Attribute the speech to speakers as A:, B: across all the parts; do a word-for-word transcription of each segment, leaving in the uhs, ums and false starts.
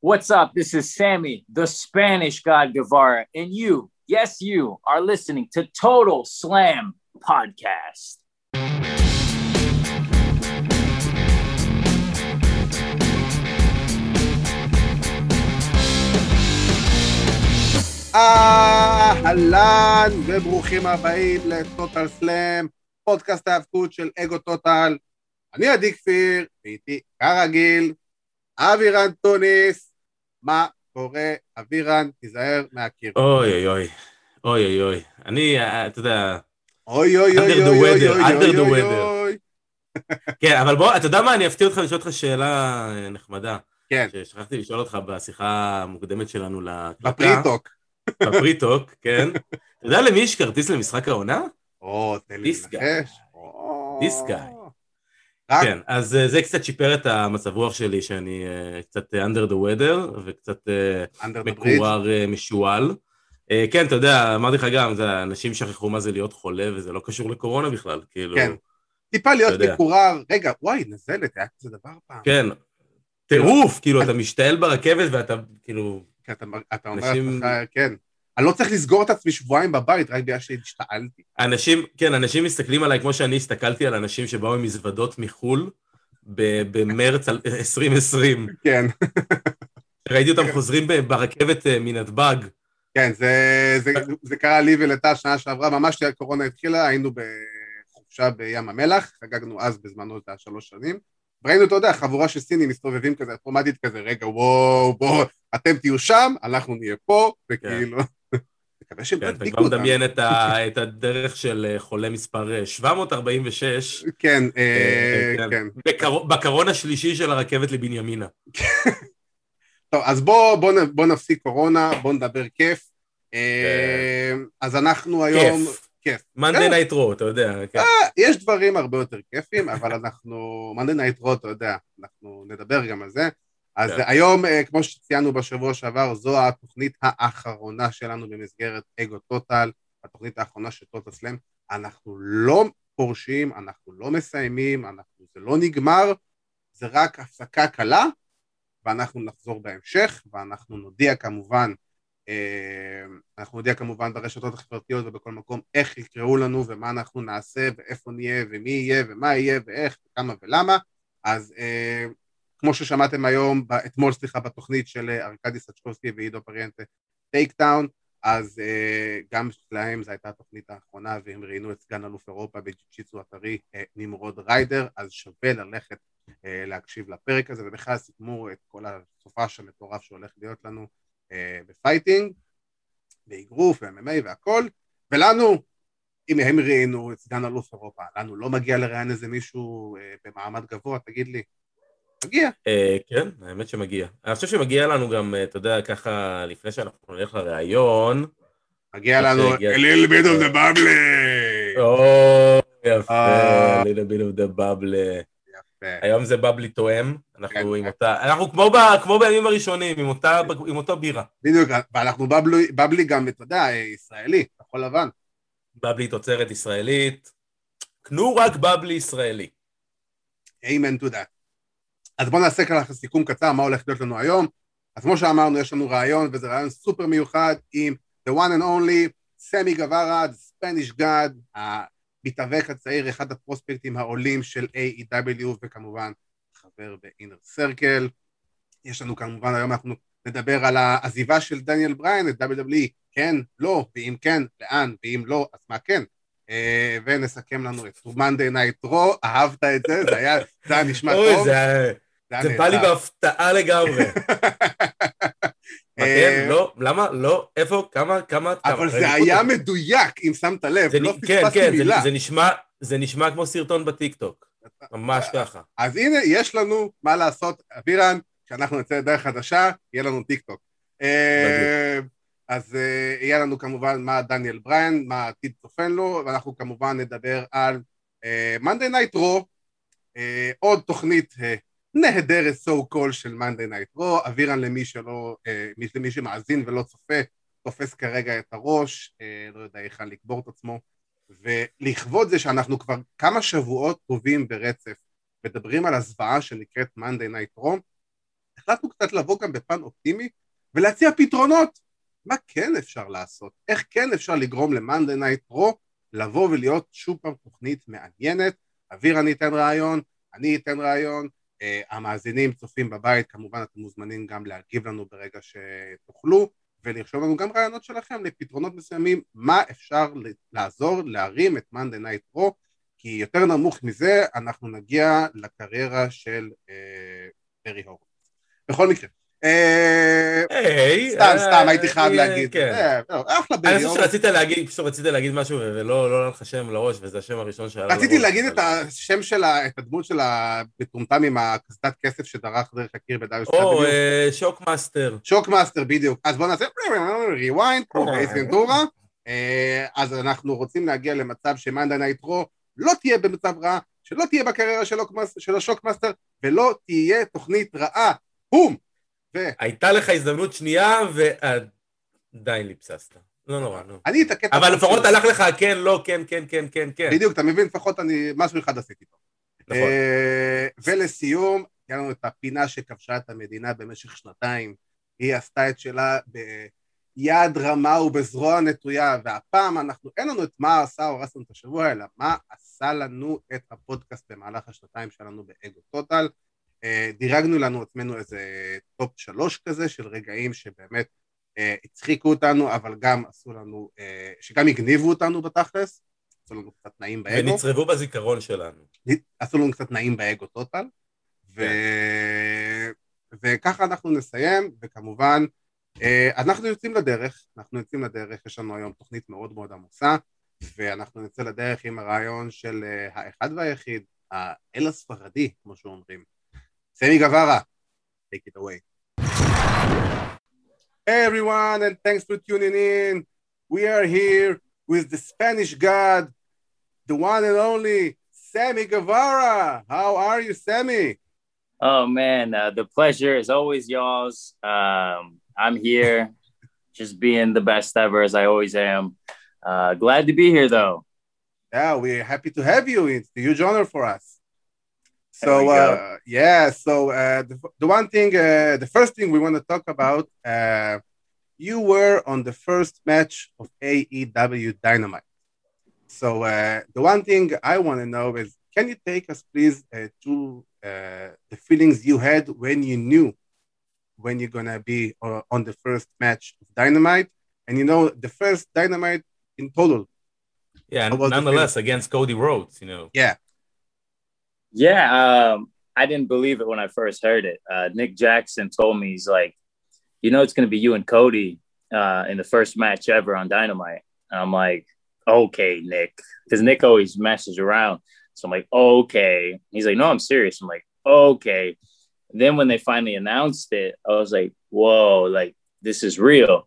A: What's up? This is Sammy, the Spanish God Guevara, and you, yes, you, are listening to Total Slam Podcast.
B: אהלן וברוכים הבאים לטוטל סלאם, פודקאסט ההאבקות של אגו טוטל. אני עדי כפיר, ואיתי כרגיל, אבירן טוניס. מה קורה, אבירן? תיזהר מהקיר.
C: אוי אוי אוי, אוי אוי אוי, אני, אתה יודע,
B: אוי אוי אוי
C: under the
B: אוי
C: weather,
B: אוי
C: under the
B: אוי
C: weather.
B: אוי.
C: כן, אבל בוא, אתה יודע מה, אני אפתיע אותך לשאול אותך שאלה נחמדה.
B: כן.
C: ששכחתי לשאול אותך בשיחה המוקדמת שלנו להקלטה.
B: בפריטוק.
C: בפריטוק, כן. אתה יודע למי יש כרטיס למשחק העונה?
B: או, תן לי לנחש.
C: This guy. כן, אז זה קצת שיפר את המצב רוח שלי, שאני קצת under the weather, וקצת מקורר משועל. כן, אתה יודע, אמרתי לך גם, אנשים שכחו מה זה להיות חולה, וזה לא קשור לקורונה בכלל, כאילו...
B: כן, טיפה להיות מקורר, רגע, וואי, נזלת, היה כזה דבר פעם.
C: כן, טירוף, כאילו, אתה משתעל ברכבת, ואתה, כאילו...
B: אתה אומר לך, כן. אני לא צריך לסגור את עצמי שבועיים בבית, רק בגלל שהשתעלתי.
C: אנשים, כן, אנשים מסתכלים עליי כמו שאני הסתכלתי על אנשים שבאו עם מזוודות מחול במרץ עשרים עשרים.
B: כן.
C: ראיתי אותם חוזרים ברכבת מנתב"ג.
B: כן, זה קרה לי ולתה שנה שעברה, ממש כשהקורונה התחילה, היינו בחופשה בים המלח, חגגנו אז בזמנו את השלוש שנים, וראינו, אתה יודע, חבורה של סינים מסתובבים כזה, אוטומטית כזה, רגע, וואו, בואו, אתם תהיו שם, אנחנו נהיה פה, וכאילו... מקווה שהם
C: אתה כבר מדמיין את הדרך של חולה מספר שבע מאות ארבעים ושש.
B: כן, כן.
C: בקרון השלישי של הרכבת לבנימינה.
B: טוב, אז בואו נפסיק קורונה, בואו נדבר כיף. אז אנחנו היום...
C: כיף. Monday Night Raw, אתה יודע.
B: יש דברים הרבה יותר כיפים, אבל אנחנו... Monday Night Raw, אתה יודע, אנחנו נדבר גם על זה. אז היום, כמו שציינו בשבוע שעבר, זו התוכנית האחרונה שלנו במסגרת אגו טוטל, התוכנית האחרונה של טוטל סלאם. אנחנו לא פורשים, אנחנו לא מסיימים, אנחנו, זה לא נגמר, זה רק הפסקה קלה, ואנחנו נחזור בהמשך, ואנחנו נודיע כמובן, אנחנו נודיע כמובן ברשתות החברתיות ובכל מקום איך יקראו לנו ומה אנחנו נעשה ואיפה נהיה ומי יהיה ומה יהיה ואיך וכמה ולמה. אז כמו ששמעתם היום, אתמול סליחה בתוכנית של ארקדי סצ'קובסקי ועידו פריאנטה טייקטאון, אז גם להם זו הייתה התוכנית האחרונה, והם ראינו את סגן אלוף אירופה בג'יצ'יצו הטרי נמרוד ריידר, אז שווה ללכת להקשיב לפרק הזה, ובכלל סיכמו את כל הסופש המטורף שהולך להיות לנו בפייטינג, באגרוף, ו-אם אם איי והכל, ולנו, אם הם ראינו את סגן אלוף אירופה, לנו לא מגיע לראיין איזה מישהו במעמד גבוה, תגיד לי, מגיע.
C: כן, האמת שמגיע. אני חושב שמגיע לנו גם, אתה יודע, ככה, לפני שאנחנו נלך לראיון,
B: מגיע לנו, a little bit of the bubble.
C: או, יפה, a little bit of the bubble. היום זה בבלי תואם, אנחנו עם אותה, אנחנו כמו בימים הראשונים, עם אותו בירה.
B: בדיוק, ואנחנו בבלי גם, אתה יודע, ישראלי, כחול לבן.
C: בבלי תוצרת ישראלית, קנו רק בבלי ישראלי.
B: Amen to that. אז בואו נעשה ככה סיכום קצר, מה הולך להיות לנו היום. אז כמו שאמרנו, יש לנו רעיון, וזה רעיון סופר מיוחד, עם the one and only, סמי גווארה, the Spanish God, המתאבק הצעיר, אחד הפרוספקטים העולים של איי אי דאבליו, וכמובן חבר באינר סרקל. יש לנו כמובן, היום אנחנו נדבר על העזיבה של דניאל בריין, את דאבליו דאבליו אי, כן, לא, ואם כן, לאן, ואם לא, אז מה כן. ונסכם לנו את Monday Night Raw, אהבת את זה, זה היה, זה היה נשמע טוב.
C: זה בא לי בהפתעה לגמרי. כן, לא, למה, לא, איפה, כמה, כמה...
B: אבל זה היה מדויק, אם שמת לב, לא פספסתי מילה.
C: זה נשמע כמו סרטון בטיקטוק, ממש ככה.
B: אז הנה, יש לנו מה לעשות, אבירן, כשאנחנו נצא לדרך חדשה, יהיה לנו טיקטוק. אז יהיה לנו כמובן מה דניאל בריין, מה העתיד צופן לו, ואנחנו כמובן נדבר על Monday Night Raw, עוד תוכנית נהדרת so called של Monday Night Raw, אבירן למי שלא, למי שמאזין ולא צופה, תופס כרגע את הראש, לא יודע איך לקבור את עצמו, ולכבוד זה שאנחנו כבר כמה שבועות טובים ברצף, מדברים על הזוועה שנקראת Monday Night Raw, החלטנו קצת לבוא גם בפן אופטימי, ולהציע פתרונות. מה כן אפשר לעשות? איך כן אפשר לגרום ל-Monday Night Raw לבוא ולהיות שוב פעם תוכנית מעניינת? אוויר אני אתן רעיון, אני אתן רעיון, uh, המאזינים צופים בבית, כמובן אתם מוזמנים גם להגיב לנו ברגע שתוכלו, ולרשום לנו גם רעיונות שלכם לפתרונות מסוימים, מה אפשר לעזור להרים את Monday Night Raw, כי יותר נמוך מזה אנחנו נגיע לקריירה של ברי הורוביץ. בכל מקרה, סתם, סתם, הייתי חייב להגיד. אחלה ברי
C: הורוביץ. אני חושב שרצית להגיד, פשוט רצית להגיד משהו, ולא לך שם לראש, וזה השם הראשון שעלה לראש.
B: רציתי להגיד את השם שלה, את הדמות שלה, בטומטם עם הקסדת כסף שדרך דרך הקיר ב-דאבליו דאבליו
C: או, שוקמאסטר.
B: שוקמאסטר, בדיוק. אז בואו נעשה rewind, כמו באייס ונטורה. אז אנחנו רוצים להגיע למצב ש-Monday Night Raw לא תהיה במצב רע, שלא תהיה בקריירה של השוקמאסטר, ולא תהיה תוכנית רעה. בום!
C: הייתה לך הזדמנות שנייה, ועדיין ליפססת. לא נורא, נו.
B: אני את הקטע...
C: אבל לפחות הלך לך כן, לא, כן, כן, כן, כן, כן.
B: בדיוק, אתה מבין, לפחות אני משהו אחד עשיתי פה.
C: נכון.
B: ולסיום, היה לנו את הפינה שכבשה את המדינה במשך שנתיים, היא עשתה את שלה ביד רמה ובזרוע נטויה, והפעם אנחנו, אין לנו את מה עשה או הרס לנו את השבוע, אלא מה עשה לנו את הפודקאסט במהלך השנתיים שלנו באגו טוטל. דירגנו לנו עצמנו איזה טופ שלוש כזה של רגעים שבאמת הצחיקו אותנו, אבל גם עשו לנו, שגם הגניבו אותנו בתכלס, עשו לנו קצת נעים באגו.
C: ונצרבו בזיכרון שלנו.
B: עשו לנו קצת נעים באגו טוטל, ו... וככה אנחנו נסיים, וכמובן, אנחנו יוצאים לדרך, אנחנו יוצאים לדרך, יש לנו היום תוכנית מאוד מאוד עמוסה, ואנחנו נצא לדרך עם הרעיון של האחד והיחיד, האל הספרדי, כמו שאומרים. Sammy Guevara, take it away. Hey everyone, and thanks for tuning in. We are here with the Spanish God, the one and only Sammy Guevara. How are you, Sammy?
A: Oh man, uh, the pleasure is always y'all's. Um, I'm here, just being the best ever as I always am. Uh, glad to be here, though.
B: Yeah, we're happy to have you. It's a huge honor for us. So, uh, yeah, so uh, the, the one thing, uh, the first thing we want to talk about, uh, you were on the first match of A E W Dynamite. So uh, the one thing I want to know is, can you take us, please, uh, to uh, the feelings you had when you knew when you're going to be uh, on the first match of Dynamite? And, you know, the first Dynamite in total.
C: Yeah, nonetheless, against Cody Rhodes, you know.
B: Yeah.
A: Yeah, um, I didn't believe it when I first heard it. Uh, Nick Jackson told me, he's like, you know, it's going to be you and Cody uh, in the first match ever on Dynamite. And I'm like, okay, Nick, because Nick always messes around. So I'm like, okay. He's like, no, I'm serious. I'm like, okay. And then when they finally announced it, I was like, whoa, like, this is real.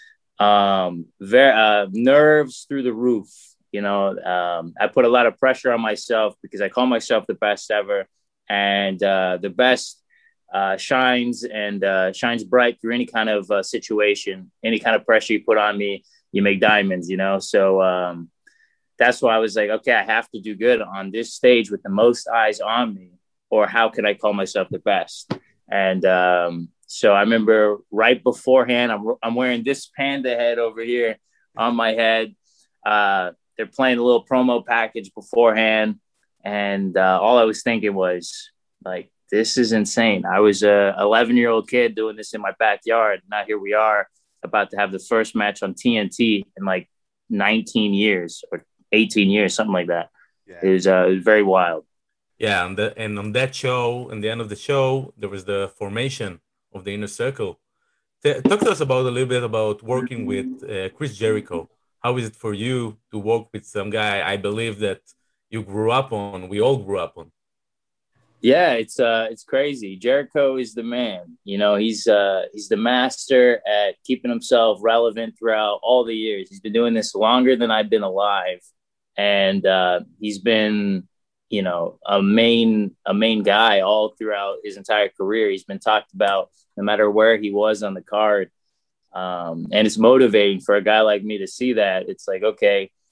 A: Um, very, uh, nerves through the roof. You know, um, I put a lot of pressure on myself because I call myself the best ever, and uh, the best uh, shines and uh, shines bright through any kind of uh, situation, any kind of pressure you put on me, you make diamonds, you know? So um, that's why I was like, okay, I have to do good on this stage with the most eyes on me, or how can I call myself the best? And um, so I remember right beforehand, I'm, I'm wearing this panda head over here on my head. Uh, They're playing a little promo package beforehand. And uh, all I was thinking was, like, this is insane. I was a eleven-year-old kid doing this in my backyard. Now here we are about to have the first match on T N T in, like, nineteen years or eighteen years, something like that. Yeah. It was, uh, it was very wild.
C: Yeah, and, the, and on that show, in the end of the show, there was the formation of the Inner Circle. T- talk to us about a little bit about working with uh, Chris Jericho. How is it for you to work with some guy I believe that you grew up on, we all grew up on?
A: Yeah, it's uh, it's crazy. Jericho is the man. You know, he's uh, he's the master at keeping himself relevant throughout all the years. He's been doing this longer than I've been alive, and uh, he's been, you know, a main a main guy all throughout his entire career. He's been talked about no matter where he was on the card. Um, and it's motivating for a guy like me to see that. It's like, okay,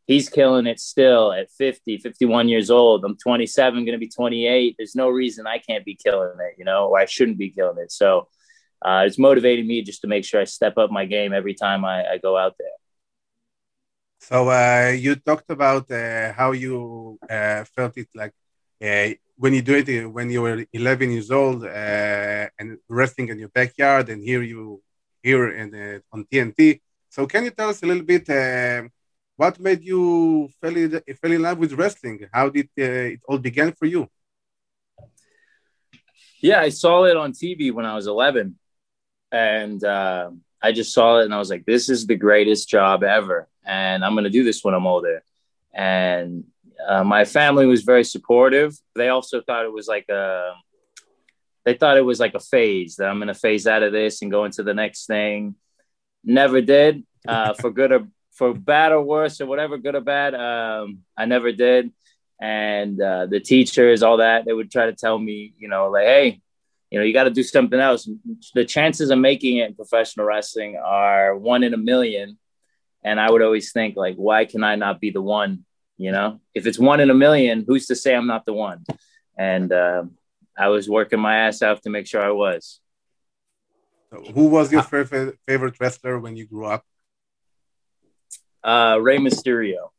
A: he's killing it still at fifty, fifty-one years old. I'm twenty-seven, going to be twenty-eight. There's no reason I can't be killing it, you know, or I shouldn't be killing it. So uh, it's motivating me just to make sure I step up my game every time I, I go out there.
B: So uh, you talked about uh, how you uh, felt it like uh, when you do it when you were eleven years old uh, and wrestling in your backyard, and here you here in uh, on T N T. So can you tell us a little bit uh, what made you fell in, fell in love with wrestling? How did uh, it all began for you?
A: Yeah, I saw it on T V when I was eleven, and uh, I just saw it and I was like, this is the greatest job ever. And I'm going to do this when I'm older. And uh, my family was very supportive. They also thought it was like a, they thought it was like a phase, that I'm going to phase out of this and go into the next thing. Never did, uh, for good or for bad or worse or whatever, good or bad. Um, I never did. And uh, the teachers, all that, they would try to tell me, you know, like, hey, you know, you got to do something else. The chances of making it in professional wrestling are one in a million. And I would always think, like, why can I not be the one? You know, if it's one in a million, who's to say I'm not the one? And uh, I was working my ass off to make sure I was.
B: So who was your favorite favorite wrestler when you grew up?
A: Uh, Rey Mysterio.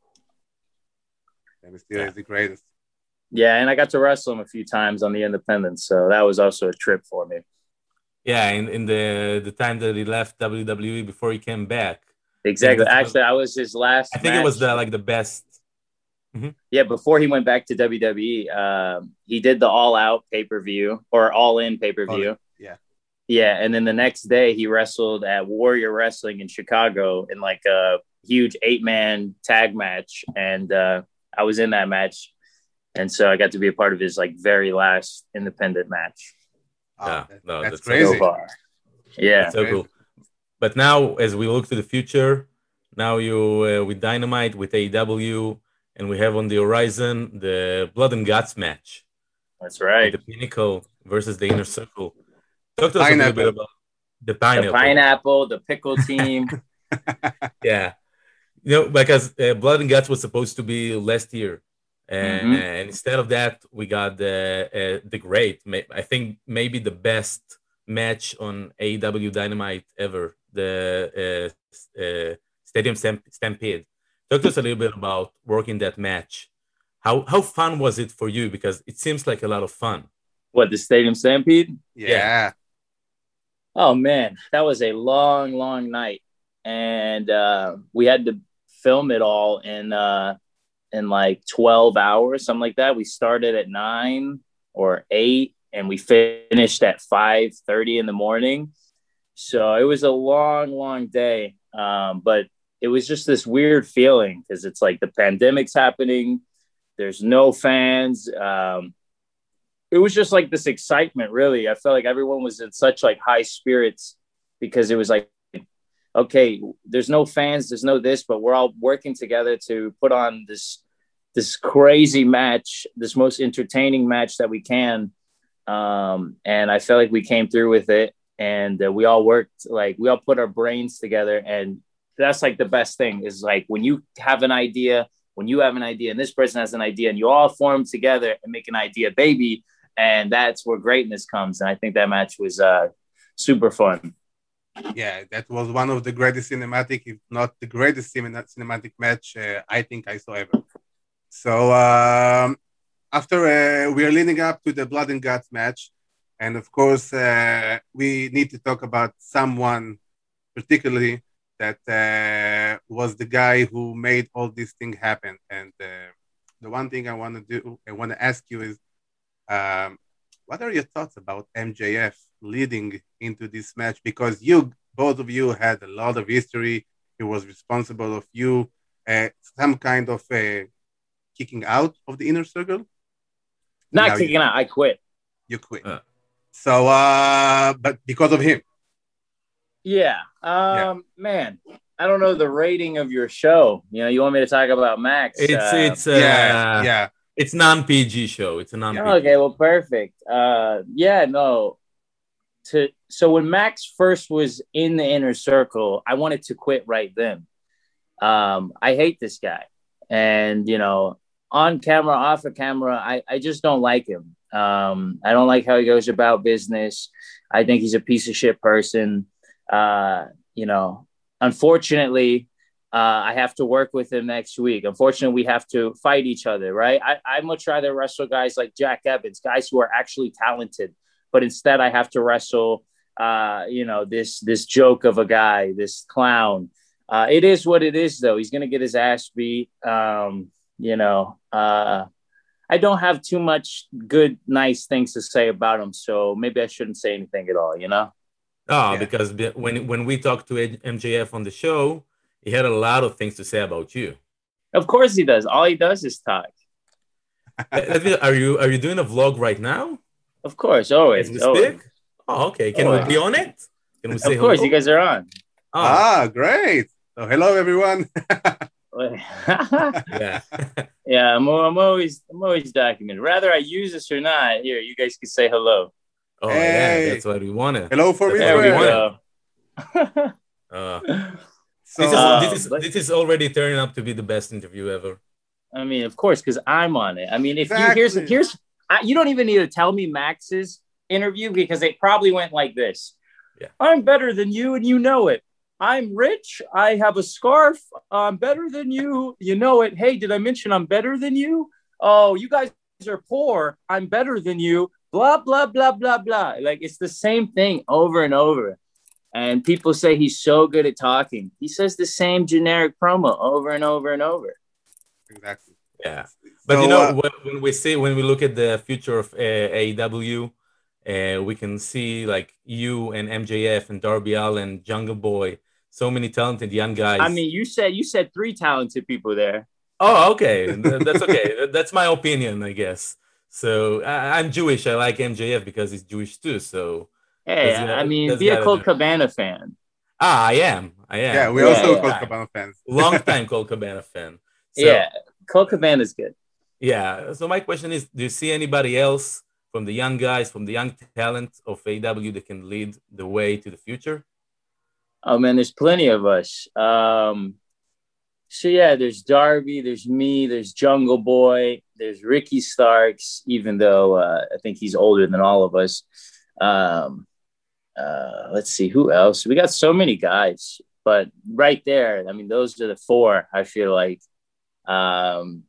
B: Rey Mysterio is the greatest.
A: Yeah, and I got to wrestle him a few times on the independents, so that was also a trip for me.
C: Yeah, in, in the the time that he left W W E before he came back.
A: Exactly. Actually, I was his last.
C: I think
A: match.
C: It was the like the best. Mm-hmm.
A: Yeah, before he went back to W W E, um, he did the All Out pay per view or All In pay per view.
B: Yeah.
A: Yeah, and then the next day he wrestled at Warrior Wrestling in Chicago in like a huge eight man tag match, and uh, I was in that match, and so I got to be a part of his like very last independent match.
B: Oh,
C: yeah,
B: that,
C: no,
B: that's,
C: that's
B: crazy.
A: So far. Yeah,
C: that's so cool. But now, as we look to the future, now you uh, with Dynamite, with A E W, and we have on the horizon the Blood and Guts match.
A: That's right.
C: The Pinnacle versus the Inner Circle. Talk to us pineapple. a little bit about the Pineapple.
A: The Pineapple, the Pickle team.
C: Yeah. You know, because uh, Blood and Guts was supposed to be last year. And, mm-hmm. and instead of that, we got the, uh, the great, I think maybe the best match on A E W Dynamite ever. The uh, uh, Stadium Stampede. Talk to us a little bit about working that match. How how fun was it for you? Because it seems like a lot of fun.
A: What, the Stadium Stampede?
B: Yeah. yeah.
A: Oh, man. That was a long, long night. And uh, we had to film it all in, uh, in like twelve hours, something like that. We started at nine or eight, and we finished at five thirty in the morning. So it was a long, long day, um, but it was just this weird feeling because it's like the pandemic's happening. There's no fans. Um, it was just like this excitement, really. I felt like everyone was in such like high spirits because it was like, okay, there's no fans, there's no this, but we're all working together to put on this this crazy match, this most entertaining match that we can. Um, and I felt like we came through with it. And uh, we all worked, like, we all put our brains together. And that's, like, the best thing is, like, when you have an idea, when you have an idea, and this person has an idea, and you all form together and make an idea baby, and that's where greatness comes. And I think that match was uh, super fun.
B: Yeah, that was one of the greatest cinematic, if not the greatest cinematic match uh, I think I saw ever. So um, after uh, we are leading up to the Blood and Guts match, and of course, uh, we need to talk about someone particularly that uh, was the guy who made all this thing happen. And uh, the one thing I want to do, I want to ask you is, um, what are your thoughts about M J F leading into this match? Because you, both of you, had a lot of history. He was responsible of you, uh, some kind of uh, kicking out of the Inner Circle.
A: Not now kicking you, out. I quit.
B: You quit. Uh. So, uh, but because of him.
A: Yeah. Um, yeah. Man, I don't know the rating of your show. You know, you want me to talk about Max?
C: It's, uh, it's, uh, yeah, yeah. It's non-P G show. It's a non-P G.
A: Okay, well, perfect. Uh, yeah, no. To So when Max first was in the Inner Circle, I wanted to quit right then. Um, I hate this guy. And, you know, on camera, off of camera, I, I just don't like him. Um, I don't like how he goes about business. I think he's a piece of shit person. Uh, you know, unfortunately, uh, I have to work with him next week. Unfortunately, we have to fight each other, right? I, I much rather wrestle guys like Jack Evans, guys who are actually talented. But instead, I have to wrestle, uh, you know, this this joke of a guy, this clown. Uh, it is what it is, though. He's going to get his ass beat. Um, you know, uh, I don't have too much good, nice things to say about him. So maybe I shouldn't say anything at all, you know?
C: Oh,
A: yeah.
C: Because when when we talked to M J F on the show, he had a lot of things to say about you.
A: Of course he does. All he does is talk.
C: Are you are you doing a vlog right now?
A: Of course, always.
C: As we
A: always.
C: speak? Oh, okay. Can
A: always.
C: we be on it? Can we say
A: Of course,
C: hello?
A: you guys are on.
C: Oh.
B: Ah, great. So hello, everyone.
A: yeah, yeah. I'm, I'm always, I'm always documented. Whether I use this or not, here you guys can say hello.
C: Oh
B: hey.
C: yeah, that's what we wanted.
B: Hello for
A: there we go.
C: uh,
B: so,
C: this is
A: uh,
C: this is
A: but,
C: this is already turning up to be the best interview ever.
A: I mean, of course, because I'm on it. I mean, if
B: exactly.
A: you here's here's I, you don't even need to tell me Max's interview because it probably went like this.
C: Yeah.
A: I'm better than you, and you know it. I'm rich. I have a scarf. I'm better than you. You know it. Hey, did I mention I'm better than you? Oh, you guys are poor. I'm better than you. Blah, blah, blah, blah, blah. Like, it's the same thing over and over. And people say he's so good at talking. He says the same generic promo over and over and over.
B: Exactly.
C: Yeah. But,
B: so,
C: you know,
B: uh,
C: when, when we see, when we look at the future of uh, A E W, uh, we can see, like, you and M J F and Darby Allin, Jungle Boy, so many talented young guys.
A: I mean, you said you said three talented people there.
C: Oh, okay. That's okay. That's my opinion, I guess. So I, I'm Jewish. I like M J F because he's Jewish too. So
A: hey,
C: uh,
A: I mean, be a Colt Cabana fan.
C: Ah, I am. I am.
B: Yeah, we
A: yeah,
B: also
A: yeah.
B: Colt Cabana fans.
C: Long time Colt Cabana fan. So,
A: yeah, Colt Cabana is good.
C: Yeah. So my question is, do you see anybody else from the young guys, from the young talent of A E W that can lead the way to the future?
A: Oh man, there's plenty of us. Um, so yeah, there's Darby, there's me, there's Jungle Boy, there's Ricky Starks, even though uh, I think he's older than all of us. Um, uh, let's see, who else? We got so many guys, but right there, I mean, those are the four, I feel like. Um,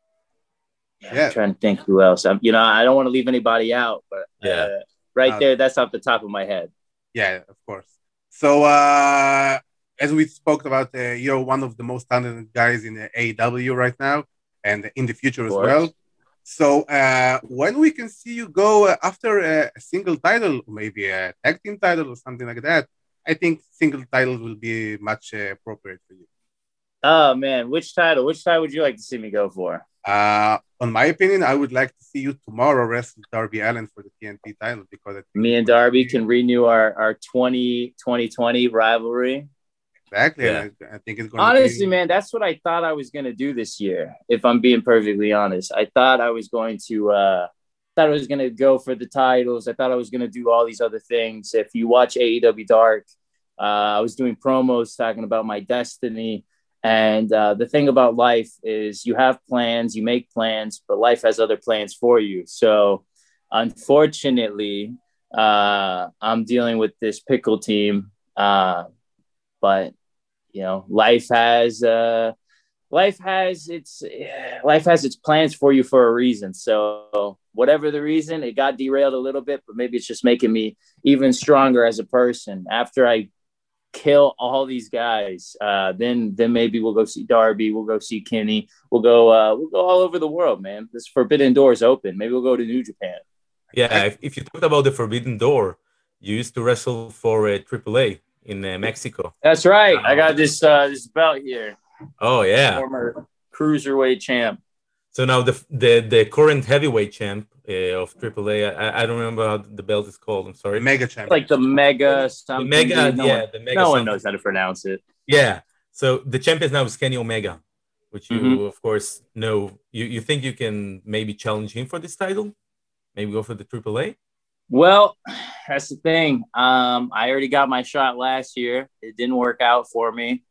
A: yeah, yeah. I'm trying to think who else. I'm, you know, I don't want to leave anybody out, but
C: yeah.
A: uh, right uh, there, that's off the top of my head.
B: Yeah, of course. So, uh, as we spoke about, uh, you're one of the most talented guys in the A E W right now and in the future as well. So, uh, when we can see you go uh, after a, a single title, maybe a tag team title or something like that, I think single title will be much uh, appropriate for you.
A: Oh, man. Which title? Which title would you like to see me go for?
B: Uh, on my opinion, I would like to see you tomorrow wrestle Darby Allin for the T N T title because I think
A: me and Darby can renew our, our twenty twenty rivalry.
B: Exactly.
A: Yeah.
B: I, I think it's going
A: honestly,
B: to be...
A: man, that's what I thought I was going to do this year. If I'm being perfectly honest, I thought I was going to, uh, thought I was going to go for the titles. I thought I was going to do all these other things. If you watch A E W Dark, uh, I was doing promos talking about my destiny. And uh, the thing about life is you have plans, you make plans, but life has other plans for you. So unfortunately, uh, I'm dealing with this pickle team. Uh, but, you know, life has uh, life has its life has its plans for you for a reason. So whatever the reason, it got derailed a little bit, but maybe it's just making me even stronger as a person. After I kill all these guys, uh then then maybe we'll go see Darby, we'll go see Kenny, we'll go uh we'll go all over the world, man. This forbidden door is open. Maybe we'll go to New Japan.
C: Yeah, if, if you talked about the forbidden door, you used to wrestle for uh, triple A in uh, Mexico.
A: That's right. I got this uh this belt here.
C: Oh yeah,
A: former cruiserweight champ.
C: So now the the, the current heavyweight champ uh, of triple A, I, I don't remember how the belt is called. I'm sorry.
B: Mega champ.
A: Like the mega something.
C: The mega,
A: no
C: yeah,
A: one,
C: the mega.
A: No
C: something.
A: one knows how to pronounce it.
C: Yeah. So the champion now is Kenny Omega, which you mm-hmm. of course know. You you think you can maybe challenge him for this title? Maybe go for the triple A?
A: Well, that's the thing. Um, I already got my shot last year. It didn't work out for me.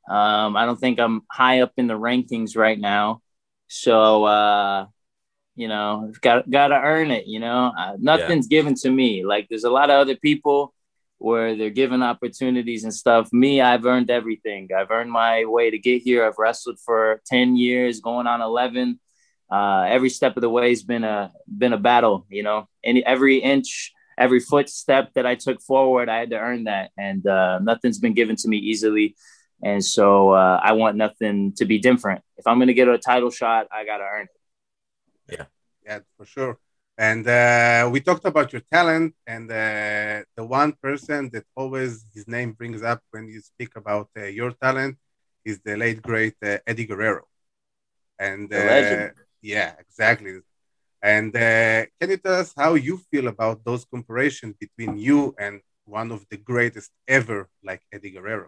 A: Um, I don't think I'm high up in the rankings right now. So, uh, you know, got got to earn it. You know, uh, nothing's yeah. given to me. Like there's a lot of other people where they're given opportunities and stuff. Me, I've earned everything. I've earned my way to get here. I've wrestled for ten years, going on eleven. Uh, every step of the way has been a been a battle. You know, and every inch, every footstep that I took forward, I had to earn that, and uh, nothing's been given to me easily. And so uh, I want nothing to be different. If I'm going to get a title shot, I got to earn it.
B: Yeah, yeah, for sure. And uh, we talked about your talent, and uh, the one person that always his name brings up when you speak about uh, your talent is the late great uh, Eddie Guerrero. And
A: the legend.
B: Uh, yeah, exactly. And uh, can you tell us how you feel about those comparisons between you and one of the greatest ever, like Eddie Guerrero?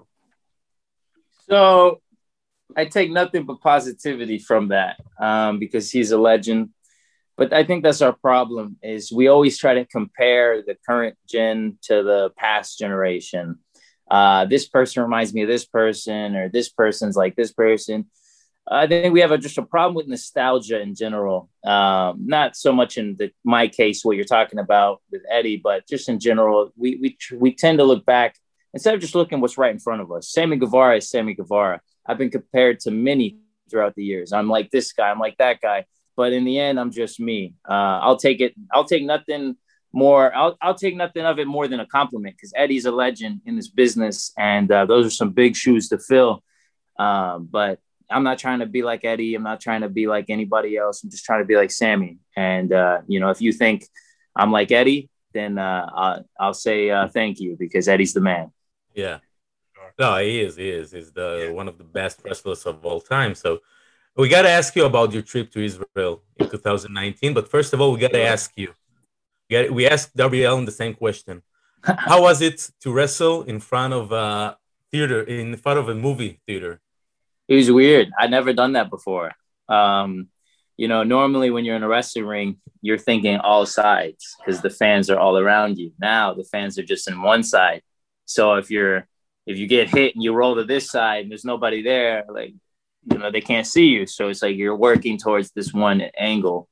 A: So I take nothing but positivity from that um, because he's a legend. But I think that's our problem is we always try to compare the current gen to the past generation. Uh, this person reminds me of this person, or this person's like this person. I think we have a, just a problem with nostalgia in general. Um, not so much in the, my case, what you're talking about with Eddie, but just in general, we we we tend to look back instead of just looking what's right in front of us. Sammy Guevara is Sammy Guevara. I've been compared to many throughout the years. I'm like this guy. I'm like that guy. But in the end, I'm just me. Uh, I'll take it. I'll take nothing more. I'll I'll take nothing of it more than a compliment because Eddie's a legend in this business, and uh, those are some big shoes to fill. Um, but I'm not trying to be like Eddie. I'm not trying to be like anybody else. I'm just trying to be like Sammy. And uh, you know, if you think I'm like Eddie, then uh, I'll, I'll say uh, thank you because Eddie's the man.
C: Yeah. No, he is. He is. He's the yeah. one of the best wrestlers of all time. So we got to ask you about your trip to Israel in two thousand nineteen. But first of all, we got to ask you. We asked Darby Allin the same question. How was it to wrestle in front of a theater, in front of a movie theater?
A: It was weird. I'd never done that before. Um, you know, normally when you're in a wrestling ring, you're thinking all sides because the fans are all around you. Now the fans are just in one side. So if you're if you get hit and you roll to this side and there's nobody there, like, you know, they can't see you. So it's like you're working towards this one angle.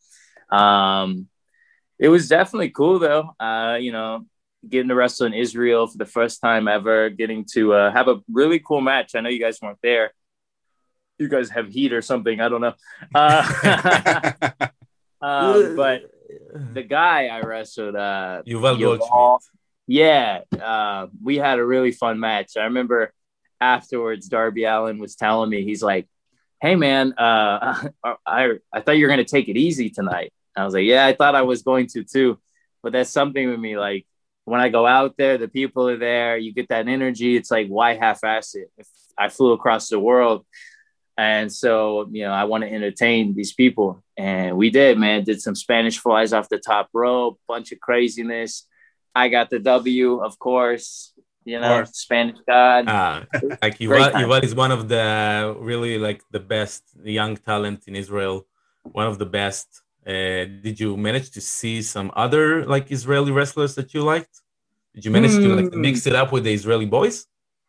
A: Um, it was definitely cool, though. Uh, you know, getting to wrestle in Israel for the first time ever, getting to uh, have a really cool match. I know you guys weren't there. You guys have heat or something. I don't know. Uh, um, but the guy I wrestled, uh,
C: Yuval Goldschmidt.
A: Yeah, uh, we had a really fun match. I remember afterwards, Darby Allin was telling me, he's like, hey, man, uh, I, I thought you were going to take it easy tonight. I was like, yeah, I thought I was going to, too. But that's something with me. Like, when I go out there, the people are there. You get that energy. It's like, why half-ass it? If I flew across the world. And so, you know, I want to entertain these people. And we did, man. Did some Spanish flies off the top rope, bunch of craziness. I got the W, of course. You know, Spanish God.
C: Uh, like Yuval, Yuval is one of the really like the best young talent in Israel. One of the best. Uh, did you manage to see some other like Israeli wrestlers that you liked? Did you manage mm. to like mix it up with the Israeli boys?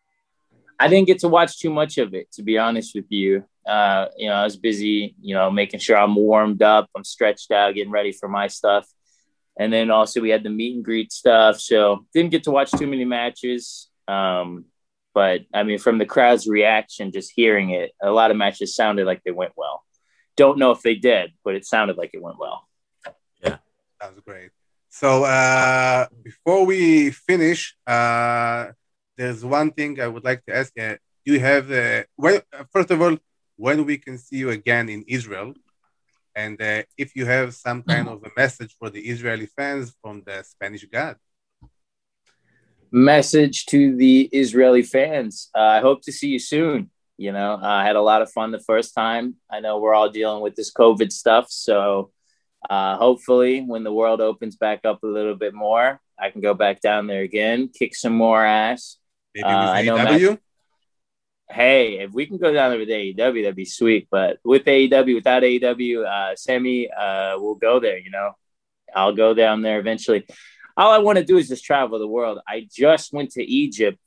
A: I didn't get to watch too much of it, to be honest with you. Uh, you know, I was busy, you know, making sure I'm warmed up, I'm stretched out, getting ready for my stuff. And then also we had the meet and greet stuff. So didn't get to watch too many matches. Um, but I mean, from the crowd's reaction, just hearing it, a lot of matches sounded like they went well. Don't know if they did, but it sounded like it went well.
C: Yeah,
B: that was great. So uh, before we finish, uh, there's one thing I would like to ask you. Do you have, uh, well, first of all, when we can see you again in Israel? And uh, if you have some kind of a message for the Israeli fans from the Spanish God.
A: Message to the Israeli fans. Uh, I hope to see you soon. You know, uh, I had a lot of fun the first time. I know we're all dealing with this COVID stuff. So uh, hopefully when the world opens back up a little bit more, I can go back down there again, kick some more ass.
B: Maybe with uh, A E W? Matt,
A: hey, if we can go down there with A E W, that'd be sweet. But with A E W, without A E W, uh, Sammy, uh, we'll go there, you know. I'll go down there eventually. All I want to do is just travel the world. I just went to Egypt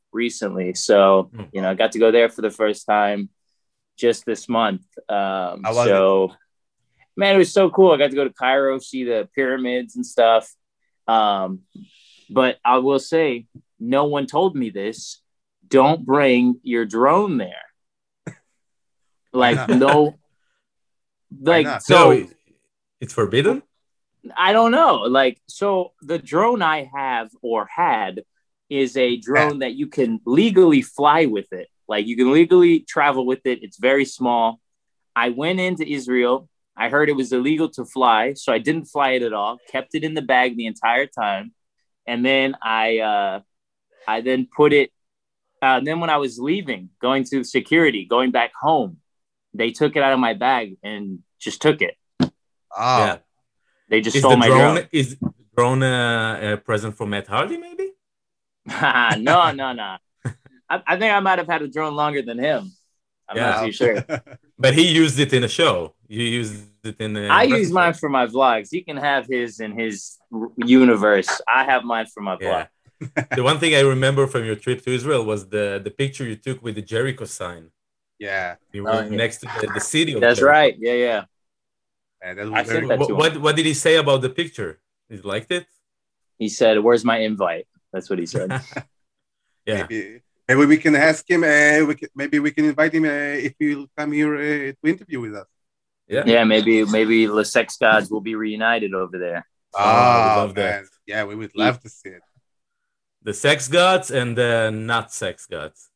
A: recently. So, mm. you know, I got to go there for the first time just this month. Um, so, it? man, it was so cool. I got to go to Cairo, see the pyramids and stuff. Um, but I will say, no one told me this. Don't bring your drone there. Like, no. Like, so.
C: No, it's forbidden?
A: I don't know. Like, so the drone I have or had is a drone that you can legally fly with it. Like, you can legally travel with it. It's very small. I went into Israel. I heard it was illegal to fly, so I didn't fly it at all. Kept it in the bag the entire time. And then I, uh, I then put it, uh, and then when I was leaving, going to security, going back home, they took it out of my bag and just took it.
B: Oh.
C: Yeah.
A: They just
C: is
A: stole
C: the
A: my
C: drone,
A: drone.
C: Is the drone uh, a present from Matt Hardy, maybe?
A: no, no, no. I, I think I might have had a drone longer than him. I'm yeah. not too sure.
C: But he used it in a show. You used it in a...
A: I use mine for my vlogs. He can have his in his universe. I have mine for my vlog.
C: Yeah. The one thing I remember from your trip to Israel was the, the picture you took with the Jericho sign.
B: Yeah.
C: You were oh, yeah. next to the, the city of
A: That's
C: Jericho.
A: right. Yeah, yeah.
B: yeah that
A: I
B: very...
A: that
C: what, what, what did he say about the picture? He liked it?
A: He said, "Where's my invite?" That's what he said.
C: Yeah.
B: Maybe, maybe we can ask him. Uh, we can, maybe we can invite him uh, if he'll come here uh, to interview with us.
C: Yeah.
A: Yeah. Maybe maybe the Sex Gods will be reunited over there.
B: Oh, oh love man. That. Yeah, we would love to see it.
C: The Sex Gods and the not Sex Gods.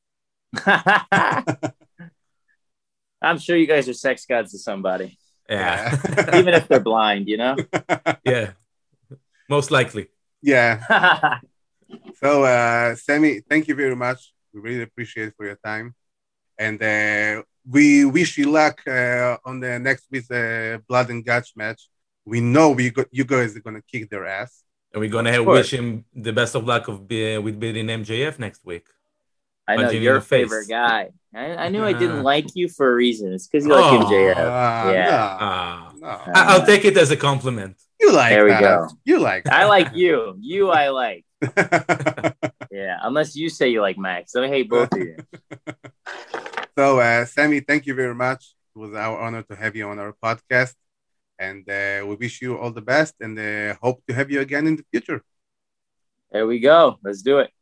A: I'm sure you guys are sex gods to somebody.
C: Yeah.
A: Even if they're blind, you know?
C: Yeah. Most likely.
B: Yeah. So, uh, Sammy, thank you very much. We really appreciate it for your time. And uh, we wish you luck uh, on the next week's uh, Blood and Guts match. We know we got, you guys are going to kick their ass.
C: And we're going to wish him the best of luck of be, with beating M J F next week.
A: I know, your favorite guy. I, I knew uh, I didn't like you for a reason. It's because you like oh, M J F.
B: Uh,
A: yeah.
C: No, no. Uh, I'll take it as a compliment.
B: You like
A: There we
B: that.
A: go.
B: You like that.
A: I like you. You I like. Yeah, unless you say you like Max. So I hate both of you.
B: So, uh, Sammy, thank you very much. It was our honor to have you on our podcast. And uh, we wish you all the best and uh, hope to have you again in the future.
A: There we go. Let's do it.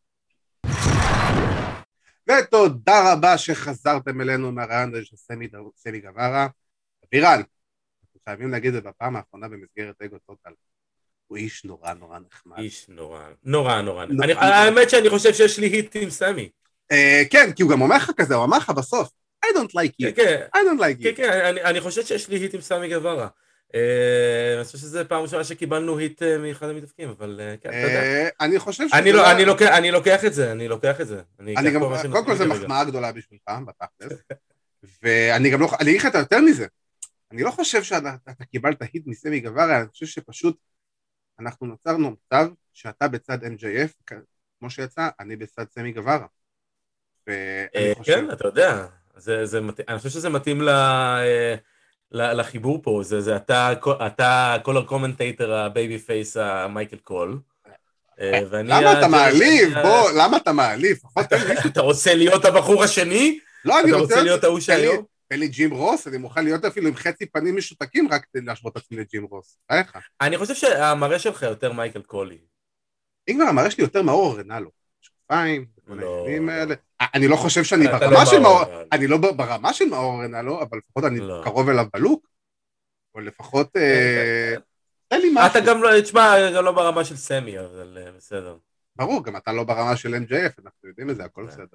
B: ותודה רבה שחזרתם אלינו מהרעיון של סמי גווארה. אבירן, אנחנו חייבים להגיד את זה בפעם האחרונה במסגרת אגו טוטל. הוא איש נורא נורא נחמד.
C: איש נורא, נורא נורא. האמת שאני חושב שיש לי היט עם סמי.
B: כן, כי הוא גם אומר לך כזה, הוא אמר לך בסוף, I don't like you. I don't like you.
C: כן, כן, אני חושב שיש לי היט עם סמי גווארה. אני חושב שזה פעם ראשונה שקיבלנו היט מאחד המתאבקים, אבל כן, אתה יודע.
B: אני חושב ש...
C: אני לוקח את זה, אני לוקח את זה.
B: קודם כל זה מחמאה גדולה בשבילך, בתכלס. ואני גם לא... אני אגיד לך את יותר מזה. אני לא חושב שאתה קיבלת היט מסמי גווארה, אני חושב שפשוט אנחנו נוצרנו מצב שאתה בצד אם ג'יי אף, כמו שיצא, אני בצד סמי גווארה.
C: כן, אתה יודע. אני חושב שזה מתאים ל... לחיבור פה, זה, זה אתה, אתה קולר קומנטייטר הבייבי פייס המייקל קול.
B: למה אתה מעליב? בוא, למה אתה מעליב?
C: אתה רוצה להיות הבחור השני?
B: לא, אני
C: רוצה להיות ההוא שהיום?
B: תן לי ג'ים רוס, אני מוכן להיות אפילו עם חצי פנים משותקים רק כדי להשוות עצמי לג'ים רוס.
C: אני חושב שהמראה שלך יותר מייקל קולי.
B: אם כבר המראה שלי יותר מאור רנלו. שופיים, אני לא חושב שאני ברמה של מאור, אני לא ברמה של מאור רנלו, אבל לפחות אני קרוב אליו בלוק, או לפחות, תן לי משהו.
C: אתה גם לא, תשמע, גם לא ברמה של סמי, אבל בסדר.
B: ברור, גם אתה לא ברמה של אם ג'יי אף, אנחנו יודעים את זה, הכל בסדר.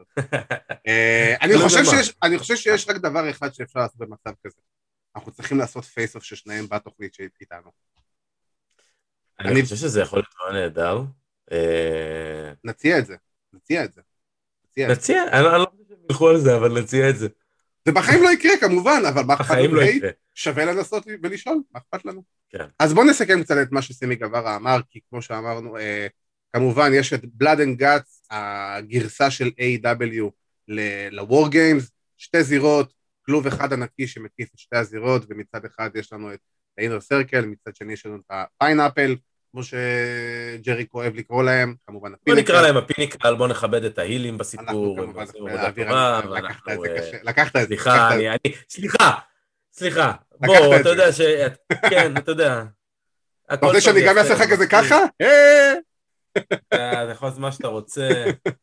B: אני חושב שיש רק דבר אחד שאפשר לעשות במצב כזה. אנחנו צריכים לעשות פייס-אוף ששניהם בתוכנית שאיתנו.
C: אני חושב שזה יכול להיות נהדר.
B: נציע את זה. נציע את זה.
C: נציע, אני לא חושב שהם ילכו על זה, אבל נציע את זה.
B: זה בחיים לא יקרה כמובן, אבל מה אכפת לנו? שווה לנסות ולשאול, מה אכפת לנו? אז בואו נסכם קצת את מה שסמי גווארה אמר, כי כמו שאמרנו, כמובן יש את Blood and Guts, הגרסה של איי דאבליו ל-War Games, שתי זירות, כלוב אחד ענקי שמקיף את שתי הזירות, ומצד אחד יש לנו את ה-Inner Circle, מצד שני יש לנו את ה-Pineapple, כמו שג'רי כואב לקרוא להם, כמובן
C: הפיניקל. בוא נקרא להם הפיניקל, בוא נכבד את ההילים בסיפור.
B: אנחנו כמובן, אווירה, לקחת את זה קשה, לקחת את זה.
C: סליחה, אני, סליחה, סליחה, בוא, אתה יודע ש... כן, אתה יודע.
B: אתה רוצה שאני גם אעשה לך כזה ככה?
C: אתה יכול לעשות מה שאתה רוצה.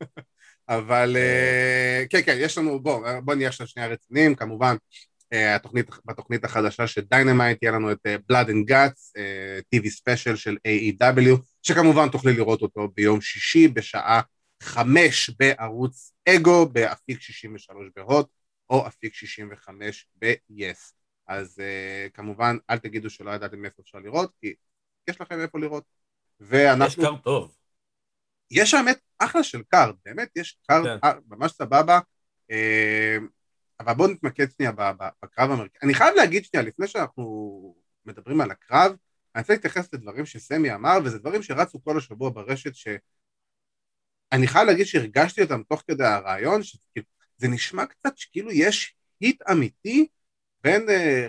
B: אבל כן, כן, יש לנו, בוא נהיה עכשיו שנייה רציניים, כמובן, בתוכנית החדשה של דיינמייט, יהיה לנו את Blood and Guts, טי וי ספיישל של איי אי דאבליו, שכמובן תוכלי לראות אותו ביום שישי, בשעה חמש בערוץ אגו, באפיק שישים ושלוש בהוט, או אפיק שישים וחמש ב-yes. אז כמובן, אל תגידו שלא ידעתם איפה אפשר לראות, כי יש לכם איפה לראות. ואנחנו...
C: יש קארד טוב.
B: יש האמת אחלה של קארד, באמת יש קארד כן. ממש סבבה, אבל בואו נתמקד שנייה בקרב המרכזי. אני חייב להגיד שנייה, לפני שאנחנו מדברים על הקרב, אני רוצה להתייחס לדברים שסמי אמר, וזה דברים שרצו כל השבוע ברשת, שאני חייב להגיד שהרגשתי אותם תוך כדי הרעיון, שזה נשמע קצת שכאילו יש היט אמיתי, בין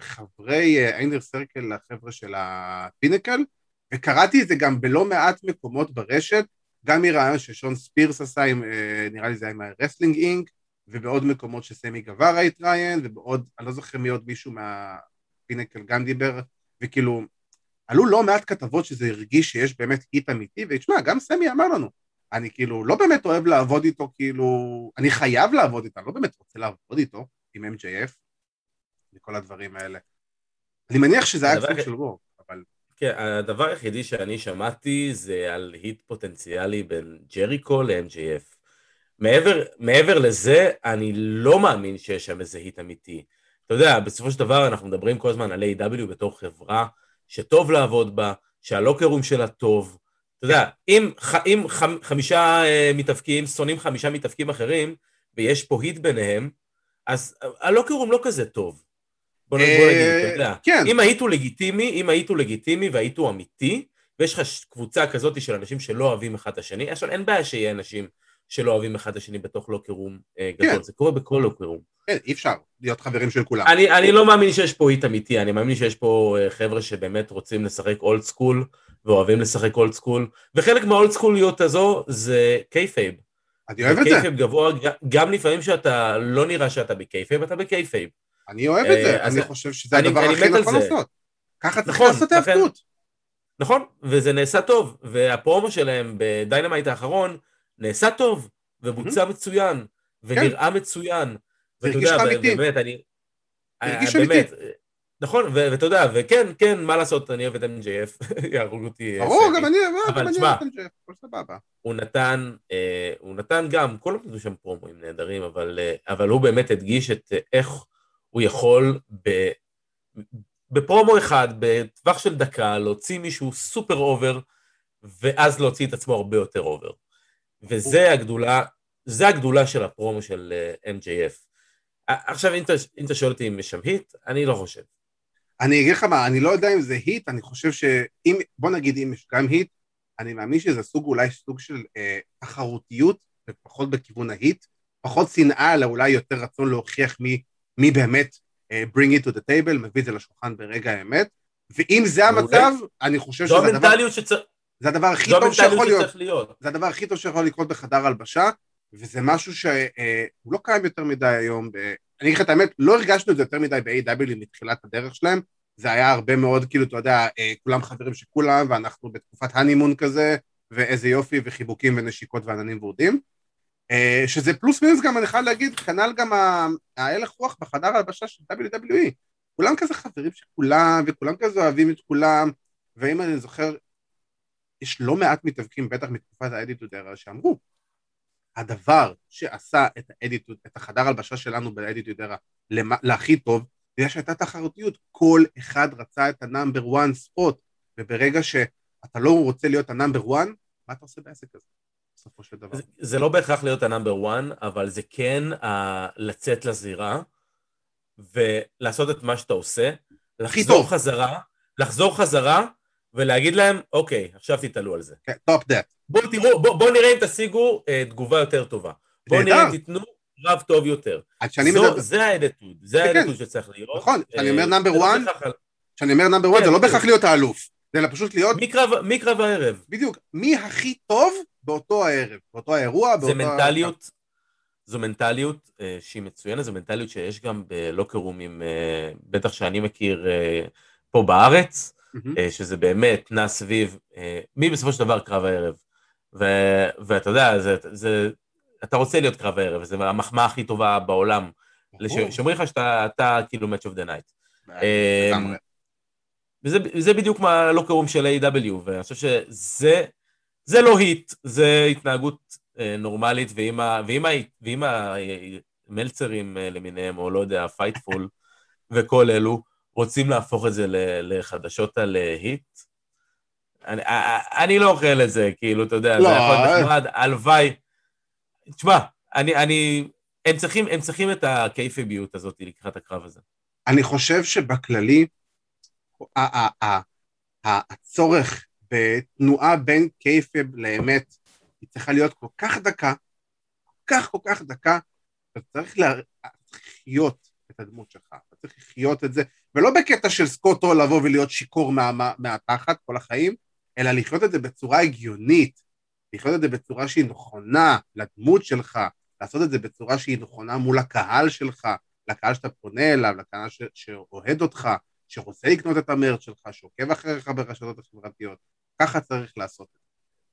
B: חברי איינר סרקל לחבר'ה של הפינקל, וקראתי את זה גם בלא מעט מקומות ברשת, גם מרעיון ששון ספירס עשה, עם, נראה לי זה עם הרסלינג אינק, ובעוד מקומות שסמי גווארה התראיין, ובעוד, אני לא זוכר מי עוד מישהו מהפינקל גם דיבר, וכאילו, עלו לא מעט כתבות שזה הרגיש שיש באמת היט אמיתי, ותשמע, גם סמי אמר לנו, אני כאילו לא באמת אוהב לעבוד איתו, כאילו, אני חייב לעבוד איתו, אני לא באמת רוצה לעבוד איתו, עם אם ג'יי אף, וכל הדברים האלה. אני מניח שזה היה קצת של וורק, אבל...
C: כן, הדבר היחידי שאני שמעתי זה על היט פוטנציאלי בין ג'ריקו ל-אם ג'יי אף. מעבר, מעבר לזה, אני לא מאמין שיש שם איזה היט אמיתי. אתה יודע, בסופו של דבר אנחנו מדברים כל הזמן על איי דאבליו בתור חברה שטוב לעבוד בה, שהלוקרום שלה טוב. אתה יודע, אם, אם חמישה מתאבקים, שונאים חמישה מתאבקים אחרים, ויש פה היט ביניהם, אז הלוקרום לא כזה טוב. בוא נגיד, אתה יודע. אם היית הוא לגיטימי, אם היית הוא לגיטימי והיית הוא אמיתי, ויש לך קבוצה כזאת של אנשים שלא אוהבים אחד את השני, עכשיו אין בעיה שיהיה אנשים שלא אוהבים אחד את השני בתוך לוקרום גדול, זה קורה בכל לוקרום.
B: כן, אי אפשר להיות חברים של כולם.
C: אני לא מאמין שיש פה היט אמיתי, אני מאמין שיש פה חבר'ה שבאמת רוצים לשחק אולד סקול, ואוהבים לשחק אולד סקול, וחלק מהאולד סקוליות הזו זה קייפייב.
B: אני אוהב את זה.
C: קייפייב גבוה, גם לפעמים שאתה לא נראה שאתה בקייפייב, אתה בקייפייב.
B: אני אוהב את זה, אני חושב שזה הדבר הכי נכון לעשות. ככה צריך לעשות ההפקות.
C: נכון, וזה נעשה טוב, והפרומו שלהם בדיינמייט האחרון נעשה טוב, ובוצע מצוין, ונראה מצוין.
B: זה הרגיש לך אמיתי.
C: באמת, אני...
B: הרגיש אמיתי.
C: נכון, ואתה יודע, וכן, כן, מה לעשות, אני אוהב את אם ג'יי אף, יהרוג אותי.
B: ברור, גם אני אוהב את אם ג'יי אף, כל סבבה.
C: הוא נתן, הוא נתן גם, כל הזמן שם פרומואים נהדרים, אבל הוא באמת הדגיש את איך הוא יכול בפרומו אחד, בטווח של דקה, להוציא מישהו סופר אובר, ואז להוציא את עצמו הרבה יותר אובר. וזה הגדולה, זה הגדולה של הפרומו של אם ג'יי אף. עכשיו, אם אתה שואל אותי אם יש שם היט, אני לא חושב.
B: אני אגיד לך מה, אני לא יודע אם זה היט, אני חושב שאם, בוא נגיד אם יש גם היט, אני מאמין שזה סוג, אולי סוג של אה, תחרותיות, ופחות בכיוון ההיט, פחות שנאה, אלא אולי יותר רצון להוכיח מי, מי באמת אה, bring it to the table, מביא את זה לשולחן ברגע האמת, ואם זה המצב, אני חושב שזה הדבר,
C: שצר...
B: זה הדבר הכי טוב שיכול להיות, להיות, זה הדבר הכי טוב שיכול לקרות בחדר הלבשה, וזה משהו שהוא אה, לא קיים יותר מדי היום, ב... אני אגיד לך את האמת, לא הרגשנו את זה יותר מדי ב-איי דאבליו מתחילת הדרך שלהם, זה היה הרבה מאוד, כאילו, אתה יודע, כולם חברים שכולם, ואנחנו בתקופת הנימון כזה, ואיזה יופי, וחיבוקים ונשיקות ועננים ורדים, שזה פלוס מינוס גם, אני חייב להגיד, כנ"ל גם ההלך רוח בחדר ההלבשה של דאבליו דאבליו אי, כולם כזה חברים שכולם, וכולם כזה אוהבים את כולם, ואם אני זוכר, יש לא מעט מתאבקים, בטח מתקופת האדיטוד era, שאמרו, הדבר שעשה את האדיטוד, את החדר ההלבשה שלנו באדיטוד era, להכי טוב, בגלל שהייתה תחרותיות, כל אחד רצה את הנאמבר וואן ספוט, וברגע שאתה לא רוצה להיות הנאמבר וואן, מה אתה עושה בעסק הזה? בסופו של דבר.
C: זה, זה לא בהכרח להיות הנאמבר וואן, אבל זה כן uh, לצאת לזירה, ולעשות את מה שאתה עושה, לחזור חזרה, לחזור חזרה, ולהגיד להם, אוקיי, עכשיו תתעלו על זה.
B: כן, טופ דאט.
C: בואו תראו, בואו בוא נראה אם תשיגו uh, תגובה יותר טובה. בואו נראה אם תיתנו רב טוב יותר. זה האדיטוד, זה האדיטוד שצריך להיות.
B: נכון, כשאני אומר נאמבר וואן, כשאני אומר נאמבר וואן, זה לא בהכרח להיות האלוף. זה פשוט להיות...
C: מי קרב הערב.
B: בדיוק, מי הכי טוב באותו הערב, באותו האירוע, באותו...
C: זה מנטליות, זו מנטליות אה, שהיא מצוינת, זו מנטליות שיש גם בלוקרומים, אה, בטח שאני מכיר אה, פה בארץ, mm-hmm. אה, שזה באמת נע סביב, אה, מי בסופו של דבר קרב הערב. ו- ואתה יודע, זה, זה, אתה רוצה להיות קרב הערב, זה המחמאה הכי טובה בעולם, שאומרים לך שאתה אתה, כאילו match of the night.
B: לגמרי.
C: וזה, וזה בדיוק מה לא קרום של איי דאבליו, ואני חושב שזה זה לא היט, זה התנהגות אה, נורמלית, ואם, ה, ואם, ה, ואם המלצרים אה, למיניהם, או לא יודע, פייטפול, וכל אלו, רוצים להפוך את זה לחדשות על היט, אני, אני לא אוכל את זה, כאילו, אתה יודע, לא, זה יכול להיות נחמד, הלוואי, תשמע, אני, אני, הם צריכים, הם צריכים את הקייפביות הזאת לקראת הקרב הזה.
B: אני חושב שבכללי, הצורך בתנועה בין קייפב לאמת, היא צריכה להיות כל כך דקה, כל כך כל כך דקה, אתה צריך לחיות את הדמות שלך, אתה צריך לחיות את זה, ולא בקטע של סקוטו לבוא ולהיות שיקור מהתחת כל החיים, אלא לחיות את זה בצורה הגיונית, לחיות את זה בצורה שהיא נכונה לדמות שלך, לעשות את זה בצורה שהיא נכונה מול הקהל שלך, לקהל שאתה פונה אליו, לקהל ש- שאוהד אותך, שרוצה לקנות את המרץ שלך, שעוקב אחריך ברשתות החברתיות, ככה צריך לעשות את זה.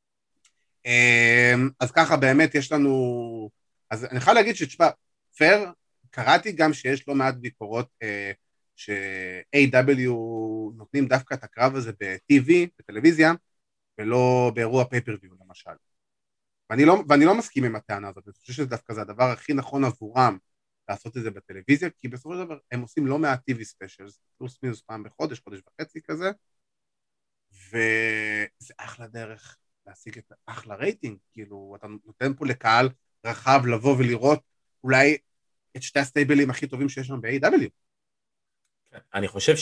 B: אז ככה באמת יש לנו, אז אני יכול להגיד שתשמע, פייר, קראתי גם שיש לא מעט ביקורות ש-איי דאבליו נותנים דווקא את הקרב הזה ב-טי וי, בטלוויזיה, ולא באירוע פייפריוויו למשל. ואני לא, ואני לא מסכים עם הטענה הזאת, אני חושב שזה דווקא זה הדבר הכי נכון עבורם לעשות את זה בטלוויזיה, כי בסופו של דבר הם עושים לא מעט טי וי ספיישלס, פלוס מינוס פעם בחודש, חודש וחצי כזה, וזה אחלה דרך להשיג את אחלה רייטינג, כאילו אתה נותן פה לקהל רחב לבוא ולראות אולי את שתי הסטייבלים הכי טובים שיש שם ב-איי דאבליו.
C: אני חושב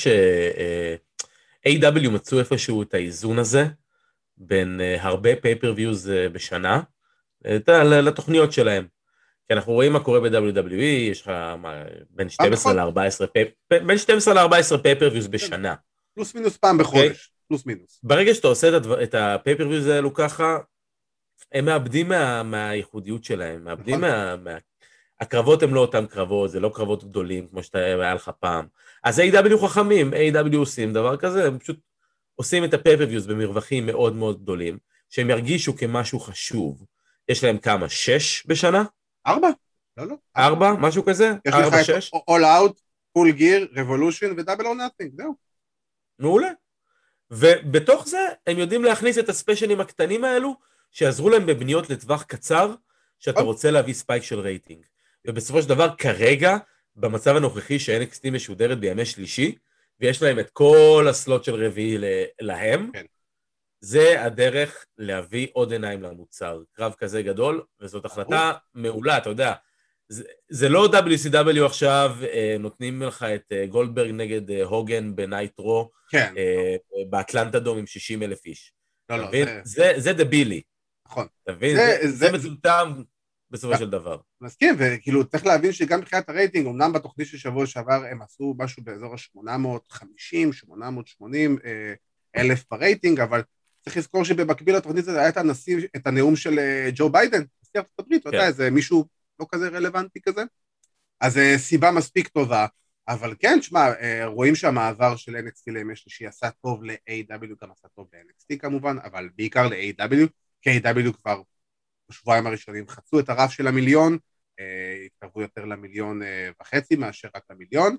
C: ש-איי דאבליו מצאו איפשהו את האיזון הזה, בין הרבה פייפריוויוז בשנה, לתוכניות שלהם. כי אנחנו רואים מה קורה ב-דאבליו דאבליו אי, יש לך בין שתים עשרה ל-ארבע עשרה בין שתים עשרה ל-ארבע עשרה פייפריוויוז בשנה.
B: פלוס מינוס פעם בחודש, פלוס מינוס.
C: ברגע שאתה עושה את הפייפריוויוז האלו ככה, הם מאבדים מהייחודיות שלהם, מאבדים מה... הקרבות הם לא אותם קרבות, זה לא קרבות גדולים כמו שאתה היה לך פעם. אז איי דאבליו חכמים, איי דאבליו עושים דבר כזה, הם פשוט עושים את הפייפריוויוז במרווחים מאוד מאוד גדולים, שהם ירגישו כמשהו חשוב. יש להם כמה? שש בשנה?
B: ארבע? לא, לא.
C: ארבע? משהו כזה?
B: יש לך את All Out, Full Gear, Revolution ו-Double or Nothing, זהו.
C: מעולה. ובתוך זה הם יודעים להכניס את הספיישלים הקטנים האלו, שיעזרו להם בבניות לטווח קצר, שאתה רוצה להביא ספייק של רייטינג. ובסופו של דבר, כרגע, במצב הנוכחי ש-אן אקס טי משודרת בימי שלישי, ויש להם את כל הסלוט של רביעי להם, כן. זה הדרך להביא עוד עיניים למוצר. קרב כזה גדול, וזאת החלטה מעולה, אתה יודע. זה, זה לא דאבליו סי דאבליו עכשיו, נותנים לך את גולדברג נגד הוגן בנייטרו,
B: כן.
C: באטלנטה דום עם שישים אלף איש.
B: לא, לא,
C: זה... זה, זה דבילי.
B: נכון.
C: אתה מבין? זה, זה, זה, זה מטומטם בסופו של דבר.
B: מסכים, וכאילו צריך להבין שגם מבחינת הרייטינג, אמנם בתוכנית של שבוע שעבר הם עשו משהו באזור ה-שמונה מאות וחמישים, שמונה מאות ושמונים אלף ברייטינג, אבל צריך לזכור שבמקביל לתוכנית הזה היה את הנשיא, את הנאום של ג'ו ביידן, נשיא ארצות הברית, אתה יודע, איזה מישהו לא כזה רלוונטי כזה, אז סיבה מספיק טובה, אבל כן, שמה, רואים שהמעבר של אן אקס טי לימי שלישי עשה טוב ל-איי דאבליו, גם עשה טוב ל-אן אקס טי כמובן, אבל בעיקר ל-איי דאבליו, כי איי דאבליו כבר בשבועיים הראשונים חצו את הרף של המיליון, התקרבו יותר למיליון וחצי מאשר רק למיליון,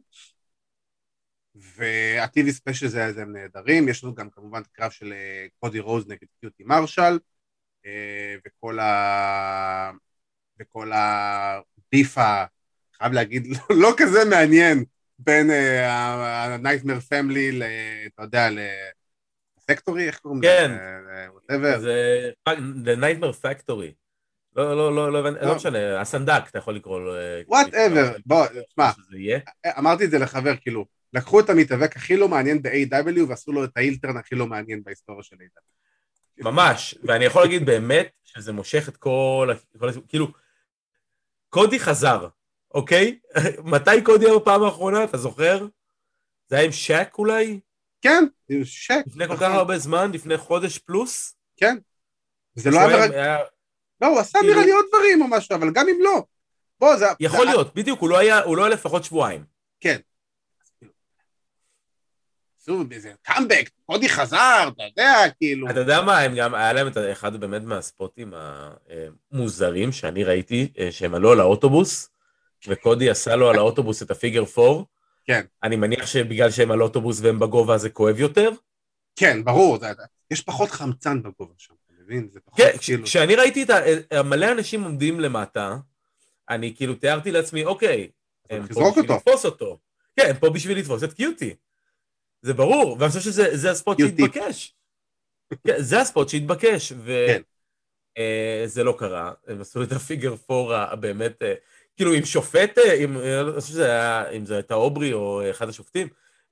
B: וה-טי וי ספיישל זה הם נהדרים, יש לנו גם כמובן את הקרב של קודי רוז נגד קיוטי מרשל, וכל ה... וכל הביפה, חייב להגיד, לא כזה מעניין, בין ה-Nightmare Family, אתה יודע, לפקטורי, איך קוראים?
C: כן, זה The Nightmare Factory. לא, לא, לא, לא, לא משנה, הסנדק, אתה יכול לקרוא לו.
B: Whatever, בוא, תשמע, אמרתי את זה לחבר, כאילו, לקחו את המתאבק הכי לא מעניין ב-איי דאבליו, ועשו לו את האילטרן הכי לא מעניין בהיסטוריה של איי דאבליו.
C: ממש, ואני יכול להגיד באמת, שזה מושך את כל, כאילו, קודי חזר, אוקיי? מתי קודי היה בפעם האחרונה, אתה זוכר? זה היה עם שק אולי?
B: כן, שק.
C: לפני כל כך הרבה זמן, לפני חודש פלוס?
B: כן. זה לא היה... לא, הוא עשה נראה לי עוד דברים או משהו, אבל גם אם לא. בוא, זה...
C: יכול להיות, בדיוק, הוא לא היה לפחות שבועיים.
B: כן. עשו באיזה קאמבק, קודי חזר, אתה יודע, כאילו...
C: אתה יודע מה, הם גם, היה להם את אחד באמת מהספוטים המוזרים שאני ראיתי, שהם עלו על האוטובוס, וקודי עשה לו על האוטובוס את הפיגר פור.
B: כן.
C: אני מניח שבגלל שהם על אוטובוס והם בגובה זה כואב יותר.
B: כן, ברור, יש פחות חמצן בגובה שם, אתה מבין?
C: כן, כשאני ראיתי את מלא אנשים עומדים למטה, אני כאילו תיארתי לעצמי, אוקיי, הם פה בשביל לתפוס אותו. כן, הם פה בשביל לתפוס את קיוטי. זה ברור, ואני חושב שזה הספוט שהתבקש. זה הספוט שהתבקש, וזה לא קרה. הם עשו את הפיגר פור באמת, כאילו עם שופט, אם זה הייתה אוברי או אחד השופטים,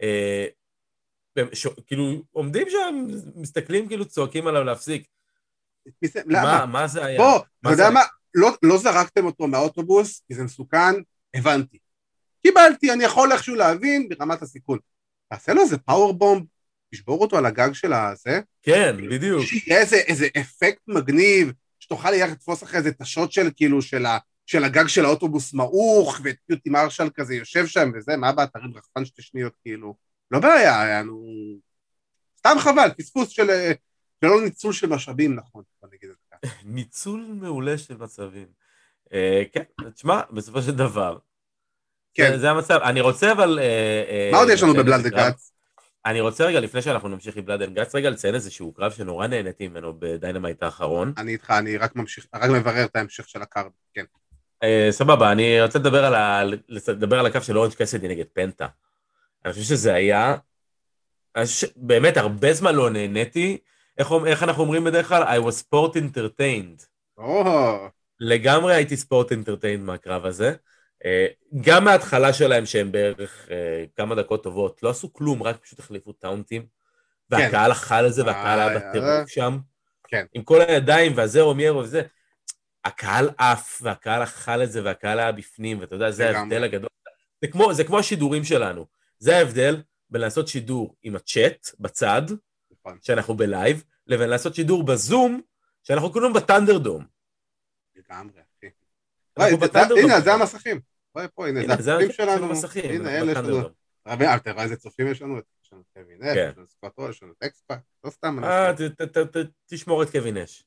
C: כאילו עומדים שם, מסתכלים כאילו צועקים עליו להפסיק. מה זה היה?
B: בוא, אתה יודע מה, לא זרקתם אותו מהאוטובוס, כי זה מסוכן, הבנתי. קיבלתי, אני יכול איכשהו להבין ברמת הסיכון. תעשה לו איזה פאוור-בומב, תשבור אותו על הגג של הזה.
C: כן, בדיוק.
B: שיהיה איזה אפקט מגניב, שתוכל ליח לתפוס אחרי איזה תשות של כאילו של הגג של האוטובוס מעוך, וטיוטי מרשל כזה יושב שם וזה, מה הבא, תרים רחפן שתי שניות כאילו. לא בעיה, היה לנו... סתם חבל, פספוס של... ולא ניצול של משאבים, נכון, בוא נגיד את זה.
C: ניצול מעולה של מצבים. כן, תשמע, בסופו של דבר,
B: כן.
C: זה המצב. אני רוצה אבל...
B: מה עוד יש לנו בבלאד אנד גאטס?
C: אני רוצה רגע, לפני שאנחנו נמשיך עם בלאד אנד גאטס, רגע לציין איזשהו קרב שנורא נהניתי ממנו בדיינמייט האחרון.
B: אני איתך, אני רק ממשיך, רק מברר את ההמשך של הקארד, כן.
C: סבבה, אני רוצה לדבר על ה... לדבר על הקו של אורנג' קאסידי נגד פנטה. אני חושב שזה היה... באמת, הרבה זמן לא נהניתי. איך אנחנו אומרים בדרך כלל? I was sport entertained. לגמרי הייתי ספורט entertained מהקרב הזה. גם מההתחלה שלהם שהם בערך כמה דקות טובות, לא עשו כלום, רק פשוט החליפו טאונטים, והקהל אכל את זה, והקהל היה בטירוף שם, עם כל הידיים והזה אומיירו וזה, הקהל עף, והקהל אכל את זה, והקהל היה בפנים, ואתה יודע, זה ההבדל הגדול. זה כמו השידורים שלנו, זה ההבדל בין לעשות שידור עם הצ'אט בצד, שאנחנו בלייב, לבין לעשות שידור בזום, שאנחנו כולנו בטנדרדום.
B: לגמרי, אחי. הנה, זה המסכים. הנה, זה הצופים שלנו. הנה, אלה שלנו. רבי, אתה רואה איזה צופים יש לנו? יש לנו קווין אש, יש לנו סקוטו, יש לנו טקספאק, לא סתם.
C: אה, תשמור את קווין אש.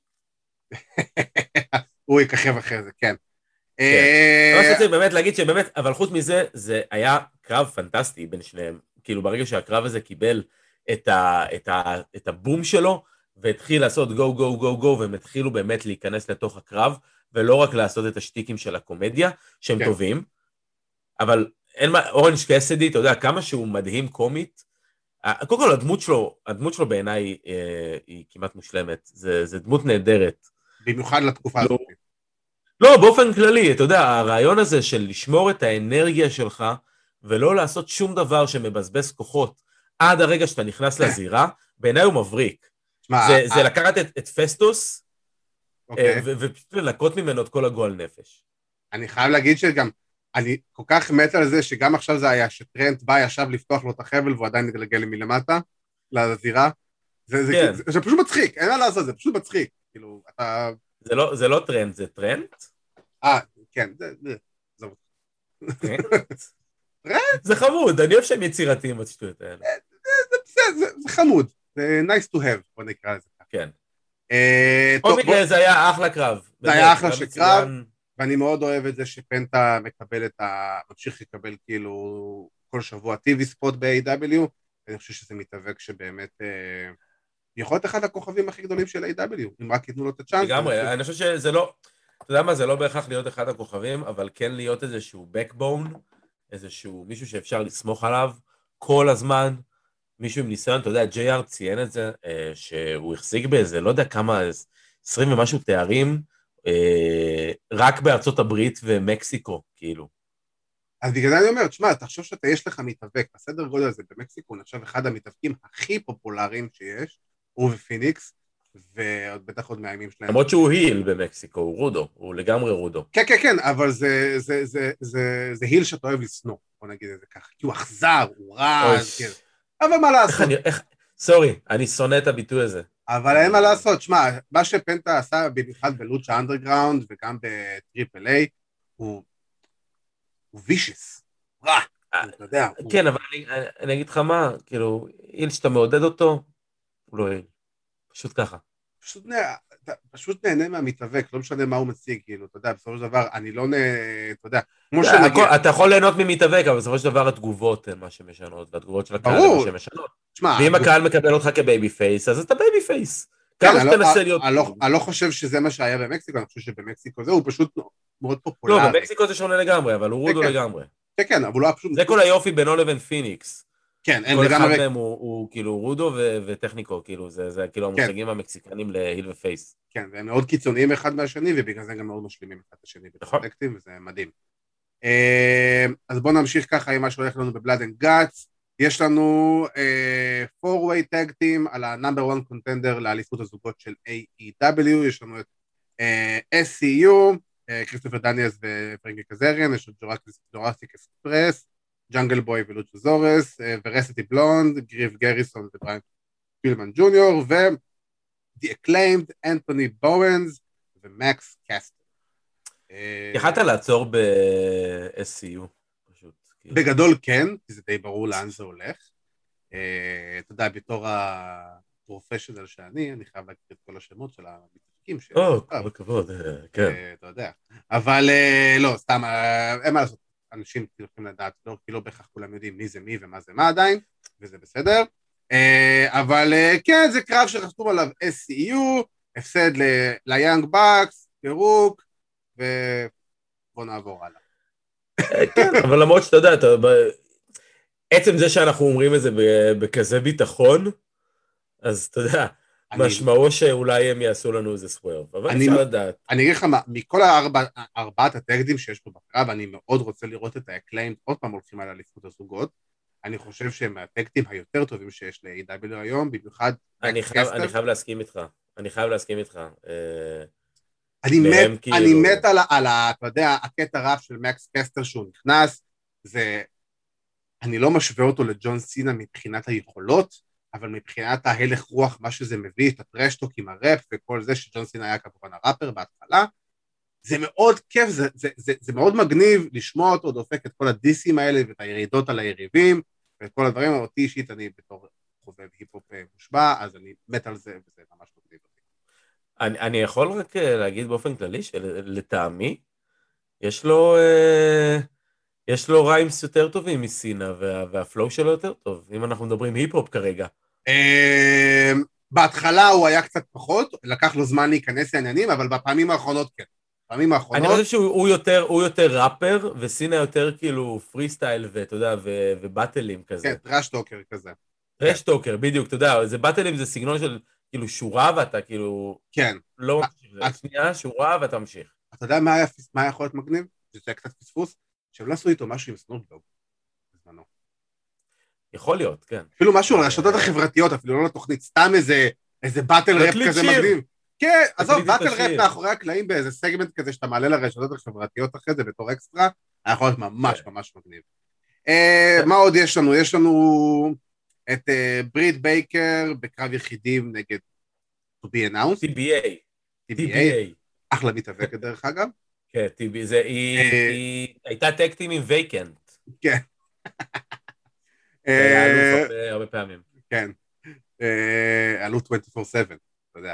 B: הוא יככב אחרי זה, כן.
C: מה שרציתי באמת להגיד שבאמת, אבל חוץ מזה, זה היה קרב פנטסטי בין שניהם. כאילו ברגע שהקרב הזה קיבל את הבום שלו, והתחיל לעשות גו גו גו גו, והם התחילו באמת להיכנס לתוך הקרב, ולא רק לעשות את השטיקים של הקומדיה, שהם כן. טובים, אבל אין מה, אורנג' קאסידי, אתה יודע, כמה שהוא מדהים קומית, קודם כל הדמות שלו, הדמות שלו בעיניי היא, היא כמעט מושלמת, זה, זה דמות נהדרת.
B: במיוחד לתקופה הזאת.
C: לא, באופן כללי, אתה יודע, הרעיון הזה של לשמור את האנרגיה שלך, ולא לעשות שום דבר שמבזבז כוחות, עד הרגע שאתה נכנס לזירה, בעיניי הוא מבריק. זה, זה לקחת את, את פסטוס, ופשוט לנקות ממנו את כל הגועל נפש.
B: אני חייב להגיד שגם, אני כל כך מת על זה, שגם עכשיו זה היה, שטרנט בא ישב לפתוח לו את החבל, והוא עדיין מתגלגל מלמטה, לזירה. זה פשוט מצחיק, אין מה לעשות, זה פשוט מצחיק. כאילו, אתה...
C: זה לא טרנט, זה טרנט?
B: אה, כן, זה...
C: טרנט? זה חמוד, אני אוהב שהם יצירתיים בשטויות האלה.
B: זה חמוד, זה nice to have, בוא נקרא לזה.
C: כן. עוד מקרה זה היה אחלה קרב.
B: זה היה אחלה של קרב, ואני מאוד אוהב את זה שפנטה מקבל את ה... ממשיך לקבל כאילו כל שבוע טי וי ספוט ב-איי דאבליו, ואני חושב שזה מתאבק שבאמת יכול להיות אחד הכוכבים הכי גדולים של איי דאבליו, אם רק ייתנו לו את הצ'אנס.
C: לגמרי, אני חושב שזה לא... אתה יודע מה, זה לא בהכרח להיות אחד הכוכבים, אבל כן להיות איזשהו backbone, איזשהו מישהו שאפשר לסמוך עליו כל הזמן, מישהו עם ניסיון, אתה יודע, ג'יי אר ציין את זה, שהוא החזיק באיזה, לא יודע כמה, עשרים ומשהו תארים, רק בארצות הברית ומקסיקו, כאילו.
B: אז בגלל זה אני אומר, תשמע, תחשוב שאתה יש לך מתאבק, בסדר גודל הזה במקסיקו, נחשב אחד המתאבקים הכי פופולריים שיש, הוא ופיניקס, ועוד בטח עוד מהימים שלהם.
C: למרות שהוא היל במקסיקו, הוא רודו, הוא לגמרי רודו.
B: כן, כן, כן, אבל זה, זה, זה, זה, זה היל שאתה אוהב לסנוע, בוא נגיד את זה ככה, כי הוא אכזר, הוא רע, כן. אבל מה לעשות?
C: סורי, אני שונא את הביטוי הזה.
B: אבל אין מה לעשות, שמע, מה שפנטה עשה במיוחד בלוצ'ה אנדרגראונד וגם בטריפל איי, הוא וישס, רע, אתה יודע.
C: כן, אבל אני אגיד לך מה, כאילו, איל שאתה מעודד אותו, הוא לא איל, פשוט ככה.
B: פשוט נהנה מהמתאבק, לא משנה מה הוא מציג, כאילו, אתה יודע, בסופו של דבר, אני לא נהנה, אתה יודע, כמו שנגיע...
C: אתה יכול ליהנות ממתאבק, אבל בסופו של דבר התגובות הן מה שמשנות, והתגובות של הקהל הן מה שמשנות. ואם הקהל מקבל אותך כבייבי פייס, אז אתה בייבי פייס. כמה שתנסה להיות...
B: אני לא חושב שזה מה שהיה במקסיקו, אני חושב שבמקסיקו זה הוא פשוט מאוד פופולרי.
C: לא, במקסיקו זה שונה לגמרי, אבל הוא רודו לגמרי.
B: כן, כן, אבל הוא היה פשוט...
C: זה כל היופי בינו לבין פיניקס.
B: כן,
C: כל אחד מהם הוא כאילו רודו וטכניקו, כאילו, זה כאילו המושגים המקסיקנים להיל ופייס.
B: כן, והם מאוד קיצוניים אחד מהשני, ובגלל זה גם מאוד משלימים אחד השני בפרוטקטים, וזה מדהים. אז בואו נמשיך ככה עם מה שהולך לנו בבלאד אנד גאטס. יש לנו four-way tag team על ה-number one contender לאליפות הזוגות של איי אי דאבליו, יש לנו את אס סי יו, כריסטופר דניאלס ופרנקי קזריאן, יש את ג'ורסיק אקספרס, ג'אנגל בוי ולוצ'זורס, ורסיטי בלונד, גריף גריסון ובריין פילמן ג'וניור, ו-The Acclaimed, אנתוני בואנס ומקס קסטר.
C: יכלת לעצור ב-אס סי יו, פשוט.
B: בגדול כן, כי זה די ברור לאן זה הולך. אתה יודע, בתור הפרופשיונל שאני, אני חייב להכיר את כל השמות של המתאבקים שלי.
C: או, כל הכבוד, כן.
B: אתה יודע. אבל לא, סתם, אין מה לעשות. אנשים צריכים לדעת, לא, כי לא בהכרח כולם יודעים מי זה מי ומה זה מה עדיין, וזה בסדר. אבל כן, זה קרב שחתום עליו אס סי יו, הפסד ליאנג בקס, פירוק, ובוא נעבור הלאה.
C: כן, אבל למרות שאתה יודע, עצם זה שאנחנו אומרים את זה בכזה ביטחון, אז אתה יודע, משמעו שאולי הם יעשו לנו איזה סוורב, אבל אפשר לדעת.
B: אני אגיד לך מה, מכל ארבעת הטקדים שיש פה בקרב, אני מאוד רוצה לראות את ה-Acclaimed עוד פעם הולכים על אליפות הזוגות, אני חושב שהם הטקדים היותר טובים שיש ל-איי דאבליו היום, במיוחד...
C: אני חייב להסכים איתך, אני חייב להסכים איתך.
B: אני מת על, אתה יודע, הקטע רב של מקס קסטר שהוא נכנס, זה... אני לא משווה אותו לג'ון סינה מבחינת היכולות, אבל מבחינת ההלך רוח, מה שזה מביא, את הטרשטוק עם הראפ וכל זה, שג'ון סינה היה כמובן הראפר בהתחלה, זה מאוד כיף, זה, זה, זה, זה מאוד מגניב לשמוע אותו, דופק את כל הדיסים האלה, ואת הירידות על היריבים, ואת כל הדברים, אותי אישית, אני בתור חובב היפ-הופ מושבע, אז אני מת על זה, וזה ממש מגניב אותי.
C: אני, אני יכול רק להגיד באופן כללי, שלטעמי, יש לו... יש לו ריימס יותר טובים מסינה, וה, והפלואו שלו יותר טוב, אם אנחנו מדברים היפ-הופ כרגע.
B: בהתחלה הוא היה קצת פחות, לקח לו זמן להיכנס לעניינים, אבל בפעמים האחרונות כן. בפעמים האחרונות...
C: אני חושב שהוא יותר, הוא יותר ראפר, וסינה יותר כאילו פרי סטייל, ואתה יודע, ובטלים כזה.
B: כן, טרשטוקר כזה.
C: טרשטוקר, בדיוק, אתה יודע, זה בטלים זה סגנון של כאילו שורה, ואתה כאילו...
B: כן.
C: לא שנייה, שורה, ואתה ממשיך.
B: אתה יודע מה יכול להיות מגניב? זה קצת פספוס. שהם לא עשו איתו משהו עם סנופדוג בזמנו.
C: יכול להיות, כן.
B: אפילו משהו על הרשתות החברתיות, אפילו לא לתוכנית, סתם איזה, איזה באטל ראפ כזה מגניב. כן, עזוב, באטל ראפ מאחורי הקלעים באיזה סגמנט כזה שאתה מעלה לרשתות החברתיות אחרי זה בתור אקסטרה, היה יכול להיות ממש ממש מגניב. מה עוד יש לנו? יש לנו את ברית בייקר בקרב יחידים נגד to be announced.
C: טי בי איי.
B: טי בי איי. אחלה מתאבקת דרך אגב.
C: כן, טיבי, זה, היא הייתה טקטים עם וייקנט.
B: כן.
C: היה אלוף הרבה פעמים.
B: כן. אלוף עשרים וארבע שבע, אתה יודע.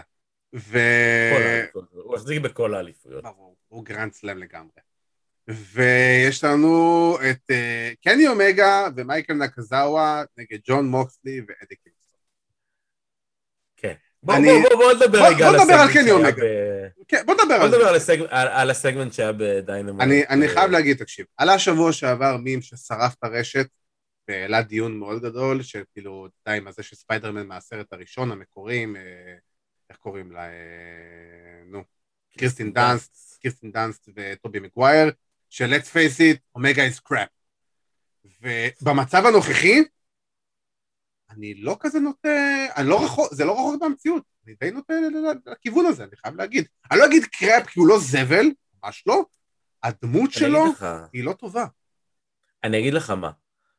C: הוא החזיק בכל האליפויות.
B: ברור, הוא גרנד סלאם לגמרי. ויש לנו את קני אומגה ומייקל נקזאווה נגד ג'ון מוקסלי ואדי קינגסטון.
C: כן. בוא נדבר רגע
B: על קני אומגה. בוא נדבר
C: על הסגמנט שהיה בדיינמייט.
B: אני חייב להגיד, תקשיב, עלה שבוע שעבר מים ששרף את הרשת, ועלה דיון מאוד גדול, שכאילו די עם הזה שספיידרמן מהסרט הראשון, המקורים, איך קוראים לה, נו, קריסטין דאנסט, קריסטין דאנסט וטובי מגווייר, של let's face it, אומגה is crap. ובמצב הנוכחי, אני לא כזה נוטה, אני לא רחוק, זה לא רחוק במציאות, אני די נוטה לכיוון הזה, אני חייב להגיד. אני לא אגיד קראפ כי הוא לא זבל, ממש לא, הדמות שלו היא לא טובה.
C: אני אגיד לך מה,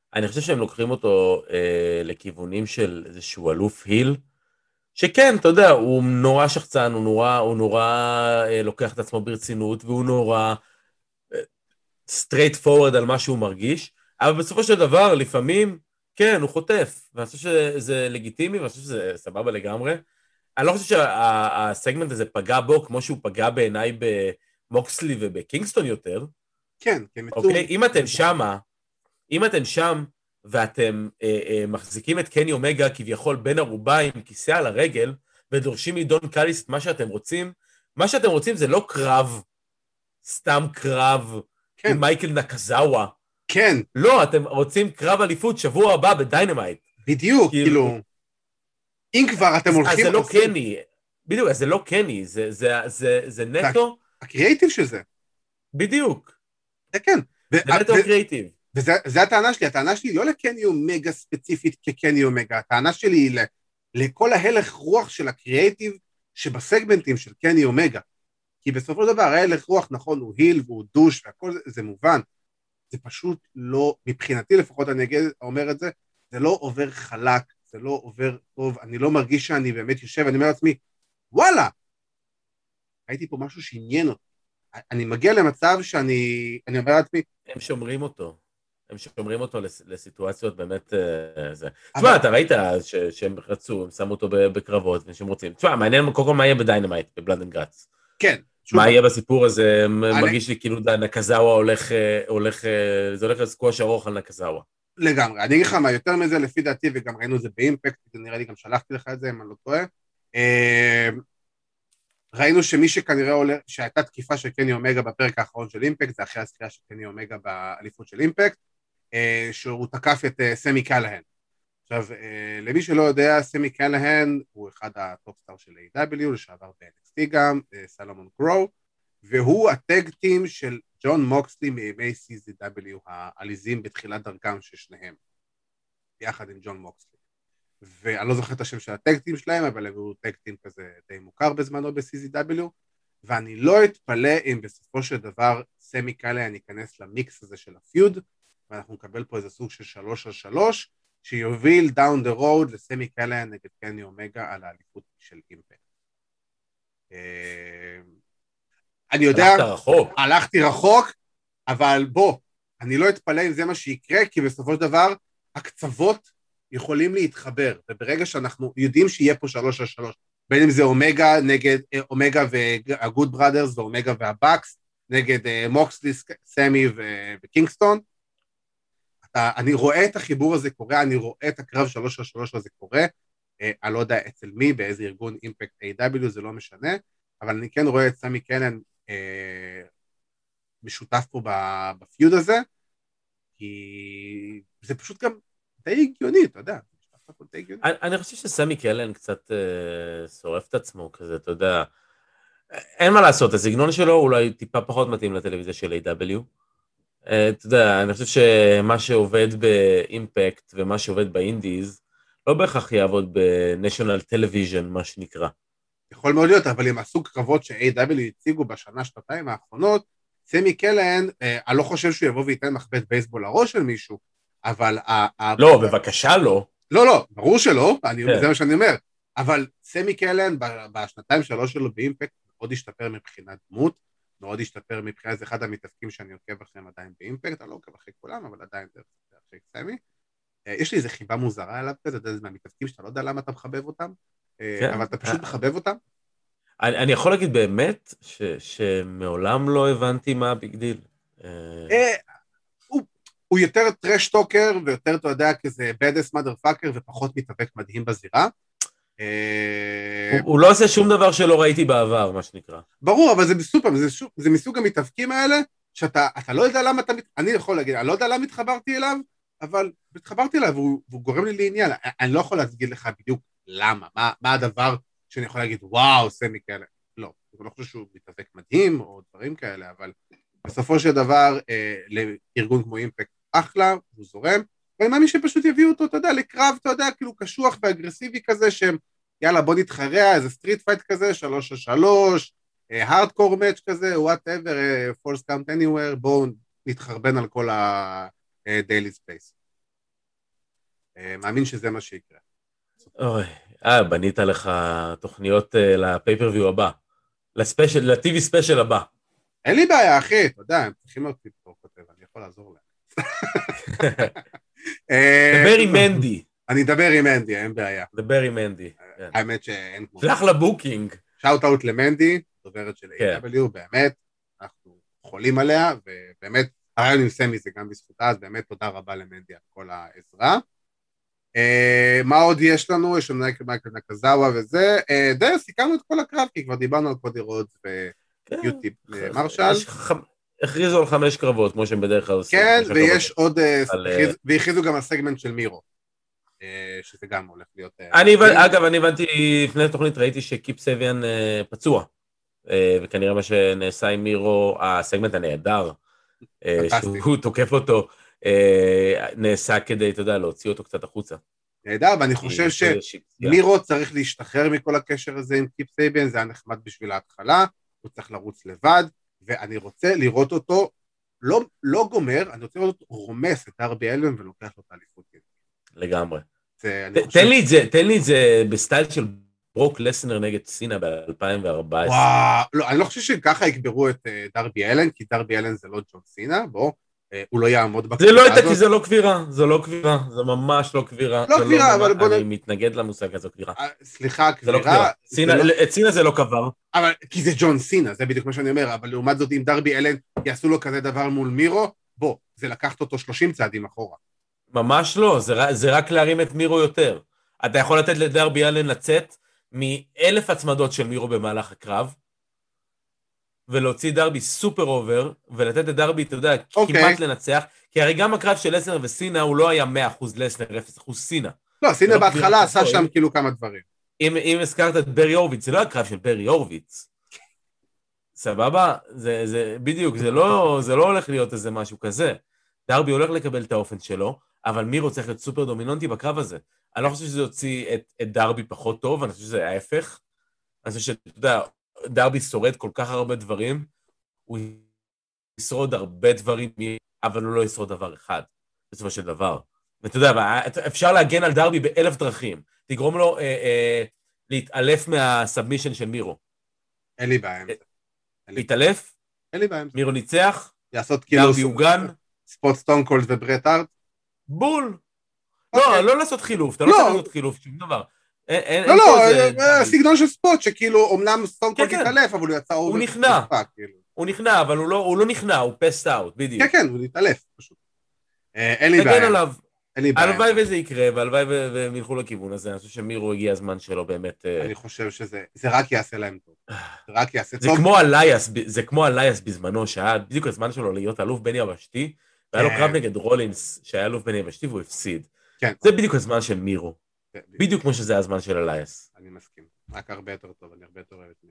C: אני חושב שהם לוקחים אותו אה, לכיוונים של איזשהו אלוף היל, שכן, אתה יודע, הוא נורא שחצן, הוא נורא, הוא נורא אה, לוקח את עצמו ברצינות, והוא נורא אה, straight forward על מה שהוא מרגיש, אבל בסופו של דבר, לפעמים, כן, הוא חוטף, ואני חושב שזה לגיטימי, ואני חושב שזה סבבה לגמרי. אני לא חושב שהסגמנט הזה פגע בו, כמו שהוא פגע בעיניי במוקסלי ובקינגסטון יותר.
B: כן, כן.
C: אוקיי? אם אתם שמה, אם אתם שם, ואתם אה, אה, מחזיקים את קני אומגה כביכול בין ערובה עם כיסא על הרגל, ודורשים מדון קליס את מה שאתם רוצים, מה שאתם רוצים זה לא קרב, סתם קרב, כן. עם מייקל נקזאווה.
B: כן.
C: לא, אתם רוצים קרב אליפות שבוע הבא בדיינמייט.
B: בדיוק, כאילו... כאילו... אם כבר אתם הולכים...
C: אז זה לא קני, בדיוק, אז זה לא קני, זה, זה, זה, זה נטו...
B: הקריאיטיב של זה.
C: בדיוק.
B: זה כן.
C: זה נטו קריאיטיב.
B: וזה הטענה שלי, הטענה שלי לא לקני אומגה ספציפית כקני אומגה, הטענה שלי היא לכל ההלך רוח של הקריאיטיב שבסגמנטים של קני אומגה. כי בסופו של דבר ההלך רוח נכון הוא היל והוא דוש והכל זה, זה מובן. זה פשוט לא, מבחינתי לפחות אני אומר את זה, זה לא עובר חלק, זה לא עובר טוב, אני לא מרגיש שאני באמת יושב, אני אומר לעצמי, וואלה, ראיתי פה משהו שעניין אותי. אני מגיע למצב שאני, אני אומר לעצמי,
C: הם שומרים אותו, הם שומרים אותו לסיטואציות באמת, זה. תשמע, אתה ראית שהם רצו, הם שמו אותו בקרבות, ושהם רוצים, תשמע, מעניין קודם כל מה יהיה בדיינמייט, בבלאד אנד גאטס.
B: כן.
C: מה יהיה בסיפור הזה, מרגיש לי כאילו נקזאווה הולך, הולך, זה הולך לסקווש ארוך על נקזאווה.
B: לגמרי, אני אגיד לך מה, יותר מזה לפי דעתי, וגם ראינו את זה באימפקט, זה נראה לי גם שלחתי לך את זה, אם אני לא טועה, ראינו שמי שכנראה עולה, שהייתה תקיפה של קני אומגה בפרק האחרון של אימפקט, זה אחרי הזכייה של קני אומגה באליפות של אימפקט, שהוא תקף את סמי קלהן. עכשיו, למי שלא יודע, סמי קלהן הוא אחד הטופסטאר של איי דאבליו, לשעבר ב-אן אקס טי גם, סלומון גרו, והוא הטג טים של ג'ון מוקסלי מימי סי זי דאבליו העליזים בתחילת דרכם של שניהם, יחד עם ג'ון מוקסלי. ואני לא זוכר את השם של הטג טים שלהם, אבל הוא טג טים כזה די מוכר בזמנו ב-סי זי דאבליו, ואני לא אתפלא אם בסופו של דבר סמי קלהן ייכנס למיקס הזה של הפיוד, ואנחנו נקבל פה איזה סוג של שלוש על שלוש, שיוביל דאון דה רוד לסמי קלהן נגד קני אומגה על האליפות של אימפקט. אני יודע,
C: רחוק.
B: הלכתי רחוק, אבל בוא, אני לא אתפלא אם זה מה שיקרה, כי בסופו של דבר הקצוות יכולים להתחבר, וברגע שאנחנו יודעים שיהיה פה שלוש על שלוש, בין אם זה אומגה נגד, אומגה והגוד בראדרס, ואומגה והבקס, נגד מוקסלי, סמי וקינגסטון, אני רואה את החיבור הזה קורה, אני רואה את הקרב שלוש על שלוש הזה קורה, אני לא יודע אצל מי, באיזה ארגון אימפקט איי דאבליו, זה לא משנה, אבל אני כן רואה את סמי קלהן משותף פה בפיוד הזה, כי זה פשוט גם די הגיוני, אתה יודע.
C: אני חושב שסמי קלהן קצת שורף את עצמו כזה, אתה יודע, אין מה לעשות, הסגנון שלו אולי טיפה פחות מתאים לטלוויזיה של איי דאבליו, אתה יודע, אני חושב שמה שעובד באימפקט ומה שעובד באינדיז, לא בהכרח יעבוד בנשיונל טלוויז'ן, מה שנקרא.
B: יכול מאוד להיות, אבל עם הסוג קרבות ש-איי דאבליו הציגו בשנה, שנתיים האחרונות, סמי קלהן, אני לא חושב שהוא יבוא וייתן מחבט בייסבול לראש של מישהו, אבל...
C: לא, בבקשה לא.
B: לא, לא, ברור שלא, זה מה שאני אומר, אבל סמי קלהן בשנתיים שלוש שלו באימפקט מאוד השתפר מבחינת דמות, מאוד השתפר מבחינת, זה אחד המתאפקים שאני עוקב אחריהם עדיין באימפקט, אני לא עוקב אחרי כולם, אבל עדיין זה אחרי סמי. יש לי איזו חיבה מוזרה עליו כזה, זה מהמתאפקים שאתה לא יודע למה אתה מחבב אותם, אבל אתה פשוט מחבב אותם.
C: אני יכול להגיד באמת שמעולם לא הבנתי מה הביג דיל.
B: הוא יותר טרש טוקר, ויותר, אתה יודע, כזה בדס מאדר פאקר, ופחות מתאבק מדהים בזירה.
C: הוא לא עושה שום דבר שלא ראיתי בעבר, מה שנקרא.
B: ברור, אבל זה בסופר, זה מסוג המתאבקים האלה, שאתה לא יודע למה אתה, אני יכול להגיד, אני לא יודע למה התחברתי אליו, אבל התחברתי אליו, והוא גורם לי לעניין. אני לא יכול להגיד לך בדיוק למה, מה הדבר שאני יכול להגיד, וואו, סמי כאלה. לא, אני לא חושב שהוא מתאבק מדהים, או דברים כאלה, אבל בסופו של דבר, לארגון כמו אימפקט אחלה, הוא זורם, ואני מאמין שפשוט יביאו אותו, אתה יודע, לקרב, אתה יודע, כאילו קשוח ואגרסיבי כזה, שהם, יאללה, בוא נתחרע, איזה סטריט פייט כזה, שלוש על שלוש, הארדקור מאץ' כזה, whatever, false count anywhere, בואו נתחרבן על כל ה-daily space. מאמין שזה מה שיקרה.
C: אוי, אה, בנית לך תוכניות לפייפריוויו הבא, לספיישל, לטי וי ספיישל הבא.
B: אין לי בעיה, אחי, אתה יודע, הם צריכים אותי פה כותב, אני יכול לעזור להם.
C: דבר עם מנדי.
B: אני אדבר עם מנדי, אין בעיה.
C: דבר עם מנדי.
B: האמת שאין כמו...
C: שלח לבוקינג.
B: שאוט אאוט למנדי, דוברת של איי דאבליו, באמת, אנחנו חולים עליה, ובאמת, הרעיון עם סמי זה גם בזכותה, אז באמת תודה רבה למנדי על כל העזרה. מה עוד יש לנו? יש לנו מייקל נקזאווה וזה. די, סיכמנו את כל הקרב, כי כבר דיברנו על קודי רודס ויוטיב מרשל.
C: הכריזו על חמש קרבות, כמו שהם בדרך כלל עושים.
B: כן, ויש עוד, והכריזו גם על סגמנט של מירו, שזה גם הולך להיות...
C: אגב, אני הבנתי, לפני התוכנית ראיתי שקיפ סביאן פצוע, וכנראה מה שנעשה עם מירו, הסגמנט הנהדר, שהוא תוקף אותו, נעשה כדי, אתה יודע, להוציא אותו קצת החוצה.
B: נהדר, ואני חושב שמירו צריך להשתחרר מכל הקשר הזה עם קיפ סביאן, זה היה נחמד בשביל ההתחלה, הוא צריך לרוץ לבד, ואני רוצה לראות אותו, לא, לא גומר, אני רוצה לראות אותו רומס את דרבי אלן ולוקח לו את האליפות.
C: לגמרי.
B: זה,
C: ת, תן לי את זה, תן לי את זה בסטייל של ברוק לסנר נגד סינה ב-אלפיים וארבע עשרה.
B: וואו, לא, אני לא חושב שככה יקברו את דרבי אלן, כי דרבי אלן זה לא ג'ון סינה, בוא, הוא לא יעמוד
C: בקבירה הזאת. זה לא הייתה, כי זה לא קבירה, זה לא קבירה, זה ממש לא קבירה.
B: לא קבירה, אבל בוא...
C: אני מתנגד למושג הזה, קבירה.
B: סליחה, קבירה...
C: את סינה זה לא קבר.
B: אבל, כי זה ג'ון סינה, זה בדיוק מה שאני אומר, אבל לעומת זאת, אם דרבי אלן יעשו לו כזה דבר מול מירו, בוא, זה לקחת אותו שלושים צעדים אחורה.
C: ממש לא, זה רק להרים את מירו יותר. אתה יכול לתת לדרבי אלן לצאת מאלף הצמדות של מירו במהלך הקרב, ולהוציא דרבי סופר אובר, ולתת לדרבי, אתה יודע, okay. כמעט לנצח, כי הרי גם הקרב של לסנר וסינה, הוא לא היה מאה אחוז לסנר, אפס אחוז סינה.
B: לא, סינה לא בהתחלה עשה שם אם, כאילו כמה דברים.
C: אם, אם הזכרת את ברי הורוביץ, זה לא הקרב של ברי הורוביץ. סבבה? זה, זה, בדיוק, זה לא, זה לא הולך להיות איזה משהו כזה. דרבי הולך לקבל את האופן שלו, אבל מירו צריך להיות סופר דומיננטי בקרב הזה. אני לא חושב שזה יוציא את, את דרבי פחות טוב, אני חושב שזה ההפך. אני חושב שאתה יודע, דרבי שורד כל כך הרבה דברים, הוא ישרוד הרבה דברים, אבל הוא לא ישרוד דבר אחד, בסופו של דבר. ואתה יודע, אפשר להגן על דרבי באלף דרכים, תגרום לו אה, אה, להתעלף מהסאבמישן של מירו.
B: אין לי בעיה.
C: להתעלף?
B: אין לי בעיה.
C: מירו ניצח?
B: לעשות כאילו...
C: דרבי הוגן?
B: ספוט סטון קולד וברט הארט?
C: בול. לא, לא לעשות חילוף, אתה לא צריך לעשות חילוף, שום דבר.
B: לא, לא, סגנון של ספוט, שכאילו, אמנם סטון קולד התעלף, אבל הוא יצא...
C: הוא נכנע, הוא נכנע, אבל הוא לא נכנע, הוא פסט אאוט, בדיוק.
B: כן, כן, הוא התעלף, פשוט. אין לי בעיה.
C: תגן עליו. הלוואי וזה יקרה, והלוואי והם ילכו לכיוון הזה, אני חושב שמירו הגיע הזמן שלו באמת...
B: אני חושב שזה רק יעשה להם טוב. זה רק יעשה טוב.
C: זה כמו אלייס בזמנו, שהיה בדיוק הזמן שלו להיות אלוף בן יבשתי, והיה לו קרב נגד רולינס, שהיה אלוף בן יבשתי, והוא הפסיד. זה בדיוק הזמן של מירו. בדיוק כמו שזה הזמן של אלייס.
B: אני מסכים. רק הרבה יותר טוב, אני הרבה יותר אוהב את מירו.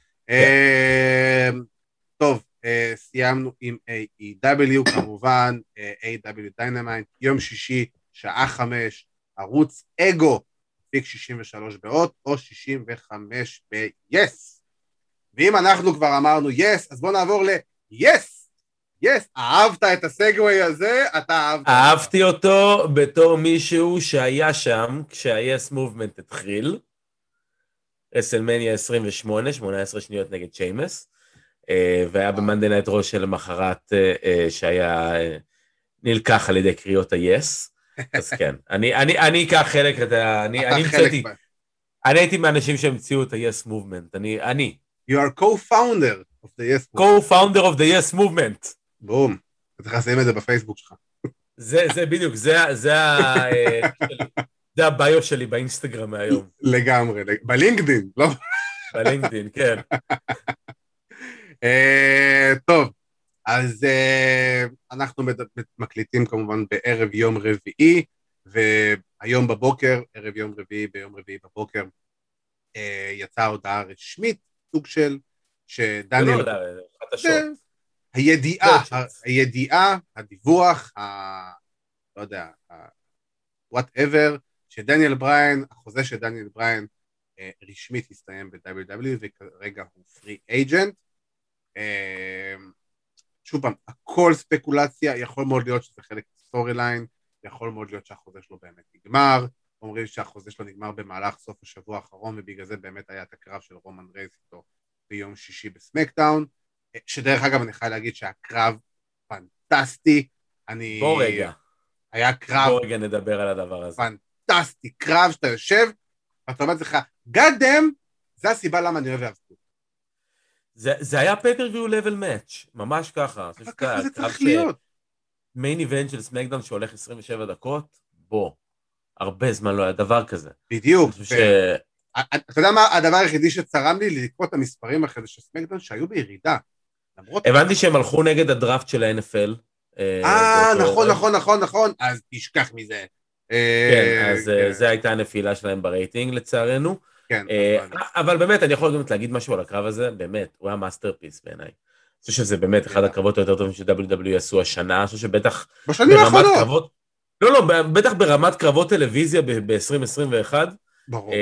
B: טוב, סיימנו עם איי אי דאבליו, כמובן, איי דאבליו Dynamite, יום שישי, שעה חמש, ערוץ אגו, פיק שישים ושלוש באות, או שישים וחמש ב-yes. ואם אנחנו כבר אמרנו yes, אז בואו נעבור ל-yes. yes, אהבת את הסגווי הזה, אתה אהבת.
C: אהבתי אותו בתור מישהו שהיה שם, כשה-yes movement התחיל, רסלמניה עשרים ושמונה, שמונה עשרה שניות נגד שיימס, והיה במנדי נייט רו של למחרת שהיה נלקח על ידי קריאות ה-yes, אז כן, אני אקח חלק, אני המצאתי, אני הייתי מהאנשים שהמציאו את ה-yes movement, אני.
B: You are co-founder of the yes movement.
C: co-founder of the yes movement.
B: בום, אתה צריך לשים את זה בפייסבוק שלך.
C: זה בדיוק, זה הביו שלי באינסטגרם מהיום.
B: לגמרי, בלינקדין, לא?
C: בלינקדין, כן.
B: טוב, אז אנחנו מקליטים כמובן בערב יום רביעי, והיום בבוקר, ערב יום רביעי, ביום רביעי בבוקר, יצאה הודעה רשמית, סוג של, שדניאל...
C: זה לא הודעה, חדשות.
B: הידיעה, הידיעה, הדיווח, לא יודע, whatever, שדניאל בריין, החוזה של דניאל בריין רשמית הסתיים ב-דאבליו דאבליו, וכרגע הוא פרי אייג'נט. שוב פעם, הכל ספקולציה, יכול מאוד להיות שזה חלק סטורי ליין, יכול מאוד להיות שהחוזה שלו באמת נגמר, אומרים שהחוזה שלו נגמר במהלך סוף השבוע האחרון, ובגלל זה באמת היה את הקרב של רומן רייז איתו ביום שישי בסמקדאון, שדרך אגב אני חייב להגיד שהקרב פנטסטי, אני...
C: בוא רגע.
B: היה קרב...
C: בוא רגע נדבר על הדבר הזה.
B: פנטסטי, קרב שאתה יושב, ואתה אומר לך, God damn, זה הסיבה למה אני אוהב להבטות.
C: זה, זה היה פייפריוויו לבל מאץ', ממש ככה.
B: אבל ככה זה צריך להיות.
C: מיין איבנט של סמקדאון שהולך עשרים ושבע דקות, בוא, הרבה זמן לא היה דבר כזה.
B: בדיוק.
C: ו... ש...
B: אתה יודע מה, הדבר היחידי שצרם לי, לקרוא את המספרים אחרי זה של סמקדאון, שהיו בירידה.
C: הבנתי שהם הלכו נגד הדראפט של ה-אן אף אל.
B: אה, נכון, נכון, נכון, נכון, אז תשכח מזה.
C: כן, אז זה הייתה הנפילה שלהם ברייטינג, לצערנו.
B: כן.
C: אבל באמת, אני יכול גם להגיד משהו על הקרב הזה, באמת, הוא היה מאסטרפיס בעיניי. אני חושב שזה באמת אחד הקרבות היותר טובים ש-דאבליו דאבליו אי עשו השנה, אני חושב שבטח...
B: בשנים האחרונות.
C: לא, לא, בטח ברמת קרבות טלוויזיה ב-עשרים עשרים ואחת.
B: ברור.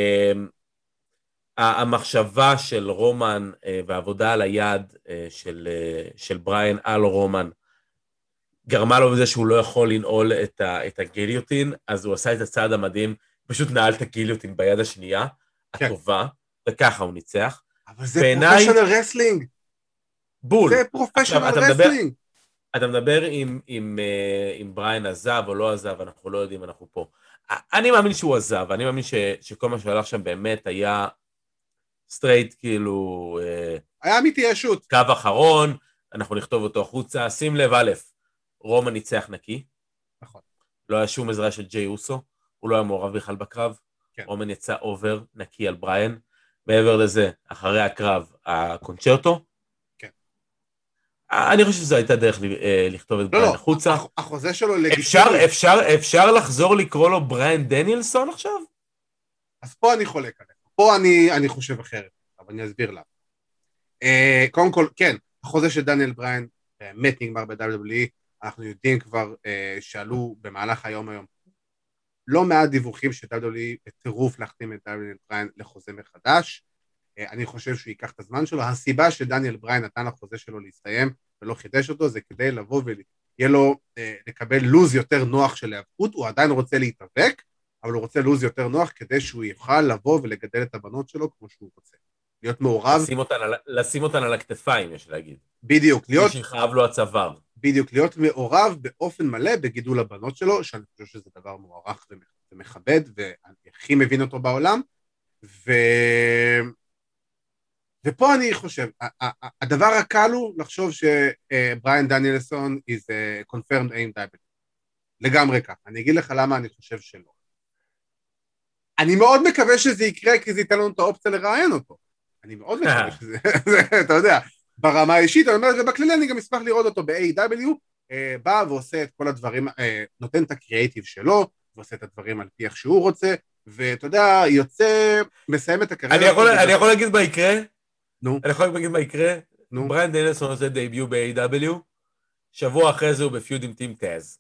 C: המחשבה של רומן והעבודה על היד של בריין על רומן, גרמה לו בזה שהוא לא יכול לנעול את הגיליוטין, אז הוא עשה את הצעד המדהים, פשוט נעל את הגיליוטין ביד השנייה, הטובה, וככה הוא ניצח.
B: אבל זה פרופשיונל רסלינג.
C: בול.
B: זה פרופשיונל רסלינג.
C: אתה מדבר אם בריין עזב או לא עזב, אנחנו לא יודעים, אנחנו פה. אני מאמין שהוא עזב, אני מאמין שכל מה שהלך שם באמת היה סטרייט, כאילו...
B: היה אמיתי ישות.
C: קו אחרון, אנחנו נכתוב אותו החוצה, שים לב א', רומן ניצח נקי.
B: נכון.
C: לא היה שום עזרה של ג'יי אוסו, הוא לא היה מעורב בכלל בקרב.
B: כן.
C: רומן יצא אובר נקי על בריין. מעבר לזה, אחרי הקרב, הקונצ'רטו.
B: כן.
C: אני חושב שזו הייתה דרך לכתוב את בריין החוצה.
B: לא, החוזה שלו לגיטימי.
C: אפשר, אפשר, אפשר לחזור לקרוא לו בריין דניאלסון עכשיו?
B: אז פה אני חולק עליך. פה אני, אני חושב אחרת, אבל אני אסביר לה. Uh, קודם כל, כן, החוזה של דניאל בריין באמת נגמר ב-דאבליו דאבליו אי, אנחנו יודעים כבר uh, שעלו במהלך היום היום לא מעט דיווחים ש-דאבליו דאבליו אי בטירוף להחתים את דניאל בריין לחוזה מחדש. Uh, אני חושב שהוא ייקח את הזמן שלו. הסיבה שדניאל בריין נתן לחוזה שלו להסתיים ולא חידש אותו, זה כדי לבוא ויהיה לו uh, לקבל לוז יותר נוח של היאבקות. הוא עדיין רוצה להתאבק, אבל הוא רוצה לוז יותר נוח כדי שהוא יוכל לבוא ולגדל את הבנות שלו כמו שהוא רוצה. להיות מעורב.
C: לשים אותן על, לשים אותן על הכתפיים, יש להגיד.
B: בדיוק. להיות...
C: שחייב לו הצוואר.
B: בדיוק, להיות מעורב באופן מלא בגידול הבנות שלו, שאני חושב שזה דבר מוערך ומכבד, ואני הכי מבין אותו בעולם. ו... ופה אני חושב, הדבר הקל הוא לחשוב שבריין דניאלסון is a confirmed A E W. לגמרי כך. אני אגיד לך למה אני חושב שלא. אני מאוד מקווה שזה יקרה, כי זה ייתן לנו את האופציה לראיין אותו. אני מאוד מקווה שזה, אתה יודע, ברמה האישית, אני אומר, ובכללי אני גם אשמח לראות אותו ב-איי אי דאבליו, בא ועושה את כל הדברים, נותן את הקריאייטיב שלו, ועושה את הדברים על פי איך שהוא רוצה, ואתה יודע, יוצא, מסיים את הקריירה.
C: אני יכול להגיד מה יקרה?
B: נו.
C: אני יכול להגיד מה יקרה? נו. בריין דניאלסון עושה דייביו ב-איי אי דאבליו, שבוע אחרי זה הוא בפיוד עם טים טאז.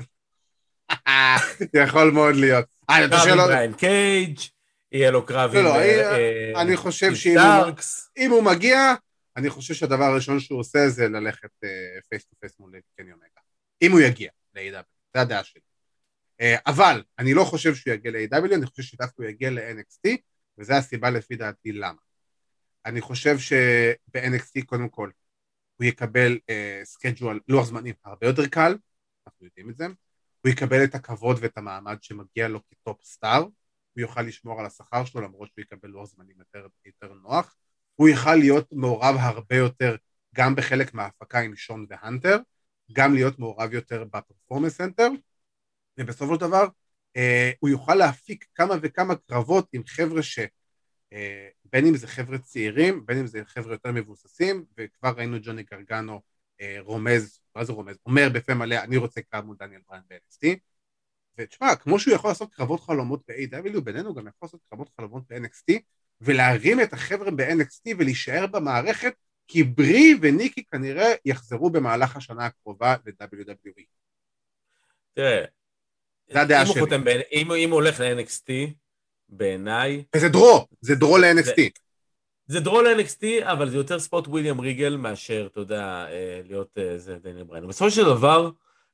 B: יכול מאוד להיות.
C: קרב עם בריין קייג', יהיה לו קרב עם סטארקס.
B: אני חושב שאם הוא מגיע, אני חושב שהדבר הראשון שהוא עושה זה ללכת פייס טו פייס מול קני אומגה. אם הוא יגיע ל-איי דאבליו, זה הדעה שלי. אבל אני לא חושב שהוא יגיע ל-איי דאבליו, אני חושב שדווקא הוא יגיע ל-אן אקס טי, וזו הסיבה לפי דעתי למה. אני חושב שב-אן אקס טי קודם כל, הוא יקבל סקייג'ואל, לוח זמנים הרבה יותר קל, אנחנו יודעים את זה, הוא יקבל את הכבוד ואת המעמד שמגיע לו כטופ סטאר, הוא יוכל לשמור על השכר שלו למרות שהוא יקבל לוח זמנים יותר, יותר נוח, הוא יוכל להיות מעורב הרבה יותר גם בחלק מההפקה עם שון והנטר, גם להיות מעורב יותר בפרפורמנס סנטר, ובסופו של דבר אה, הוא יוכל להפיק כמה וכמה קרבות עם חבר'ה ש... אה, בין אם זה חבר'ה צעירים, בין אם זה חבר'ה יותר מבוססים, וכבר ראינו ג'וני גרגנו אה, רומז, מה זה רומז? אומר בפה מלא, אני רוצה קרב מול דניאל בריין ב-אן אקס טי, ותשמע, כמו שהוא יכול לעשות קרבות חלומות ב-איי דאבליו, בינינו גם יכול לעשות קרבות חלומות ב-אן אקס טי, ולהרים את החבר'ה ב-אן אקס טי ולהישאר במערכת, כי ברי וניקי כנראה יחזרו במהלך השנה הקרובה ל-דאבליו דאבליו אי.
C: תראה,
B: זה הדעה שלי.
C: אם הוא הולך ל-אן אקס טי, בעיניי...
B: וזה דרו, זה דרו ל-אן אקס טי.
C: זה דרו ל-אן אקס טי, אבל זה יותר ספוט וויליאם ריגל מאשר, אתה יודע, להיות זה דניאל בריין. בסופו של דבר,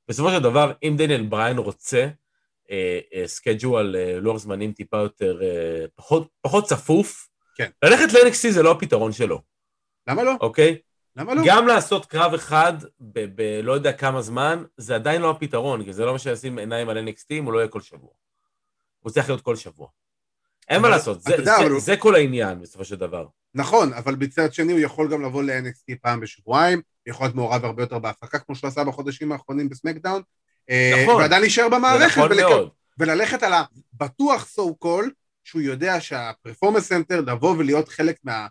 C: בסופו של דבר, אם דניאל בריין רוצה, סקייג'ואל, לוח זמנים טיפה יותר, פחות, פחות צפוף,
B: כן.
C: ללכת ל-אן אקס טי זה לא הפתרון שלו.
B: למה לא?
C: אוקיי?
B: למה לא?
C: גם לעשות קרב אחד, בלא יודע כמה זמן, זה עדיין לא הפתרון, כי זה לא מה שישים עיניים על אן אקס טי, אם הוא לא יהיה כל שבוע. הוא צריך להיות כל שבוע. אין מה לעשות, זה כל העניין, בסופו של דבר.
B: נכון, אבל בצד שני הוא יכול גם לבוא ל-אן אקס טי פעם בשבועיים, יכול להיות מעורב הרבה יותר בהפקה, כמו שהוא עשה בחודשים האחרונים בסמקדאון, נכון, ועדיין נשאר במערכת,
C: נכון ולק...
B: וללכת על הבטוח so call, שהוא יודע שהפרפורמנס סנטר לבוא ולהיות חלק מה...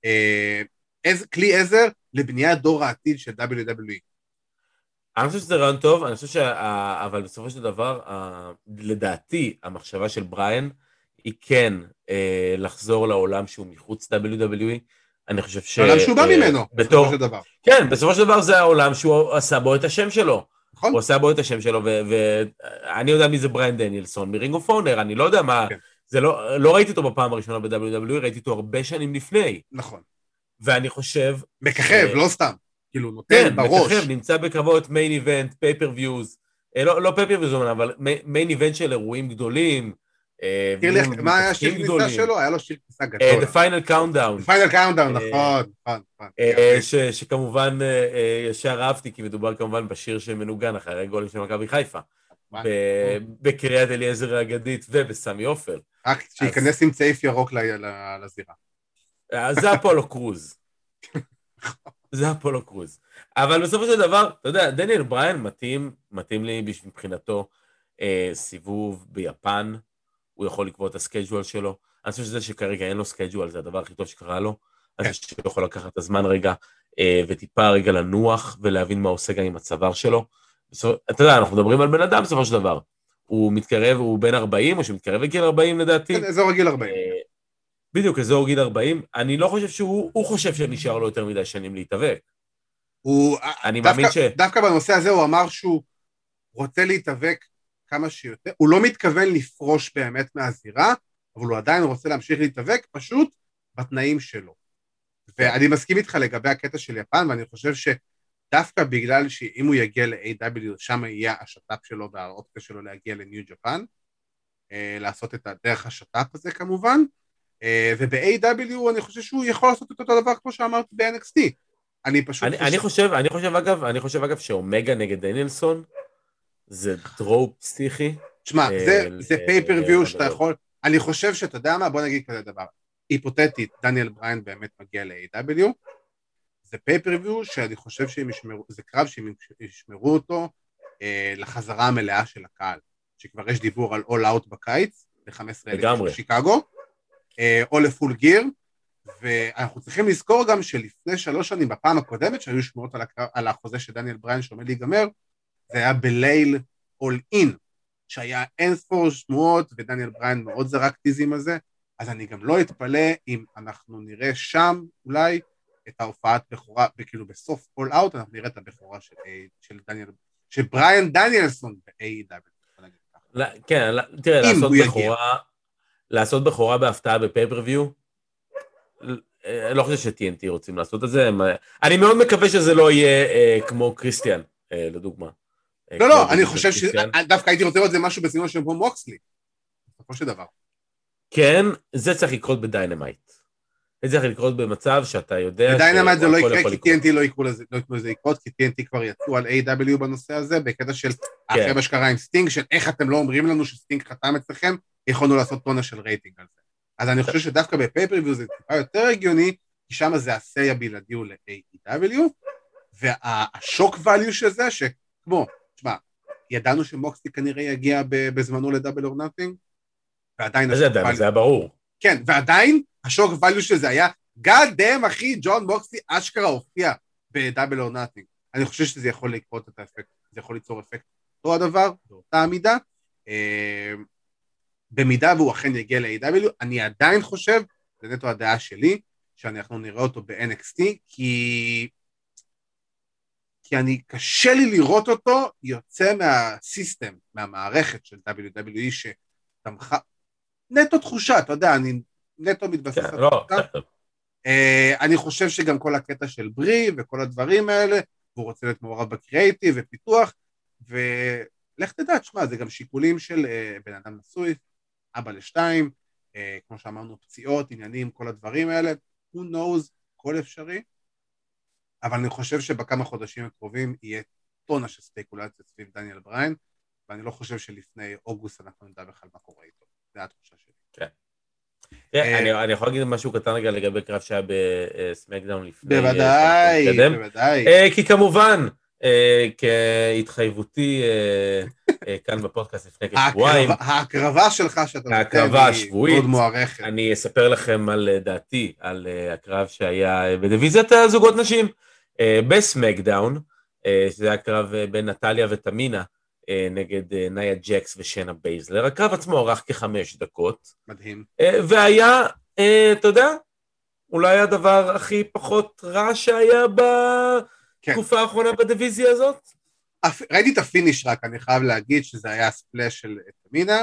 B: כלי עזר לבניית דור העתיד של דאבליו דאבליו אי.
C: אני חושב שזה רעיון טוב, אני חושב ש... אבל בסופו של דבר, לדעתי, המחשבה של בריין, היא כן לחזור לעולם שהוא מחוץ דאבליו דאבליו אי. אני חושב ש...
B: העולם שהוא בא ממנו, בסופו של דבר.
C: כן, בסופו של דבר זה העולם שהוא עשה בו את השם שלו. הוא עשה בו את השם שלו, ואני יודע מי זה בריין דניאלסון, מרינג אוף אונר, אני לא יודע מה... זה לא, לא ראיתי אותו בפעם הראשונה ב-דאבליו דאבליו אי, ראיתי אותו הרבה שנים לפני.
B: נכון.
C: ואני חושב...
B: מככב, לא סתם. כאילו, נותן
C: כן,
B: בראש.
C: מככב, נמצא בקרבות מיין איבנט, פייפריוויוז, לא, לא פייפריוויוז, אבל מיין איבנט של אירועים גדולים.
B: מה היה שיר כניסה שלו? היה לו שיר כניסה גדול.
C: The Final Countdown.
B: The Final Countdown, נכון, נכון.
C: שכמובן ישר אהבתי, כי מדובר כמובן בשיר שמנוגן אחרי גולים של מכבי חיפה. בקריית אליעזר האגדית ובסמי עופר.
B: רק שיכנס עם צעיף ירוק לזירה.
C: זה אפולו קרוז. זה אפולו קרוז. אבל בסופו של דבר, אתה יודע, דניאל בריין מתאים, מתאים לי מבחינתו סיבוב ביפן, הוא יכול לקבוע את הסקייג'ואל שלו. אני חושב שזה שכרגע אין לו סקייג'ואל, זה הדבר הכי טוב שקרה לו. אני חושב שהוא יכול לקחת את הזמן רגע, וטיפה רגע לנוח, ולהבין מה עושה גם עם הצוואר שלו. אתה יודע, אנחנו מדברים על בן אדם בסופו של דבר. הוא מתקרב, הוא בין ארבעים, או שמתקרב לגיל ארבעים לדעתי.
B: כן, אזור הגיל ארבעים.
C: בדיוק, אזור גיל ארבעים. אני לא חושב שהוא, הוא חושב שנשאר לו יותר מדי שנים להתאבק.
B: הוא, אני מאמין ש... דווקא בנושא הזה הוא אמר שהוא רוצה להתאבק כמה שיותר. הוא לא מתכוון לפרוש באמת מהזירה, אבל הוא עדיין רוצה להמשיך להתאבק, פשוט בתנאים שלו. ואני מסכים איתך לגבי הקטע של יפן, ואני חושב ש... דווקא בגלל שאם הוא יגיע ל-איי דאבליו, שם יהיה השטאפ שלו והאופציה שלו להגיע לניו ג'פן, לעשות את הדרך השטאפ הזה כמובן, וב-איי דאבליו אני חושב שהוא יכול לעשות את אותו דבר כמו שאמרתי ב-אן אקס טי. אני פשוט
C: אני, אני חושב, אני חושב אגב, אני חושב אגב שאומגה נגד דניאלסון, זה דרופ פסיכי.
B: תשמע, זה, זה פייפריוויו שאתה יכול, אני חושב שאתה יודע מה, בוא נגיד כזה דבר, היפותטית, דניאל בריין באמת מגיע ל-איי דאבליו, זה פייפריוויו שאני חושב שהם ישמרו, זה קרב שהם ישמרו אותו אה, לחזרה המלאה של הקהל, שכבר יש דיבור על all out בקיץ, ל-חמישה עשר אלף בשיקגו, אה, או לפול גיר, ואנחנו צריכים לזכור גם שלפני שלוש שנים, בפעם הקודמת שהיו שמועות על, הקרב, על החוזה של דניאל בריין שעומד להיגמר, זה היה בליל all in, שהיה אין ספור שמועות, ודניאל בריין מאוד זרק טיזים הזה, אז אני גם לא אתפלא אם אנחנו נראה שם אולי, את ההופעת בכורה, וכאילו בסוף כל אאוט, אנחנו נראה את הבכורה של, של דניאל, של בריין דניאלסון ב-איי דאבליו.
C: כן, תראה, לעשות בכורה, לעשות בכורה בהפתעה בפייפריוויו, לא חושב ש-טי אן טי רוצים לעשות את זה, אני מאוד מקווה שזה לא יהיה כמו קריסטיאן, לדוגמה.
B: לא, לא, אני חושב שדווקא הייתי רוצה לראות זה משהו בסגנון של כמו מוקסלי, בסופו של דבר.
C: כן, זה צריך לקרות בדיינמייט. זה צריך לקרות במצב שאתה יודע...
B: בדיינמייט זה לא יקרה, כי טי אן טי לא יקרו לזה לקרות, כי טי אן טי כבר יצאו על איי דאבליו בנושא הזה, בקטע של אחרי מה שקרה עם סטינג, של איך אתם לא אומרים לנו שסטינג חתם אצלכם, יכולנו לעשות טונה של רייטינג על זה. אז אני חושב שדווקא בפייפריוויו זה טיפה יותר הגיוני, כי שם זה הסיי הבלעדי הוא ל-איי דאבליו, והשוק ואליו של זה, שכמו, תשמע, ידענו שמוקסלי כנראה יגיע בזמנו לדאבל אור נאטינג, ועדיין השוק ואליו...
C: זה היה ברור.
B: כן, ועדיין השוק ואליו של זה היה, God damn אחי, ג'ון מוקסלי אשכרה הופיע בדאבל אור נאטינג. אני חושב שזה יכול לקרות את האפקט, זה יכול ליצור אפקט אותו הדבר, באותה המידה, במידה והוא אכן יגיע ל-איי דאבליו, אני עדיין חושב, זה נטו הדעה שלי, שאנחנו נראה אותו ב-אן אקס טי, כי... כי אני, קשה לי לראות אותו יוצא מהסיסטם, מהמערכת של דאבליו דאבליו אי, שתמכה, נטו תחושה, אתה יודע, אני נטו מתבסס על תחושה. אני חושב שגם כל הקטע של ברי, וכל הדברים האלה, והוא רוצה להיות מעורב בקריאיטיב ופיתוח, ולך תדע, תשמע, זה גם שיקולים של בן אדם נשוי, אבא לשתיים, כמו שאמרנו, פציעות, עניינים, כל הדברים האלה, who knows, כל אפשרי, אבל אני חושב שבכמה חודשים הקרובים יהיה טונה של ספקולציה סביב דניאל בריין, ואני לא חושב שלפני אוגוסט אנחנו נדע בכלל מה קורה איתו. זה התחושה שלי.
C: כן. אני יכול להגיד משהו קטן רגע לגבי קרב שהיה בסמקדאון לפני.
B: בוודאי, בוודאי.
C: כי כמובן, כהתחייבותי כאן בפודקאסט לפני כשבועיים.
B: ההקרבה שלך שאתה
C: ההקרבה השבועית. אני אספר לכם על דעתי, על הקרב שהיה בדיוויזיית הזוגות נשים, בסמקדאון, שזה היה קרב בין נטליה ותמינה, נגד נאיה ג'קס ושנה בייזלר. הקרב עצמו ערך כחמש דקות.
B: מדהים.
C: והיה, אתה יודע, אולי הדבר הכי פחות רע שהיה בתקופה האחרונה בדיוויזיה הזאת.
B: ראיתי את הפיניש רק, אני חייב להגיד שזה היה הספלש של תמינה.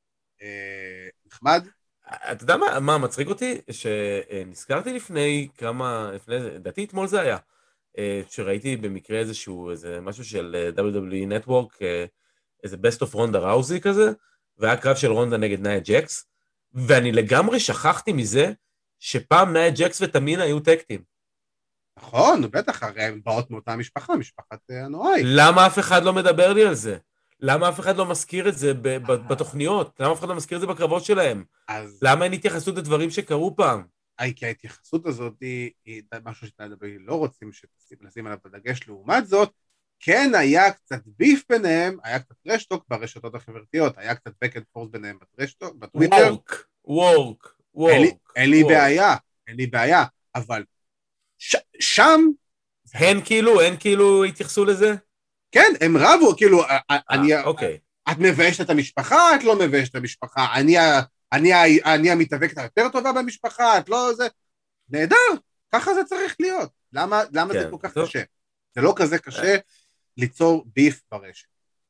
B: נחמד.
C: אתה יודע מה, מה מצחיק אותי? שנזכרתי לפני כמה, לפני זה, דעתי אתמול זה היה. שראיתי במקרה איזשהו, איזה משהו של דאבליו דאבליו אי Network, איזה Best of רונדה ראוזי כזה, והיה קרב של רונדה נגד נאיה ג'קס, ואני לגמרי שכחתי מזה, שפעם נאיה ג'קס ותמינה היו טקטים.
B: נכון, בטח, הרי הם באות מאותה משפחה, משפחת הנוראי.
C: למה אף אחד לא מדבר לי על זה? למה אף אחד לא מזכיר את זה בתוכניות? למה אף אחד לא מזכיר את זה בקרבות שלהם? למה אין התייחסות לדברים שקרו פעם?
B: כי ההתייחסות הזאת היא, היא משהו שתדבר לא רוצים שנשים עליו בדגש. לעומת זאת, כן היה קצת ביף ביניהם, היה קצת רשטוק ברשתות החברתיות, היה קצת back and forth ביניהם ברשתוק, בטוויטר.
C: וורק, וורק, וורק.
B: אין לי, אין לי בעיה, אין לי בעיה, אבל ש, שם...
C: הן כאילו, הן כאילו התייחסו לזה?
B: כן, הם רבו, כאילו, 아, אני...
C: אוקיי.
B: את מביישת את המשפחה, את לא מביישת את המשפחה, אני... אני, אני המתאבקת היותר טובה במשפחה, את לא זה, נהדר, ככה זה צריך להיות. למה, למה כן, זה כל כך טוב. קשה? זה לא כזה קשה ליצור ביף ברשת.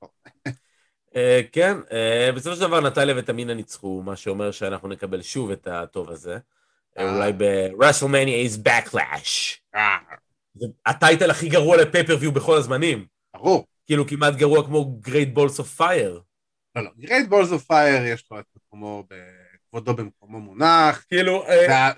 C: כן, בסופו של דבר נטליה ותמינה ניצחו, מה שאומר שאנחנו נקבל שוב את הטוב הזה. אולי ב-WrestleMania is Backlash. הטייטל הכי גרוע לפייפריוויו בכל הזמנים.
B: ברור.
C: כאילו כמעט גרוע כמו Great Balls of Fire.
B: לא, לא, Great Balls of Fire יש לו את מקומו, בכבודו במקומו מונח.
C: כאילו,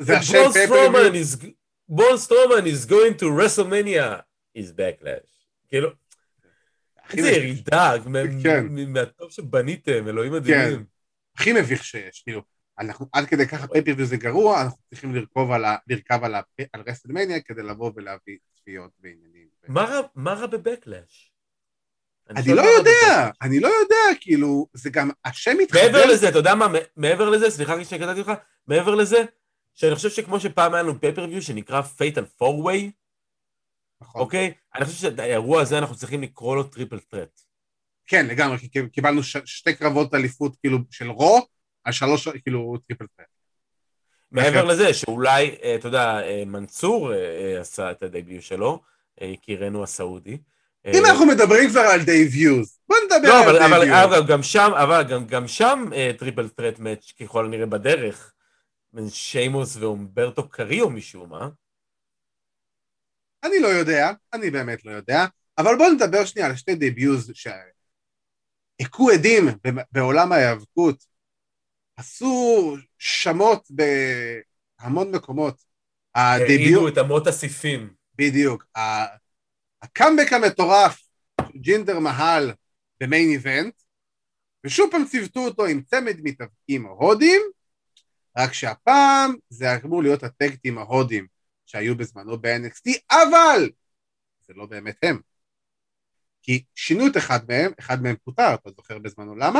C: בול סטרומן is going to WrestleMania is Backlash. כאילו, איזה ירידה, מהטוב שבניתם, אלוהים מדהימים.
B: הכי מביך שיש, כאילו, אנחנו עד כדי ככה פייפריוויו זה גרוע, אנחנו צריכים לרכב על WrestleMania כדי לבוא ולהביא צפיות ועניינים.
C: מה רע בבקלאש?
B: אני לא יודע, אני לא יודע, כאילו, זה גם השם מתחבר.
C: מעבר לזה, אתה יודע מה, מעבר לזה, סליחה שקטעתי לך, מעבר לזה, שאני חושב שכמו שפעם היה לנו פייפריוויו שנקרא Fatal four way, אוקיי? אני חושב שהאירוע הזה אנחנו צריכים לקרוא לו טריפל טרט.
B: כן, לגמרי, כי קיבלנו שתי קרבות אליפות, כאילו, של רו, על שלוש, כאילו, טריפל טרט.
C: מעבר לזה, שאולי, אתה יודע, מנצור עשה את הדביוט שלו, יקירנו הסעודי,
B: אם אנחנו מדברים כבר על דייביוז, בוא נדבר על דייביוז.
C: אבל גם שם, אבל גם שם טריפל טרט מאץ' ככל הנראה בדרך, בין שיימוס ואומברטו קריו משום מה.
B: אני לא יודע, אני באמת לא יודע, אבל בוא נדבר שנייה על שתי דייביוז שהכו עדים בעולם ההיאבקות, עשו שמות בהמון מקומות.
C: העידו את אמות הסיפים.
B: בדיוק. הקאמבק המטורף, ג'ינדר מהל במיין איבנט, ושוב פעם צוותו אותו עם צמד מתאבקים ההודים, רק שהפעם זה אמור להיות הטקטים ההודים שהיו בזמנו ב-אן אקס טי, אבל זה לא באמת הם. כי שינו את אחד מהם, אחד מהם פוטר, אתה זוכר בזמנו, למה?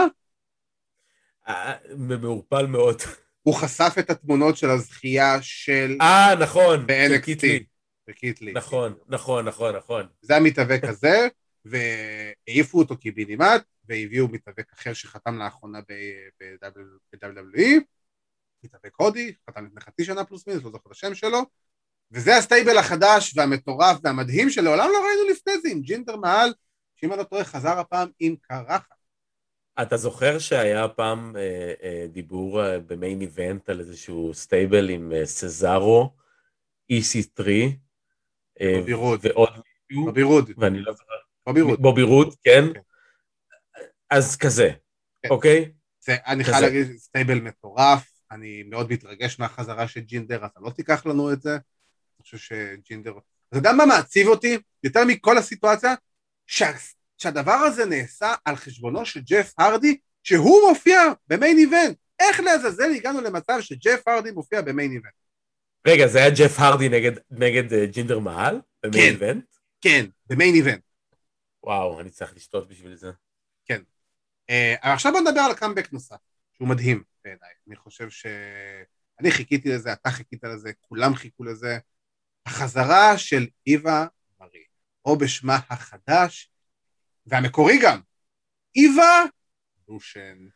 C: מעורפל מאוד.
B: הוא חשף את התמונות של הזכייה של...
C: אה, נכון,
B: ב-אן אקס טי.
C: וקיטלי. נכון, נכון, נכון, נכון.
B: זה המתאבק הזה, והעיפו אותו קיבינימט, והביאו מתאבק אחר שחתם לאחרונה ב-דאבליו דאבליו אי, מתאבק הודי, חתם לפני חצי שנה פלוס מינוס, לא זוכר את השם שלו, וזה הסטייבל החדש והמטורף והמדהים שלעולם לא ראינו לפני זה, עם ג'ינדר מהל, שאם אני לא טועה חזר הפעם עם קרחת.
C: אתה זוכר שהיה פעם אה, אה, דיבור אה, במיין איבנט על איזשהו סטייבל עם אה, סזארו, אי סי תרי,
B: בובי רוד.
C: ועוד
B: מישהו, בובי רוד.
C: ואני לא זוכר.
B: בובי רוד.
C: בובי רוד, כן. Okay. אז כזה, אוקיי?
B: אני חייב להגיד, סטייבל מטורף, אני מאוד מתרגש מהחזרה של ג'ינדר, אתה לא תיקח לנו את זה, אני חושב שג'ינדר, אתה יודע מה מעציב אותי? יותר מכל הסיטואציה, שהדבר הזה נעשה על חשבונו של ג'ף הרדי, שהוא מופיע במיין איבנט. איך לעזאזל הגענו למצב שג'ף הרדי מופיע במיין איבנט?
C: רגע, זה היה ג'ף הרדי נגד, נגד ג'ינדר מהל? במיין איבנט?
B: כן, במיין איבנט.
C: וואו, אני צריך לשתות בשביל זה.
B: כן. Uh, עכשיו בוא נדבר על קאמבק נוסף, שהוא מדהים בעיניי. אני חושב ש... אני חיכיתי לזה, אתה חיכית לזה, כולם חיכו לזה. החזרה של איווה מרי, או בשמה החדש, והמקורי גם, איווה לושן.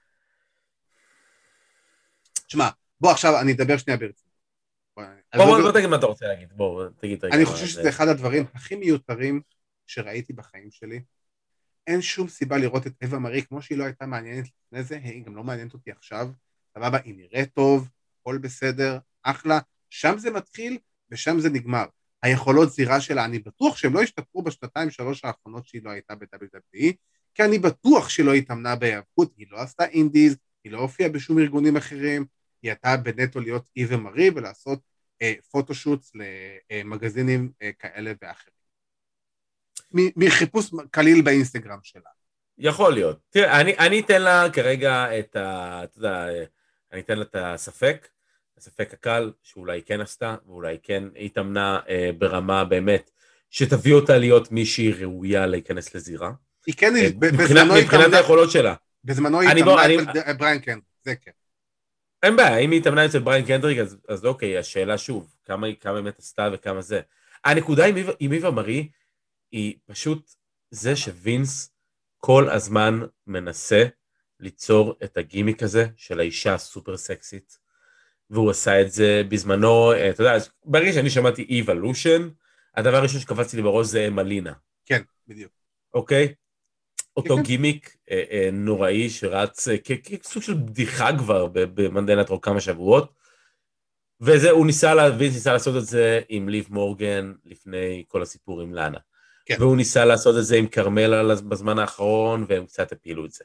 B: תשמע, בוא עכשיו אני אדבר שנייה ברצינות.
C: בוא, בוא, בוא תגיד מה אתה רוצה להגיד, בוא, תגיד.
B: אני חושב שזה אחד הדברים הכי מיותרים שראיתי בחיים שלי. אין שום סיבה לראות את איווה מרי, כמו שהיא לא הייתה מעניינת לפני זה, היא גם לא מעניינת אותי עכשיו, סבבה, היא נראית טוב, הכל בסדר, אחלה, שם זה מתחיל ושם זה נגמר. היכולות זירה שלה, אני בטוח שהם לא השתפרו בשנתיים שלוש האחרונות שהיא לא הייתה ב-דאבליו דאבליו אי, כי אני בטוח שהיא לא התאמנה בהיאבקות, היא לא עשתה אינדיז, היא לא הופיעה בשום ארגונים אחרים, היא הייתה בנטו להיות איווה מרי ולעשות אה, פוטושוטס למגזינים אה, כאלה ואחרים. מחיפוש קליל באינסטגרם שלה.
C: יכול להיות. תראה, אני, אני אתן לה כרגע את ה... אתה יודע, אני אתן לה את הספק, הספק הקל, שאולי כן עשתה, ואולי כן התאמנה אה, ברמה באמת, שתביא אותה להיות מישהי ראויה להיכנס לזירה.
B: היא כן,
C: אה,
B: בזמנו
C: מבחינת, מבחינת היכולות שלה.
B: בזמנו היא התאמנה אני... אצל בריין קנדריק, זה כן.
C: אין בעיה, אם היא התאמנה אצל בריין קנדריק, אז, אז אוקיי, השאלה שוב, כמה היא כמה באמת עשתה וכמה זה. הנקודה עם, עם איווה מרי, היא פשוט זה שווינס כל הזמן מנסה ליצור את הגימיק הזה של האישה הסופר סקסית, והוא עשה את זה בזמנו, אתה יודע, ברגע שאני שמעתי איבולושן, הדבר הראשון שקפצתי לי בראש זה מלינה.
B: כן, בדיוק.
C: אוקיי? אותו גימיק נוראי שרץ כסוג של בדיחה כבר במנדי נייטרו כמה שבועות, וזה, הוא ניסה, ווינס ניסה לעשות את זה עם ליב מורגן לפני כל הסיפור עם לאנה. כן. והוא ניסה לעשות את זה עם קרמלה בזמן האחרון, והם קצת הפילו את זה.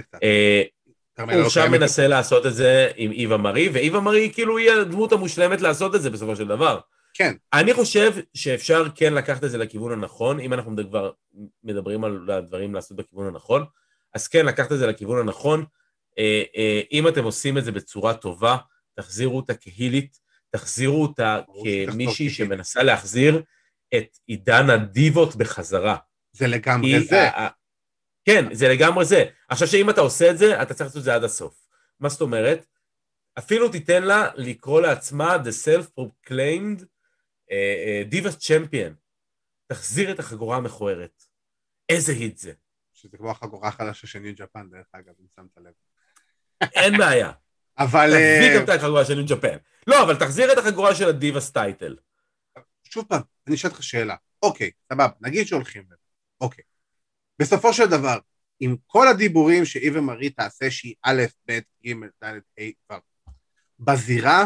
C: הוא שם מנסה לעשות את זה עם איווה מרי, ואיווה מרי כאילו היא הדמות המושלמת לעשות את זה בסופו של דבר.
B: כן.
C: אני חושב שאפשר כן לקחת את זה לכיוון הנכון, אם אנחנו כבר מדברים על הדברים לעשות בכיוון הנכון, אז כן לקחת את זה לכיוון הנכון, אם אתם עושים את זה בצורה טובה, תחזירו אותה כהילית, תחזירו אותה כמישהי שמנסה להחזיר את עידן הדיבות בחזרה.
B: זה לגמרי זה.
C: כן, זה לגמרי זה. עכשיו שאם אתה עושה את זה, אתה צריך לעשות את זה עד הסוף. מה זאת אומרת? אפילו תיתן לה לקרוא לעצמה The Self-Proclaimed Divas Champion. תחזיר את החגורה המכוערת. איזה היט זה.
B: שזה כמו החגורה החדשה של ניו ג'פן, דרך אגב, אם שמת לב.
C: אין בעיה.
B: אבל...
C: תחזיר גם את החגורה של ניו ג'פן. לא, אבל תחזיר את החגורה של הדיבאס טייטל.
B: שוב פעם, אני אשאל אותך שאלה. אוקיי, סבבה, נגיד שהולכים לזה. אוקיי. בסופו של דבר, עם כל הדיבורים שאיווה מרי תעשה שהיא א', ב', ג', ד', ה', ו', בזירה,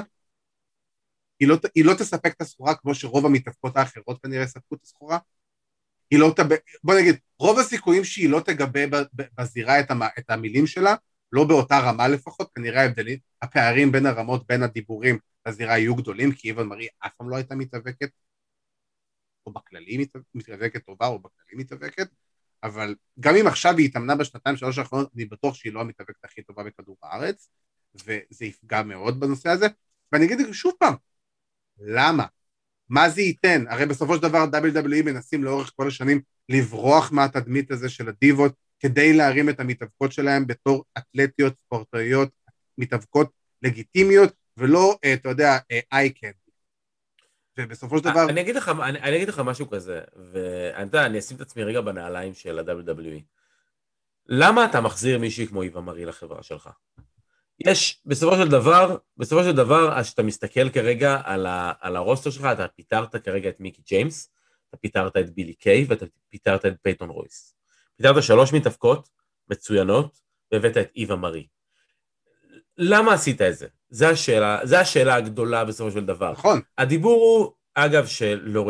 B: היא לא, היא לא תספק את הסחורה כמו שרוב המתאבקות האחרות כנראה יספקו את הסחורה. היא לא תגבה, בוא נגיד, רוב הסיכויים שהיא לא תגבה בזירה את, המ, את המילים שלה, לא באותה רמה לפחות, כנראה ההבדלים, הפערים בין הרמות, בין הדיבורים לזירה יהיו גדולים, כי איווה מרי אף פעם לא הייתה מתאבקת, או בכללי מתאבקת טובה, או בכללי מתאבקת, אבל גם אם עכשיו היא התאמנה בשנתיים שלוש האחרונות, אני בטוח שהיא לא המתאבקת הכי טובה בכדור הארץ, וזה יפגע מאוד בנושא הזה, ואני אגיד שוב פעם, למה? מה זה ייתן? הרי בסופו של דבר דאבליו דאבליו אי מנסים לאורך כל השנים לברוח מהתדמית הזה של הדיבות, כדי להרים את המתאבקות שלהם בתור אתלטיות, ספורטאיות, מתאבקות לגיטימיות, ולא, אתה יודע, איי קנדי. ובסופו של דבר...
C: אני אגיד לך, אני, אני אגיד לך משהו כזה, ואני יודע, אני אשים את עצמי רגע בנעליים של ה-דאבליו דאבליו אי. למה אתה מחזיר מישהי כמו איווה מרי לחברה שלך? יש, בסופו של דבר, בסופו של דבר, אז שאתה מסתכל כרגע על, ה, על הרוסטר שלך, אתה פיתרת כרגע את מיקי ג'יימס, אתה פיתרת את בילי קיי, ואתה פיתרת את פייטון רויס. פיתרת שלוש מתאבקות מצוינות, והבאת את איווה מרי. למה עשית את זה? זו השאלה, זו השאלה הגדולה בסופו של דבר.
B: נכון.
C: הדיבור הוא, אגב,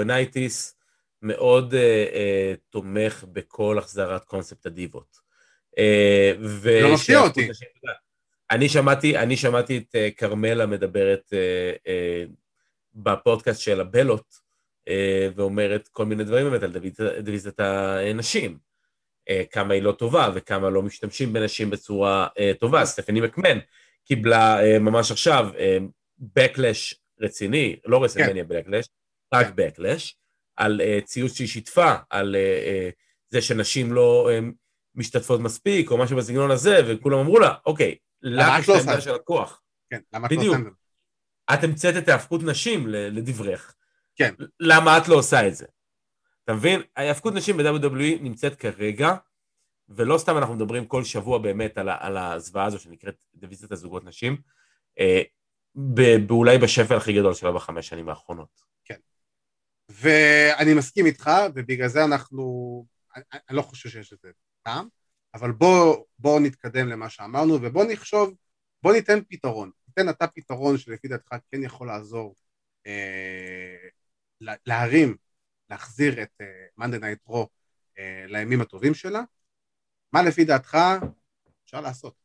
C: שלורנייטיס מאוד אה, אה, תומך בכל החזרת קונספט הדיבות.
B: לא מפתיע אותי.
C: אני שמעתי, אני שמעתי את קרמלה מדברת בפודקאסט של הבלות, ואומרת כל מיני דברים באמת על דיוויזיית הנשים, כמה היא לא טובה וכמה לא משתמשים בנשים בצורה טובה. סטפני מקמן קיבלה ממש עכשיו בקלש רציני, לא רסלמניה בקלש, רק בקלש, על ציוץ שהיא שיתפה, על זה שנשים לא משתתפות מספיק, או משהו בסגנון הזה, וכולם אמרו לה, אוקיי, לך יש את העמדה של הכוח.
B: כן, למה את לא עושה את זה?
C: את המצאת את ההפקות נשים לדברך.
B: כן.
C: למה את לא עושה את זה? אתה מבין? ההפקות נשים ב-דאבליו דאבליו אי נמצאת כרגע, ולא סתם אנחנו מדברים כל שבוע באמת על, על הזוועה הזו שנקראת דיוויזיית הזוגות נשים, באולי בשפל הכי גדול שלה בחמש שנים האחרונות.
B: כן. ואני מסכים איתך, ובגלל זה אנחנו, אני, אני לא חושב שיש את זה טעם, אבל בוא, בוא נתקדם למה שאמרנו, ובוא נחשוב, בוא ניתן פתרון. ניתן אתה פתרון שלפי דעתך כן יכול לעזור אה, להרים, להחזיר את Monday Night Raw אה, לימים הטובים שלה. מה לפי דעתך אפשר לעשות?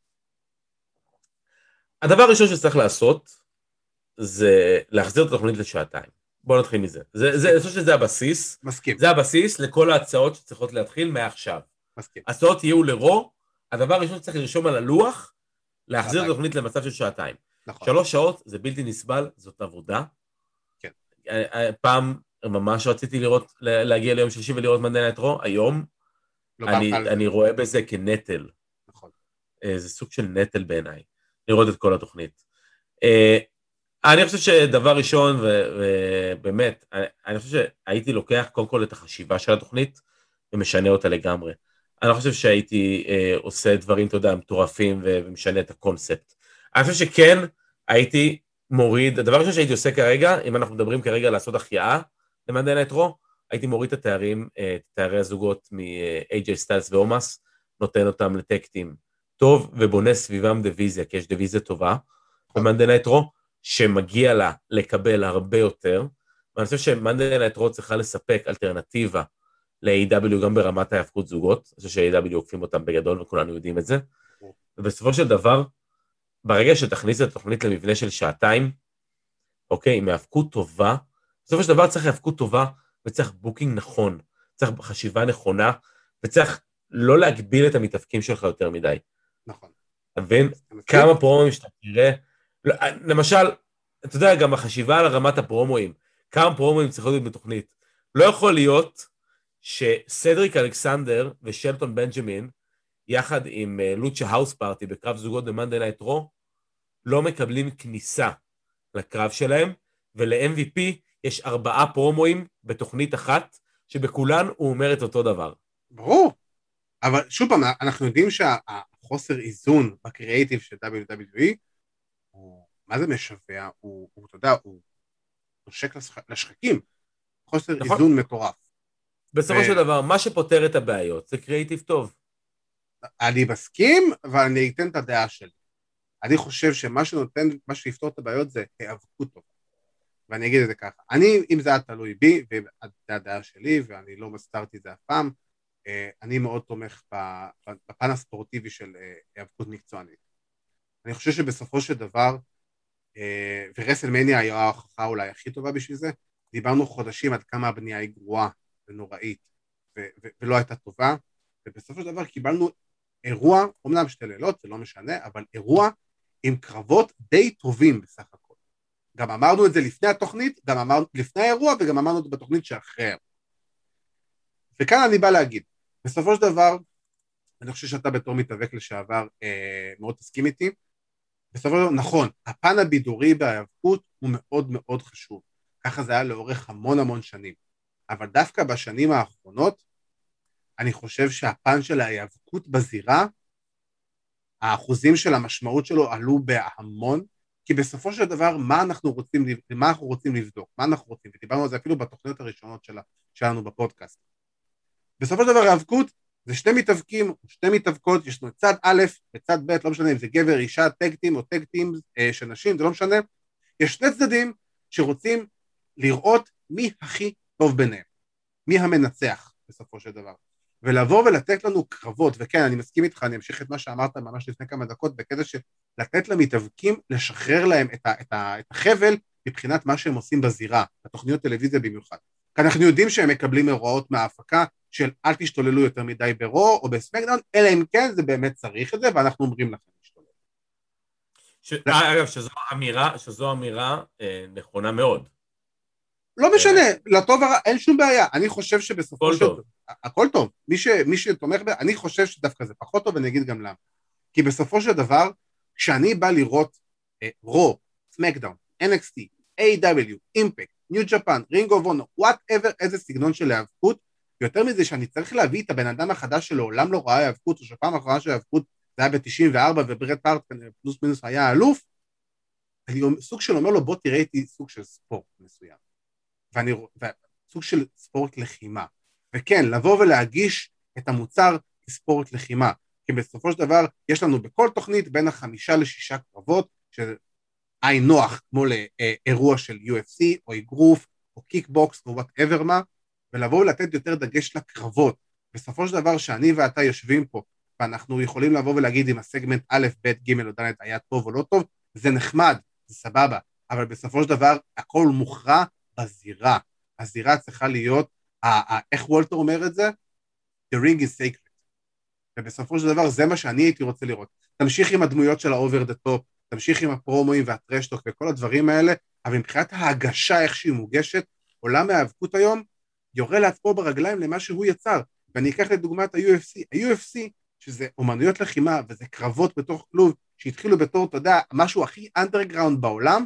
C: הדבר הראשון שצריך לעשות, זה להחזיר את התוכנית לשעתיים. בואו נתחיל מזה. זה, זה, אני חושב שזה הבסיס.
B: מסכים.
C: זה הבסיס לכל ההצעות שצריכות להתחיל מעכשיו.
B: מסכים.
C: הצעות יהיו לרו, הדבר הראשון שצריך לרשום על הלוח, להחזיר את התוכנית למצב של שעתיים.
B: נכון.
C: שלוש שעות זה בלתי נסבל, זאת עבודה.
B: כן.
C: פעם ממש רציתי לראות, להגיע ליום שלישי ולראות Monday Night Raw, היום
B: לא
C: אני, אני רואה בזה כנטל.
B: נכון.
C: זה סוג של נטל בעיניי, לראות את כל התוכנית. אני חושב שדבר ראשון, ובאמת, אני חושב שהייתי לוקח קודם כל את החשיבה של התוכנית, ומשנה אותה לגמרי. אני חושב שהייתי עושה דברים, אתה יודע, מטורפים, ומשנה את הקונספט. אני חושב שכן, הייתי מוריד, הדבר ראשון שהייתי עושה כרגע, אם אנחנו מדברים כרגע לעשות החייאה, למאנדיי נייט רו, הייתי מוריד את התארים, את תארי הזוגות מ-איי ג'יי סטיילס ואומאס, נותן אותם לטקטים טוב, ובונה סביבם דיוויזיה, כי יש דיוויזיה טובה, במאנדיי נייט רו, שמגיע לה לקבל הרבה יותר, ואני חושב שמאנדיי נייט רו צריכה לספק אלטרנטיבה ל-איי דאבליו גם ברמת ההפקות זוגות, אני חושב ש-איי דאבליו עוקפים אותם בגדול, וכולנו יודעים את זה, ובסופו של דבר, ברגע שתכניס את התוכנית למבנה של שעתיים, אוקיי, עם ההפקות טובה, בסופו של דבר צריך הפקות טובה, וצריך בוקינג נכון, צריך חשיבה נכונה, וצריך לא להגביל את המתאפקים שלך יותר מדי.
B: נכון.
C: אתה מבין? כמה פרומואים שאתה תראה, למשל, אתה יודע, גם החשיבה על רמת הפרומואים, כמה פרומואים צריכות להיות בתוכנית. לא יכול להיות שסדריק אלכסנדר ושלטון בנג'מין, יחד עם לוצ'ה האוס פארטי בקרב זוגות במאנדיי נייט רו, לא מקבלים כניסה לקרב שלהם, ול-אם וי פי יש ארבעה פרומואים בתוכנית אחת, שבכולן הוא אומר את אותו דבר.
B: ברור, אבל שוב פעם, אנחנו יודעים שהחוסר איזון בקריאייטיב של דאבליו דאבליו אי, הוא, מה זה משווה? הוא, הוא, אתה יודע, הוא נושק לשחקים, חוסר נכון. איזון מטורף.
C: בסופו ו... של דבר, מה שפותר את הבעיות, זה קריאייטיב טוב.
B: אני מסכים, אבל אני אתן את הדעה שלי. אני חושב שמה שנותן, מה שיפתור את הבעיות זה היאבקות טוב. ואני אגיד את זה ככה. אני, אם זה היה תלוי בי, וזה הדעה שלי, ואני לא מסתרתי את זה אף פעם, אני מאוד תומך בפן הספורטיבי של היאבקות מקצוענית. אני חושב שבסופו של דבר, ורסלמניה היה ההוכחה אולי הכי טובה בשביל זה, דיברנו חודשים עד כמה הבנייה היא גרועה ונוראית, ולא הייתה טובה, ובסופו של דבר קיבלנו אירוע, אומנם שתי לילות, זה לא משנה, אבל אירוע עם קרבות די טובים בסך הכל. גם אמרנו את זה לפני התוכנית, גם אמרנו לפני האירוע, וגם אמרנו את זה בתוכנית שאחרי. וכאן אני בא להגיד, בסופו של דבר, אני חושב שאתה בתור מתאבק לשעבר אה, מאוד תסכים איתי, בסופו של דבר, נכון, הפן הבידורי בהיאבקות הוא מאוד מאוד חשוב, ככה זה היה לאורך המון המון שנים, אבל דווקא בשנים האחרונות, אני חושב שהפן של ההיאבקות בזירה, האחוזים של המשמעות שלו עלו בהמון, כי בסופו של דבר, מה אנחנו רוצים, מה אנחנו רוצים לבדוק, מה אנחנו רוצים, ודיברנו על זה אפילו בתוכניות הראשונות שלה, שלנו בפודקאסט. בסופו של דבר, ההיאבקות זה שני מתאבקים, שתי מתאבקות, יש לנו צד א' וצד ב', לא משנה אם זה גבר, אישה, טג-טים או טג-טים של נשים, זה לא משנה. יש שני צדדים שרוצים לראות מי הכי טוב ביניהם, מי המנצח בסופו של דבר. ולבוא ולתת לנו קרבות, וכן, אני מסכים איתך, אני אמשיך את מה שאמרת ממש לפני כמה דקות, בקטע של לתת למתאבקים, לשחרר להם את, ה, את, ה, את החבל, מבחינת מה שהם עושים בזירה, בתוכניות טלוויזיה במיוחד. כי אנחנו יודעים שהם מקבלים הוראות מההפקה, של אל תשתוללו יותר מדי ברו, או בסמקדאון, אלא אם כן זה באמת צריך את זה, ואנחנו אומרים לכם להשתולל.
C: ש... אגב, שזו אמירה, שזו אמירה אה, נכונה מאוד.
B: לא משנה, לטוב הרע, אין שום בעיה. אני חושב שבסופו של...
C: טוב.
B: הכל טוב. מי, ש... מי שתומך ב... אני חושב שדווקא זה פחות טוב, ואני אגיד גם למה. כי בסופו של דבר, כשאני בא לראות רו, סמקדאון, אן אקס טי, איי דאבליו, אימפקט, ניו ג'פן, רינג אוף אונור, whatever, איזה סגנון של היאבקות, יותר מזה שאני צריך להביא את הבן אדם החדש שלו, עולם לא ראה היאבקות, או שפעם האחרונה של היאבקות, זה היה ב-תשעים וארבע, וברד פארט פלוס מינוס היה אלוף, אני סוג של אומר לו, בוא תראה איתי סוג של ספורט מסוים. ואני, סוג של ספורט לחימה. וכן, לבוא ולהגיש את המוצר כספורט לחימה. כי בסופו של דבר, יש לנו בכל תוכנית בין החמישה לשישה קרבות, שזה עין נוח, כמו לאירוע של יו אף סי, או אגרוף, או קיקבוקס, או whatever מה, ולבוא ולתת יותר דגש לקרבות. בסופו של דבר, שאני ואתה יושבים פה, ואנחנו יכולים לבוא ולהגיד אם הסגמנט א', ב', ג' או ד' היה טוב או לא טוב, זה נחמד, זה סבבה, אבל בסופו של דבר, הכל מוכרע בזירה. הזירה צריכה להיות, איך וולטר אומר את זה? The ring is sacred. ובסופו של דבר, זה מה שאני הייתי רוצה לראות. תמשיך עם הדמויות של ה-over the top, תמשיך עם הפרומואים והטרשטוק וכל הדברים האלה, אבל מבחינת ההגשה, איך שהיא מוגשת, עולם ההיאבקות היום, יורה לעצמו ברגליים למה שהוא יצר. ואני אקח לדוגמה את ה-יו אף סי. ה-יו אף סי, שזה אומנויות לחימה, וזה קרבות בתוך כלוב, שהתחילו בתור, אתה יודע, משהו הכי אנדרגראונד בעולם,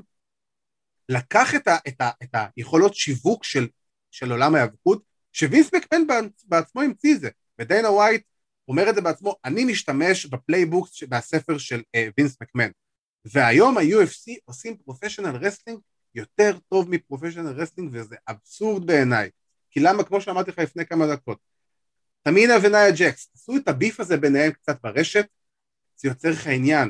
B: לקח את, ה, את, ה, את היכולות שיווק של, של עולם ההיאבקות, שווינס מקמן בעצמו המציא זה, ודיינה ווייט אומר את זה בעצמו, אני משתמש בפלייבוקס מהספר של uh, וינס מקמן, והיום ה-יו אף סי עושים פרופשיונל רסלינג יותר טוב מפרופשיונל רסלינג, וזה אבסורד בעיניי, כי למה, כמו שאמרתי לך לפני כמה דקות, תמינה ונאיה ג'קס, עשו את הביף הזה ביניהם קצת ברשת, זה יוצר לך עניין,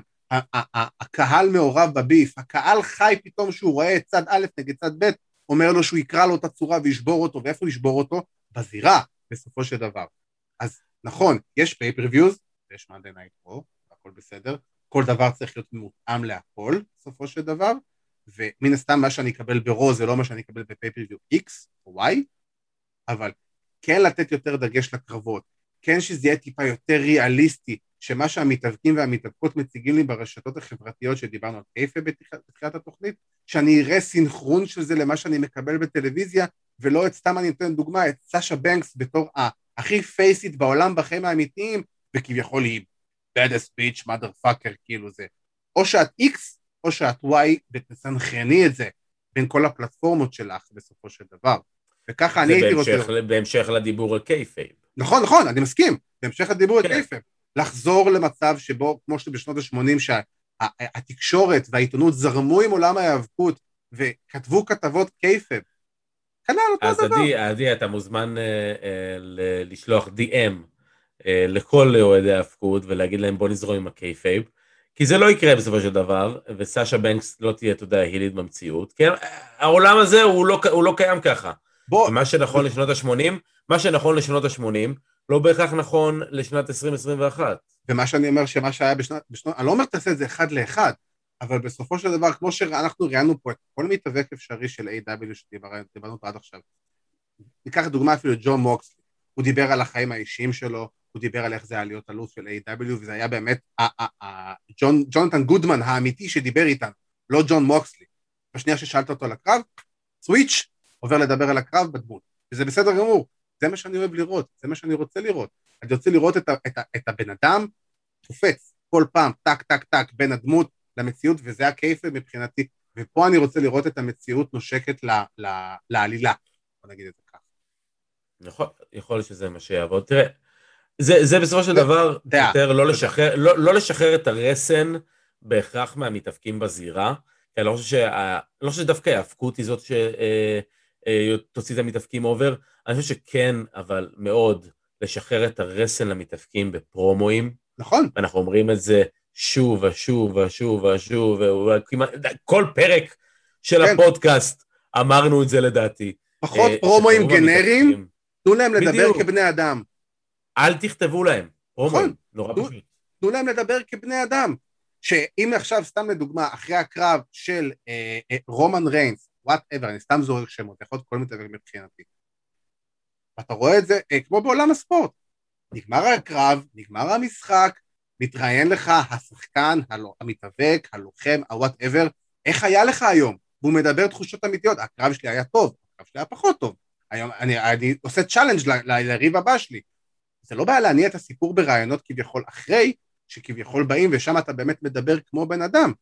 B: הקהל מעורב בביף, הקהל חי פתאום שהוא רואה את צד א' נגד צד ב', אומר לו שהוא יקרא לו את הצורה וישבור אותו, ואיפה ישבור אותו? בזירה, בסופו של דבר. אז נכון, יש פייפריוויוז, יש מאנדיי נייט רו, הכל בסדר, כל דבר צריך להיות מותאם להכל, בסופו של דבר, ומן הסתם מה שאני אקבל ברו זה לא מה שאני אקבל בפייפריוויו X או Y, אבל כן לתת יותר דגש לקרבות, כן שזה יהיה טיפה יותר ריאליסטי, שמה שהמתאבקים והמתאבקות מציגים לי ברשתות החברתיות שדיברנו על קייפה בתחילת התוכנית, שאני אראה סינכרון של זה למה שאני מקבל בטלוויזיה, ולא את סתם אני נותן דוגמה, את סאשה בנקס בתור הכי פייסית בעולם בחיים האמיתיים, וכביכול היא baddest bitch, motherfucker, כאילו זה. או שאת X, או שאת Y, ותסנכרני את זה בין כל הפלטפורמות שלך בסופו של דבר. וככה אני הייתי רוצה...
C: בהמשך לדיבור על קייפייב.
B: נכון, נכון, אני מסכים. בהמשך לדיבור על קייפייב. לחזור למצב שבו, כמו שבשנות ה-שמונים, שהתקשורת והעיתונות זרמו עם עולם ההיאבקות, וכתבו כתבות קייפייב. כנ"ל אותו
C: אז
B: דבר.
C: אז עדי, אתה מוזמן לשלוח די אם לכל אוהדי ההאבקות, ולהגיד להם בוא נזרום עם הקייפייב, כי זה לא יקרה בסופו של דבר, וסאשה בנקס לא תהיה, אתה יודע, הילית במציאות, כי העולם הזה הוא לא, הוא לא קיים ככה. בוא. מה שנכון לשנות ה-שמונים, מה שנכון לשנות ה-שמונים, לא בהכרח נכון לשנת עשרים עשרים ואחת.
B: ומה שאני אומר, שמה שהיה בשנת, בשנות, אני לא אומר תעשה את זה אחד לאחד, אבל בסופו של דבר, כמו שאנחנו ראינו פה את כל מתאבק אפשרי של איי דאבליו שדיברנו עד עכשיו, ניקח דוגמה אפילו ג'ון מוקסלי, הוא דיבר על החיים האישיים שלו, הוא דיבר על איך זה היה להיות אלוף של איי דאבליו, וזה היה באמת ג'ונתן גודמן האמיתי שדיבר איתנו, לא ג'ון מוקסלי. בשנייה ששאלת אותו על הקרב, סוויץ' עובר לדבר על הקרב בדמות, וזה בסדר גמור, זה מה שאני אוהב לראות, זה מה שאני רוצה לראות. אני רוצה לראות את, ה, את, ה, את הבן אדם תופץ כל פעם, טק, טק, טק, בין הדמות למציאות, וזה הקייפה מבחינתי, ופה אני רוצה לראות את המציאות נושקת ל, ל, לעלילה, בוא נגיד את זה ככה.
C: נכון, יכול להיות שזה מה שיעבוד. תראה, זה, זה בסופו של דבר דעה, יותר לא לשחרר, לא, לא לשחרר את הרסן בהכרח מהמתאבקים בזירה, כי אני לא חושב, שה, לא חושב שדווקא ההאבקות היא זאת שתוציא את המתאבקים אובר, אני חושב שכן, אבל מאוד, לשחרר את הרסן למתאבקים בפרומואים.
B: נכון.
C: אנחנו אומרים את זה שוב ושוב ושוב ושוב, כל פרק של כן. הפודקאסט אמרנו את זה לדעתי.
B: פחות פרומואים גנריים, תנו להם לדבר בדיוק. כבני אדם.
C: אל תכתבו להם,
B: נכון,
C: נורא
B: תנו,
C: פשוט.
B: תנו להם לדבר כבני אדם, שאם עכשיו סתם לדוגמה, אחרי הקרב של אה, אה, רומן ריינס, whatever, אני סתם זורק שמות, יכול להיות כל מתאבק מבחינתי, ואתה רואה את זה אה, כמו בעולם הספורט, נגמר הקרב, נגמר המשחק, מתראיין לך השחקן, הלא, המתאבק, הלוחם, ה-whatever, איך היה לך היום? והוא מדבר תחושות אמיתיות, הקרב שלי היה טוב, הקרב שלי היה פחות טוב, היום אני, אני עושה צ'אלנג' לריב הבא שלי, זה לא בעיה להניע את הסיפור ברעיונות כביכול אחרי, שכביכול באים ושם אתה באמת מדבר כמו בן אדם.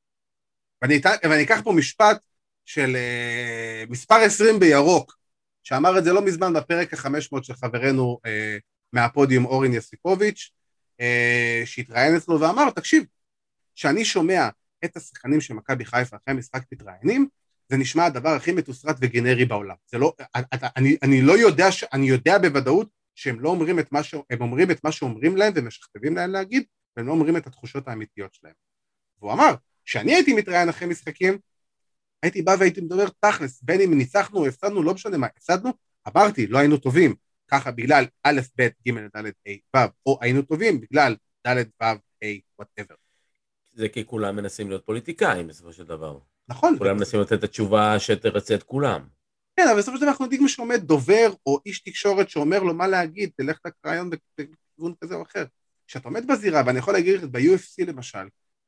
B: ואני, ואני אקח פה משפט של uh, מספר עשרים בירוק, שאמר את זה לא מזמן בפרק ה-חמש מאות של חברנו uh, מהפודיום אורין יסיפוביץ', uh, שהתראיין אצלו ואמר, תקשיב, שאני שומע את השחקנים של מכבי חיפה אחרי המשחק מתראיינים, זה נשמע הדבר הכי מתוסרט וגנרי בעולם. זה לא, אני, אני לא יודע, אני יודע בוודאות שהם לא אומרים את מה ש... הם אומרים את מה שאומרים להם ומשכתבים להם להגיד, והם לא אומרים את התחושות האמיתיות שלהם. והוא אמר, כשאני הייתי מתראיין אחרי משחקים, הייתי בא והייתי מדבר תכלס, בין אם ניצחנו או הפסדנו, לא משנה מה, הפסדנו, אמרתי, לא היינו טובים, ככה בגלל א', ב', ג', ד', ה', ו', או היינו טובים בגלל ד', ו', ה', whatever.
C: זה כי כולם מנסים להיות פוליטיקאים בסופו של דבר.
B: נכון.
C: כולם מנסים לתת את התשובה שתרצה את כולם.
B: כן, אבל בסופו של דבר אנחנו יודעים שעומד דובר או איש תקשורת שאומר לו מה להגיד, תלך לקריון בכיוון כזה או אחר. כשאתה עומד בזירה, ואני יכול להגיד לך, ב-יו אף סי למשל,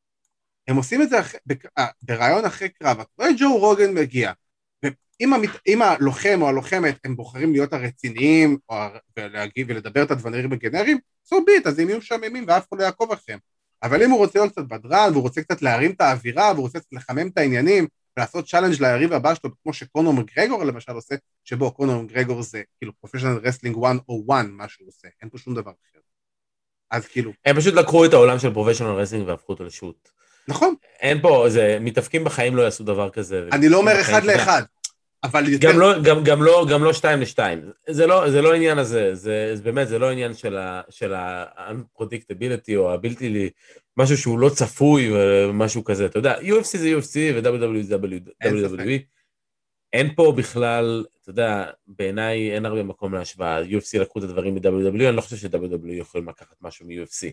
B: הם עושים את זה אחרי, ברעיון אחרי קרב, אתה רואה ג'ו רוגן מגיע, ואם הלוחם או הלוחמת הם בוחרים להיות הרציניים, ולהגיב ולדבר את הדברים הגנריים, so be it, אז הם יהיו משעממים ואף אחד לא יעקוב אחריהם. אבל אם הוא רוצה להיות קצת בדרן, והוא רוצה קצת להרים את האווירה, והוא רוצה קצת לחמם את העניינים, ולעשות צ'אלנג' ליריב הבא שלו, כמו שקונור מגרגור למשל עושה, שבו קונור מגרגור זה כאילו פרופשיונל רסלינג אחת או אחת, מה שהוא עושה, אין פה שום דבר אחר. אז כאילו...
C: הם פשוט לקחו את העולם של פרופשיונל רסלינג והפכו אותו לשוט.
B: נכון.
C: אין פה, זה, מתאפקים בחיים לא יעשו דבר כזה.
B: אני לא אומר אחד לאחד, אבל יותר...
C: גם לא, גם, גם לא, גם לא שתיים לשתיים. זה לא, זה לא עניין הזה, זה, זה באמת, זה לא עניין של ה, של ה-unpredictability או הבלתי לי, משהו שהוא לא צפוי ומשהו כזה, אתה יודע, יו אף סי זה יו אף סי ו-דאבליו דאבליו אי זה דאבליו דאבליו אי. אין פה בכלל, אתה יודע, בעיניי אין הרבה מקום להשוואה, יו אף סי לקחו את הדברים מ-דאבליו דאבליו אי, אני לא חושב ש-דאבליו דאבליו אי יכולים לקחת משהו מ-יו אף סי.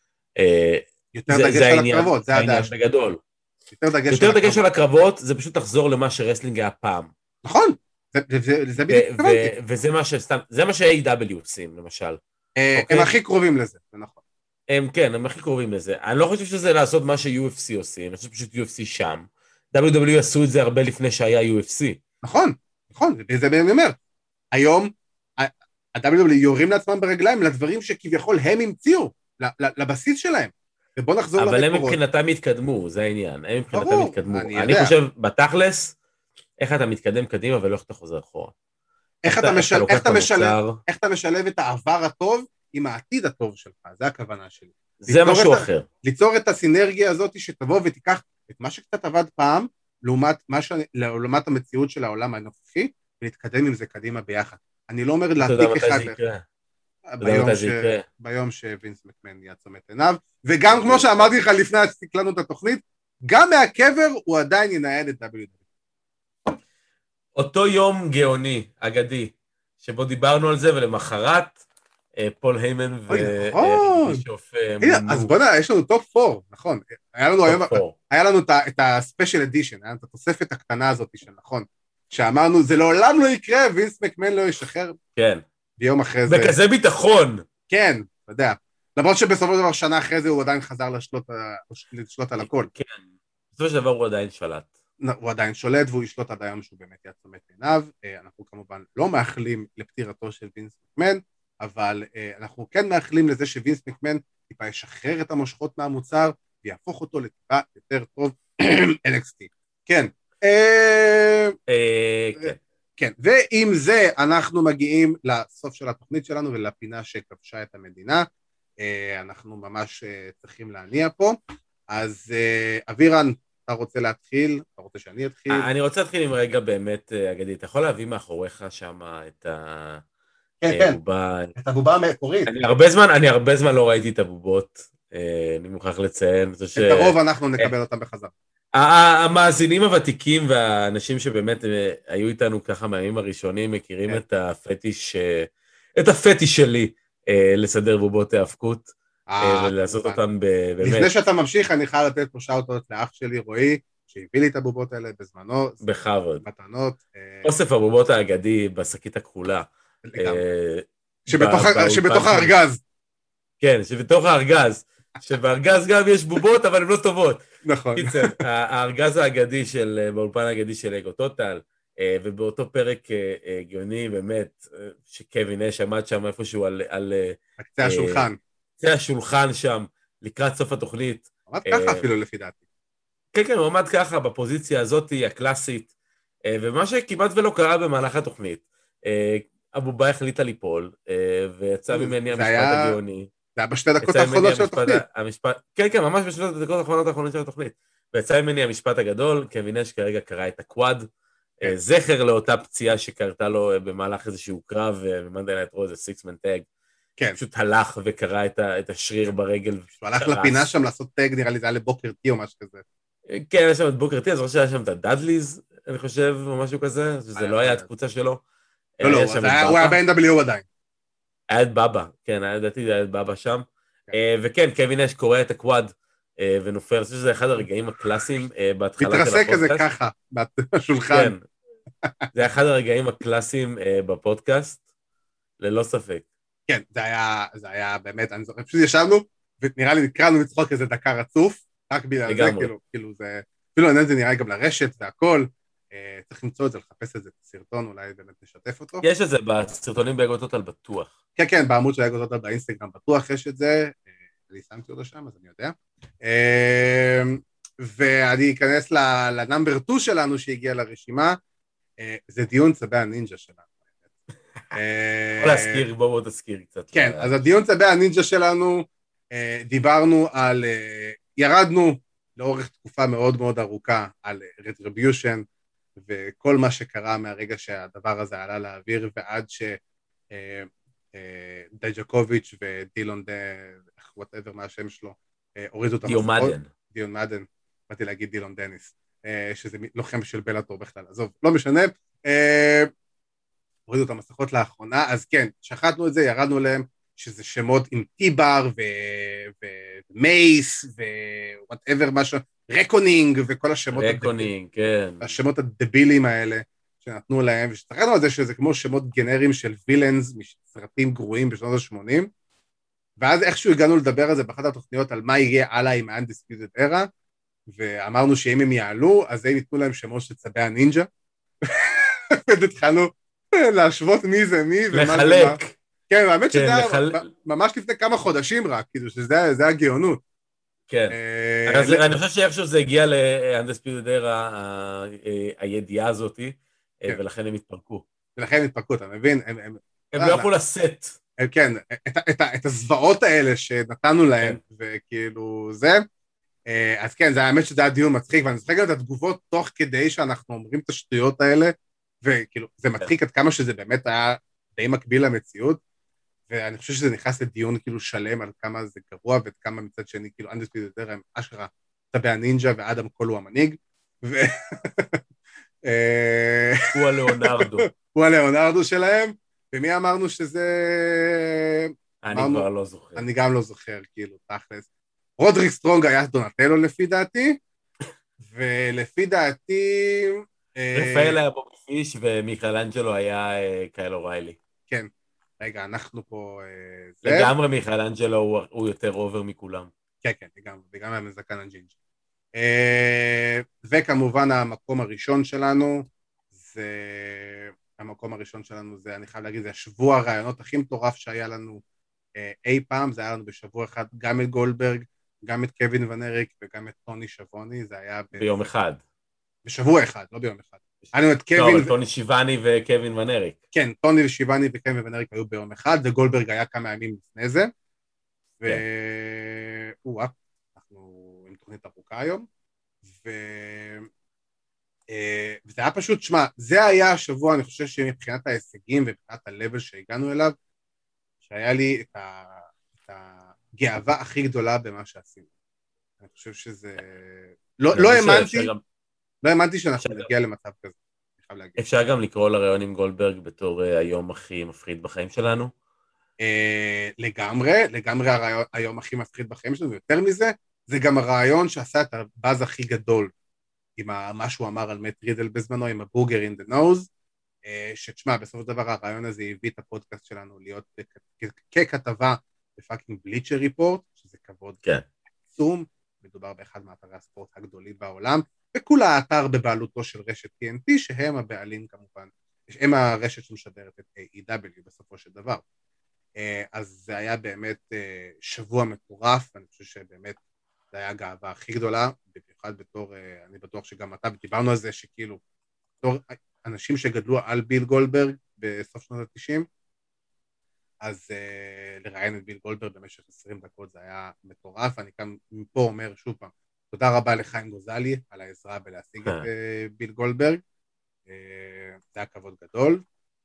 B: יותר דגש על הקרבות, זה
C: העניין בגדול. יותר דגש על הקרבות, זה פשוט לחזור למה שרסלינג היה פעם.
B: נכון, זה בדיוק התכוונתי.
C: וזה מה שסתם, זה מה ש-איי דאבליו עושים, למשל.
B: הם הכי קרובים לזה, זה נכון.
C: הם, כן, הם הכי קרובים לזה. אני לא חושב שזה לעשות מה ש-יו אף סי עושים, אני חושב פשוט יו אף סי שם. דאבליו דאבליו אי עשו את זה הרבה לפני שהיה יו אף סי. נכון,
B: נכון, זה באמת אומר. היום, ה-דאבליו דאבליו אי יורים לעצמם ברגליים לדברים שכביכול הם המציאו, לבסיס שלהם. ובוא נחזור
C: למקורות. אבל הם מבחינתם התקדמו, זה העניין. הם מבחינתם התקדמו.
B: אני,
C: אני חושב, בתכלס, איך אתה מתקדם קדימה ולא איך אתה חוזר אחורה.
B: איך אתה, אתה, משל... איך, אתה משלב, איך אתה משלב את העבר הטוב עם העתיד הטוב שלך, זה הכוונה שלי.
C: זה משהו
B: את,
C: אחר.
B: ליצור את הסינרגיה הזאת שתבוא ותיקח את מה שקצת עבד פעם, לעומת, ש... לעומת המציאות של העולם הנוכחי, ולהתקדם עם זה קדימה ביחד. אני לא אומר להעתיק אחד לאחד. ביום, ש... ביום שווינס מקמן יעצום את עיניו, וגם כמו שאמרתי לך לפני שתקלנו את התוכנית, גם מהקבר הוא עדיין ינהל את דאבליו דאבליו אי.
C: אותו יום גאוני, אגדי, שבו דיברנו על זה, ולמחרת, פול היימן ובישוף
B: מונו. אז בוא נראה, יש לנו טופ פור, נכון. היה לנו היום, היה לנו את הספיישל אדישן, היה לנו את התוספת הקטנה הזאת של נכון, שאמרנו, זה לעולם לא יקרה, וינס מקמן לא ישחרר.
C: כן.
B: ביום אחרי זה.
C: בכזה ביטחון.
B: כן, אתה יודע. למרות שבסופו של דבר שנה אחרי זה הוא עדיין חזר לשלוט על הכל.
C: כן, בסופו של דבר הוא עדיין שלט.
B: הוא עדיין שולט והוא ישלוט עד היום שהוא באמת יעצום את עיניו. אנחנו כמובן לא מאחלים לפטירתו של וינס מקמן, אבל אנחנו כן מאחלים לזה שווינס מקמן טיפה ישחרר את המושכות מהמוצר ויהפוך אותו לטיפה יותר טוב אן אקס טי. כן.
C: כן.
B: כן, ועם זה אנחנו מגיעים לסוף של התוכנית שלנו ולפינה שכבשה את המדינה. אנחנו ממש צריכים להניע פה. אז אבירן, אתה רוצה להתחיל? אתה רוצה שאני אתחיל?
C: אני רוצה להתחיל עם רגע באמת, אגדי, אתה יכול להביא מאחוריך שם את
B: הבובה? את הבובה המקורית.
C: אני הרבה זמן לא ראיתי את הבובות, אני מוכרח לציין.
B: את הרוב אנחנו נקבל אותם בחזרה.
C: המאזינים הוותיקים והאנשים שבאמת היו איתנו ככה מהימים הראשונים מכירים את הפטיש, את הפטיש שלי לסדר בובות האבקות, ולעשות אותם באמת.
B: לפני שאתה ממשיך, אני חייב לתת פה שאוט-אוט לאח שלי, רועי, שהביא לי את הבובות האלה בזמנו.
C: בכבוד.
B: מתנות.
C: אוסף הבובות האגדי בשקית הכחולה.
B: שבתוך הארגז.
C: כן, שבתוך הארגז. שבארגז גם יש בובות, אבל הן לא טובות.
B: נכון.
C: קיצר, הארגז האגדי של, באולפן האגדי של אגו טוטל, ובאותו פרק גאוני באמת, שקווין אש עמד שם איפשהו על... על
B: קצה השולחן.
C: קצה השולחן שם, לקראת סוף התוכנית.
B: עמד ככה אפילו לפי דעתי.
C: כן, כן, הוא עמד ככה בפוזיציה הזאת, הקלאסית, ומה שכמעט ולא קרה במהלך התוכנית, הבובה החליטה ליפול, ויצא ממני המשפט הגאוני.
B: זה היה בשתי דקות האחרונות של התוכנית.
C: כן, כן, ממש בשתי דקות האחרונות האחרונות של התוכנית. ויצא ממני המשפט הגדול, קווין אש כרגע קרא את הקוואד, זכר לאותה פציעה שקרתה לו במהלך איזשהו קרב, ומנדי נייט רו זה סיקס-מן טאג. פשוט הלך וקרא את השריר ברגל.
B: הוא הלך לפינה שם לעשות טאג, נראה לי זה היה לבוקר טי או משהו כזה.
C: כן, היה שם את בוקר טי, אז חושב שהיה שם את הדאדליז, אני חושב, או משהו כזה, שזה לא היה את קבוצה שלו.
B: לא, לא, הוא היה ב-אן דאבליו או עדיין.
C: היה את בבא, כן, לדעתי זה היה את בבא שם. וכן, קווין אש קורא את הקוואד ונופל, אני חושב שזה אחד הרגעים הקלאסיים בהתחלה של הפודקאסט.
B: מתרסק כזה ככה, בשולחן.
C: זה אחד הרגעים הקלאסיים בפודקאסט, ללא ספק.
B: כן, זה היה, זה היה באמת, אני זוכר, פשוט ישבנו, ונראה לי נקראנו לצחוק איזה דקה רצוף, רק בגלל זה, כאילו, כאילו זה, אפילו אני זה נראה גם לרשת והכל, צריך למצוא את זה, לחפש את זה בסרטון, אולי באמת נשתף אותו.
C: יש את זה בסרטונים באגו טוטל בטוח.
B: כן, כן, בעמוד של אגו טוטל באינסטגרם בטוח יש את זה, אני שמתי אותו שם, אז אני יודע. ואני אכנס לנאמבר שתיים שלנו שהגיע לרשימה, זה דיון צבי הנינג'ה שלנו.
C: בוא להזכיר, בואו תזכיר קצת.
B: כן, אז הדיון צבי הנינג'ה שלנו, דיברנו על, ירדנו לאורך תקופה מאוד מאוד ארוכה על Retribution, וכל מה שקרה מהרגע שהדבר הזה עלה לאוויר, ועד שדייג'קוביץ' ודילון, whatever מה השם שלו, הורידו את המסכות.
C: דיון מדן.
B: דיון מדן, באתי להגיד דילון דניס, שזה לוחם של בלאטור בכלל, עזוב, לא משנה. הורידו את המסכות לאחרונה, אז כן, שחטנו את זה, ירדנו להם, שזה שמות עם טיבר ומייס ו-whatever משהו, רקונינג וכל השמות
C: רקונינג, כן.
B: השמות הדבילים האלה שנתנו להם, ושתחרנו על זה שזה כמו שמות גנריים של וילאנס מסרטים גרועים בשנות ה-שמונים, ואז איכשהו הגענו לדבר על זה באחת התוכניות על מה יהיה הלאה עם ה-Undisputed Era, ואמרנו שאם הם יעלו, אז הם ייתנו להם שמות של צבי הנינג'ה, והתחלנו להשוות מי זה מי ומה זה מה.
C: לחלק.
B: כן, האמת שזה היה ממש לפני כמה חודשים רק, כאילו שזה היה גאונות.
C: כן, אני חושב שאיכשהו זה הגיע ל-Undisputed Era, הידיעה הזאת, ולכן הם התפרקו.
B: ולכן הם התפרקו, אתה מבין?
C: הם לא יכולו לשאת.
B: כן, את הזוועות האלה שנתנו להם, וכאילו זה, אז כן, זה האמת שזה היה דיון מצחיק, ואני זוכר גם את התגובות תוך כדי שאנחנו אומרים את השטויות האלה, וכאילו, זה מצחיק עד כמה שזה באמת היה די מקביל למציאות, ואני חושב שזה נכנס לדיון כאילו שלם על כמה זה גרוע, ועד כמה מצד שני, כאילו, Undisputed Era הם אשכרה צבי הנינג'ה, ואדם קול הוא המנהיג, ו...
C: הוא הלאונרדו.
B: הוא הלאונרדו שלהם, ומי אמרנו שזה...
C: אני כבר לא זוכר.
B: אני גם לא זוכר, כאילו, תכלס. רודריק סטרונג היה דונטלו לפי דעתי, ולפי דעתי...
C: רפאל היה בובי פיש, ומיכאלנג'לו היה קייל אוריילי.
B: כן. רגע, אנחנו פה...
C: לגמרי מיכאלנג'לו הוא יותר אובר מכולם.
B: כן, כן, וגם המזקן הג'ינג'. וכמובן המקום הראשון שלנו, זה... המקום הראשון שלנו זה, אני חייב להגיד, זה השבוע הרעיונות הכי מטורף שהיה לנו אי פעם, זה היה לנו בשבוע אחד גם את גולדברג, גם את קווין ונריק וגם את טוני שבוני, זה היה...
C: ביום אחד.
B: בשבוע אחד, לא ביום אחד.
C: לא, אבל טוני שיבני וקווין ונריק.
B: כן, טוני שיבני וקווין ונריק היו ביום אחד, וגולדברג היה כמה ימים לפני זה, וואה, אנחנו עם תוכנית ארוכה היום, וזה היה פשוט, שמה, זה היה השבוע, אני חושב שמבחינת ההישגים ומבחינת הלבל שהגענו אליו, שהיה לי את הגאווה הכי גדולה במה שעשינו. אני חושב שזה... לא האמנתי... לא האמנתי שאנחנו נגיע למצב כזה.
C: אפשר גם לקרוא לראיון עם גולדברג בתור היום הכי מפחיד בחיים שלנו.
B: לגמרי, לגמרי הרעיון היום הכי מפחיד בחיים שלנו, ויותר מזה, זה גם הרעיון שעשה את הבאז הכי גדול, עם מה שהוא אמר על מט רידל בזמנו, עם הבוגר in the nose, שתשמע, בסופו של דבר הרעיון הזה הביא את הפודקאסט שלנו להיות ככתבה בפאקינג בליצ'ר ריפורט, שזה כבוד עצום, מדובר באחד מאתרי הספורט הגדולים בעולם, וכולה האתר בבעלותו של רשת טי אן טי, שהם הבעלים כמובן, הם הרשת שמשדרת את איי אי דאבליו בסופו של דבר. אז זה היה באמת שבוע מטורף, אני חושב שבאמת זה היה הגאווה הכי גדולה, במיוחד בתור, אני בטוח שגם אתה, ודיברנו על זה שכאילו, בתור אנשים שגדלו על ביל גולדברג בסוף שנות ה-תשעים, אז uh, לראיין את ביל גולדברג במשך עשרים דקות זה היה מטורף, אני כאן מפה אומר שוב פעם, תודה רבה לחיים גוזלי על העזרה בלהשיג את uh, ביל גולדברג, uh, זה היה כבוד גדול,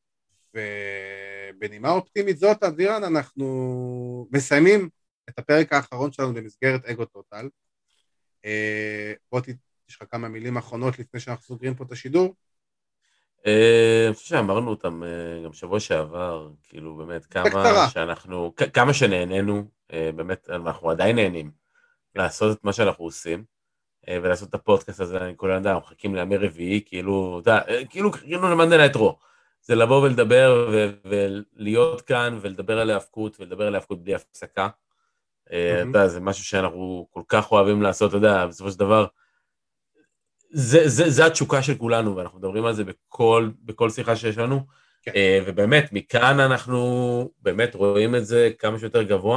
B: ובנימה אופטימית זאת, אבירן, אנחנו מסיימים את הפרק האחרון שלנו במסגרת אגו טוטל, uh, בוא יש לך כמה מילים אחרונות לפני שאנחנו סוגרים פה את השידור?
C: אני חושב שאמרנו אותם גם שבוע שעבר, כאילו באמת כמה שאנחנו, כמה שנהנינו, באמת אנחנו עדיין נהנים לעשות את מה שאנחנו עושים, ולעשות את הפודקאסט הזה, אני כל אדם, אנחנו מחכים לימי רביעי, כאילו, כאילו, כאילו למנדל היתרו, זה לבוא ולדבר ולהיות כאן ולדבר על ההפקות, ולדבר על ההפקות בלי הפסקה, זה משהו שאנחנו כל כך אוהבים לעשות, אתה יודע, בסופו של דבר, זה, זה, זה התשוקה של כולנו, ואנחנו מדברים על זה בכל, בכל שיחה שיש לנו, כן. ובאמת, מכאן אנחנו באמת רואים את זה כמה שיותר גבוה,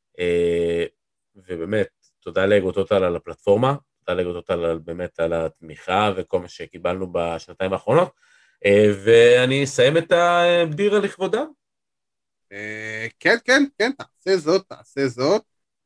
C: ובאמת, תודה לאגו טוטל על הפלטפורמה, תודה לאגו טוטל על, באמת על התמיכה, וכל מה שקיבלנו בשנתיים האחרונות, ואני אסיים את הבדירה לכבודם.
B: כן, כן, כן, תעשה זאת, תעשה זאת.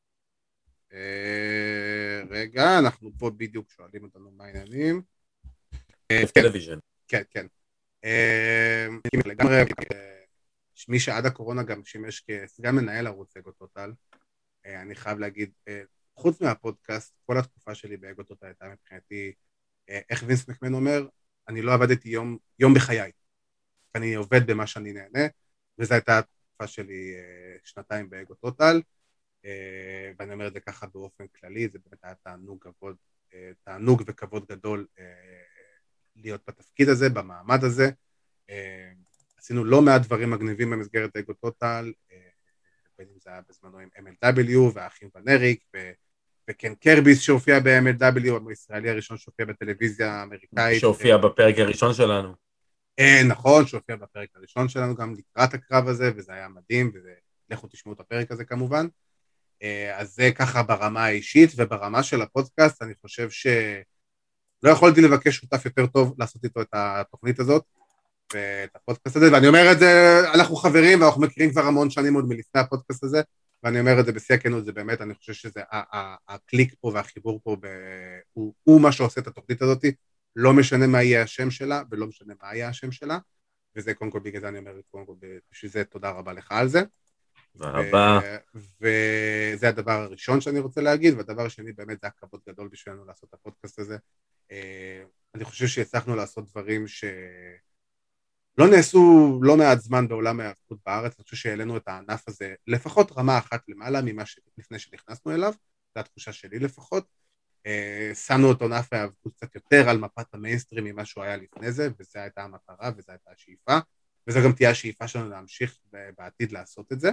B: רגע, אנחנו פה בדיוק שואלים אותנו מה העניינים.
C: טלוויז'ן.
B: כן, כן. לגמרי, מי שעד הקורונה גם שימש כסגן מנהל ערוץ אגו טוטל, אני חייב להגיד, חוץ מהפודקאסט, כל התקופה שלי באגו טוטל הייתה מבחינתי, איך וינס מקמן אומר, אני לא עבדתי יום, יום בחיי, אני עובד במה שאני נהנה, וזו הייתה התקופה שלי שנתיים באגו טוטל, ואני אומר את זה ככה באופן כללי, זה באמת היה תענוג, כבוד, תענוג וכבוד גדול להיות בתפקיד הזה, במעמד הזה. עשינו לא מעט דברים מגניבים במסגרת אגו טוטל, בין אם זה היה בזמנו עם אם אל דאבליו והאחים ונריק, וקן קרביס שהופיע ב-אם אל דאבליו, הישראלי הראשון שהופיע בטלוויזיה האמריקאית.
C: שהופיע בפרק הראשון שלנו.
B: נכון, שהופיע בפרק הראשון שלנו גם לקראת הקרב הזה, וזה היה מדהים, ולכו תשמעו את הפרק הזה כמובן. אז זה ככה ברמה האישית, וברמה של הפודקאסט אני חושב שלא יכולתי לבקש שותף יותר טוב לעשות איתו את התוכנית הזאת, ואת הפודקאסט הזה, ואני אומר את זה, אנחנו חברים ואנחנו מכירים כבר המון שנים עוד מלפני הפודקאסט הזה, ואני אומר את זה בשיא הכנות, זה באמת, אני חושב שזה, הקליק פה והחיבור פה, הוא מה שעושה את התוכנית הזאת, לא משנה מה יהיה השם שלה, ולא משנה מה יהיה השם שלה, וזה קודם כל בגלל זה אני אומר, קודם כל בשביל זה תודה רבה לך על זה.
C: רבה.
B: וזה הדבר הראשון שאני רוצה להגיד, והדבר השני באמת זה הכבוד גדול בשבילנו לעשות את הפודקאסט הזה. אני חושב שהצלחנו לעשות דברים שלא נעשו לא מעט זמן בעולם ההאבקות בארץ, אני חושב שהעלינו את הענף הזה לפחות רמה אחת למעלה ממה שלפני שנכנסנו אליו, זו התחושה שלי לפחות. שמנו את ענף ההאבקות קצת יותר על מפת המיינסטרים ממה שהוא היה לפני זה, וזו הייתה המטרה וזו הייתה השאיפה, וזו גם תהיה השאיפה שלנו להמשיך בעתיד לעשות את זה.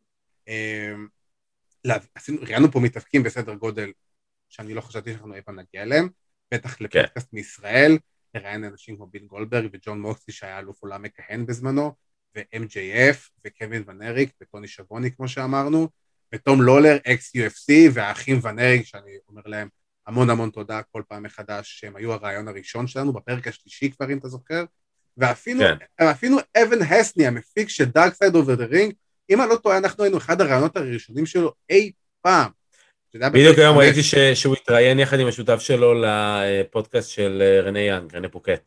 B: ראיינו פה מתאבקים בסדר גודל שאני לא חשבתי שאנחנו אי פעם נגיע אליהם, בטח לפודקאסט מישראל, ראיין אנשים כמו ביל גולדברג וג'ון מוקסלי שהיה אלוף עולם מכהן בזמנו, ו-אם ג'יי אף וקווין ונריק וטוני שבוני כמו שאמרנו, ותום לולר, אקס יו אף סי והאחים ונריק, שאני אומר להם המון המון תודה כל פעם מחדש, שהם היו הרעיון הראשון שלנו, בפרק השלישי כבר אם אתה זוכר, ואפילו אבן הסני, המפיק של Dark Side of the Ring, אם אני לא טועה, אנחנו היינו אחד הרעיונות הראשונים שלו אי פעם.
C: בדיוק היום ראיתי שהוא התראיין יחד עם השותף שלו לפודקאסט של רנה יאנג, רנה פוקט.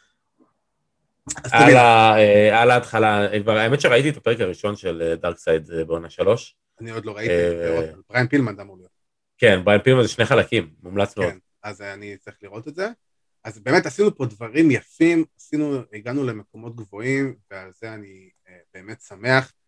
C: על ההתחלה, האמת שראיתי את הפרק הראשון של Dark Side בעונה שלוש.
B: אני עוד לא ראיתי, בריין פילמן דמו להיות.
C: כן, בריין פילמן זה שני חלקים, מומלץ מאוד.
B: כן, אז אני צריך לראות את זה. אז באמת עשינו פה דברים יפים, עשינו, הגענו למקומות גבוהים, ועל זה אני באמת שמח.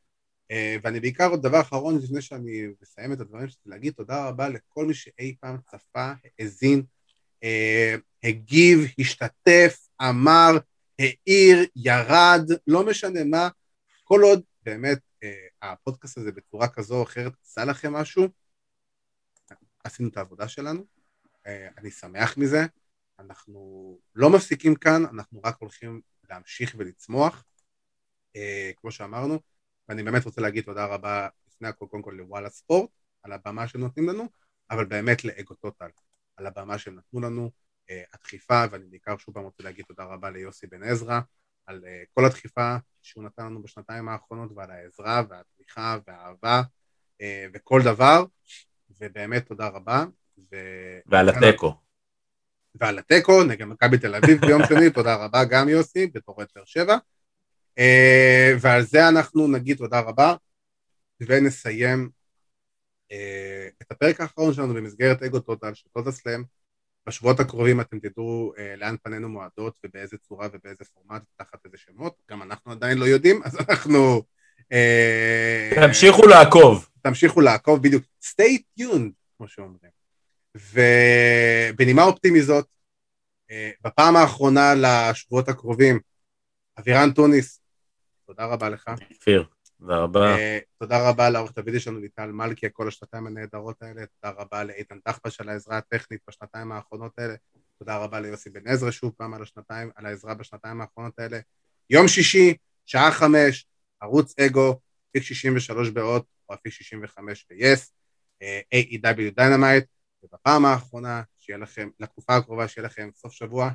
B: ואני בעיקר עוד דבר אחרון, לפני שאני מסיים את הדברים שלי, להגיד תודה רבה לכל מי שאי פעם צפה, האזין, הגיב, השתתף, אמר, העיר, ירד, לא משנה מה, כל עוד באמת הפודקאסט הזה בצורה כזו או אחרת עשה לכם משהו, עשינו את העבודה שלנו, אני שמח מזה, אנחנו לא מפסיקים כאן, אנחנו רק הולכים להמשיך ולצמוח, כמו שאמרנו, ואני באמת רוצה להגיד תודה רבה לפני הכל, קודם כל לוואלה ספורט, על הבמה שנותנים לנו, אבל באמת לאגו טוטל, על הבמה שהם נתנו לנו, הדחיפה, ואני בעיקר שוב פעם רוצה להגיד תודה רבה ליוסי בן עזרא, על כל הדחיפה שהוא נתן לנו בשנתיים האחרונות, ועל העזרה והתמיכה והאהבה, וכל דבר, ובאמת תודה רבה. ו...
C: ועל הטקו.
B: ועל הטקו, נגד מכבי תל אביב ביום שני, תודה רבה גם יוסי, בתור את באר שבע. ועל זה אנחנו נגיד תודה רבה, ונסיים את הפרק האחרון שלנו במסגרת אגו טוטל של טוטל סלאם. בשבועות הקרובים אתם תדעו לאן פנינו מועדות ובאיזה צורה ובאיזה פורמט תחת איזה שמות, גם אנחנו עדיין לא יודעים, אז אנחנו...
C: תמשיכו לעקוב.
B: תמשיכו לעקוב, בדיוק. Stay tuned, כמו שאומרים. ובנימה אופטימית זאת, בפעם האחרונה לשבועות הקרובים, אבירן טוניס, תודה רבה לך.
C: כפיר, תודה רבה.
B: תודה רבה לעורכת הוידאו שלנו ליטל מלכי, כל השנתיים הנהדרות האלה, תודה רבה לאיתן דחבש על העזרה הטכנית בשנתיים האחרונות האלה, תודה רבה ליוסי בן עזרא שוב פעם על השנתיים, על העזרה בשנתיים האחרונות האלה. יום שישי, שעה חמש, ערוץ אגו, אפיק שישים ושלוש באות, או אפיק שישים וחמש ב-Yes, איי אי דאבליו Dynamite, ובפעם האחרונה, שיהיה לכם, לתקופה הקרובה, שיהיה לכם סוף שבוע.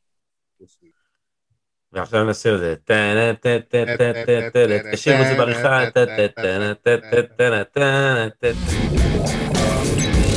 C: ועכשיו נעשה את זה. תשאירו את זה בעריכה.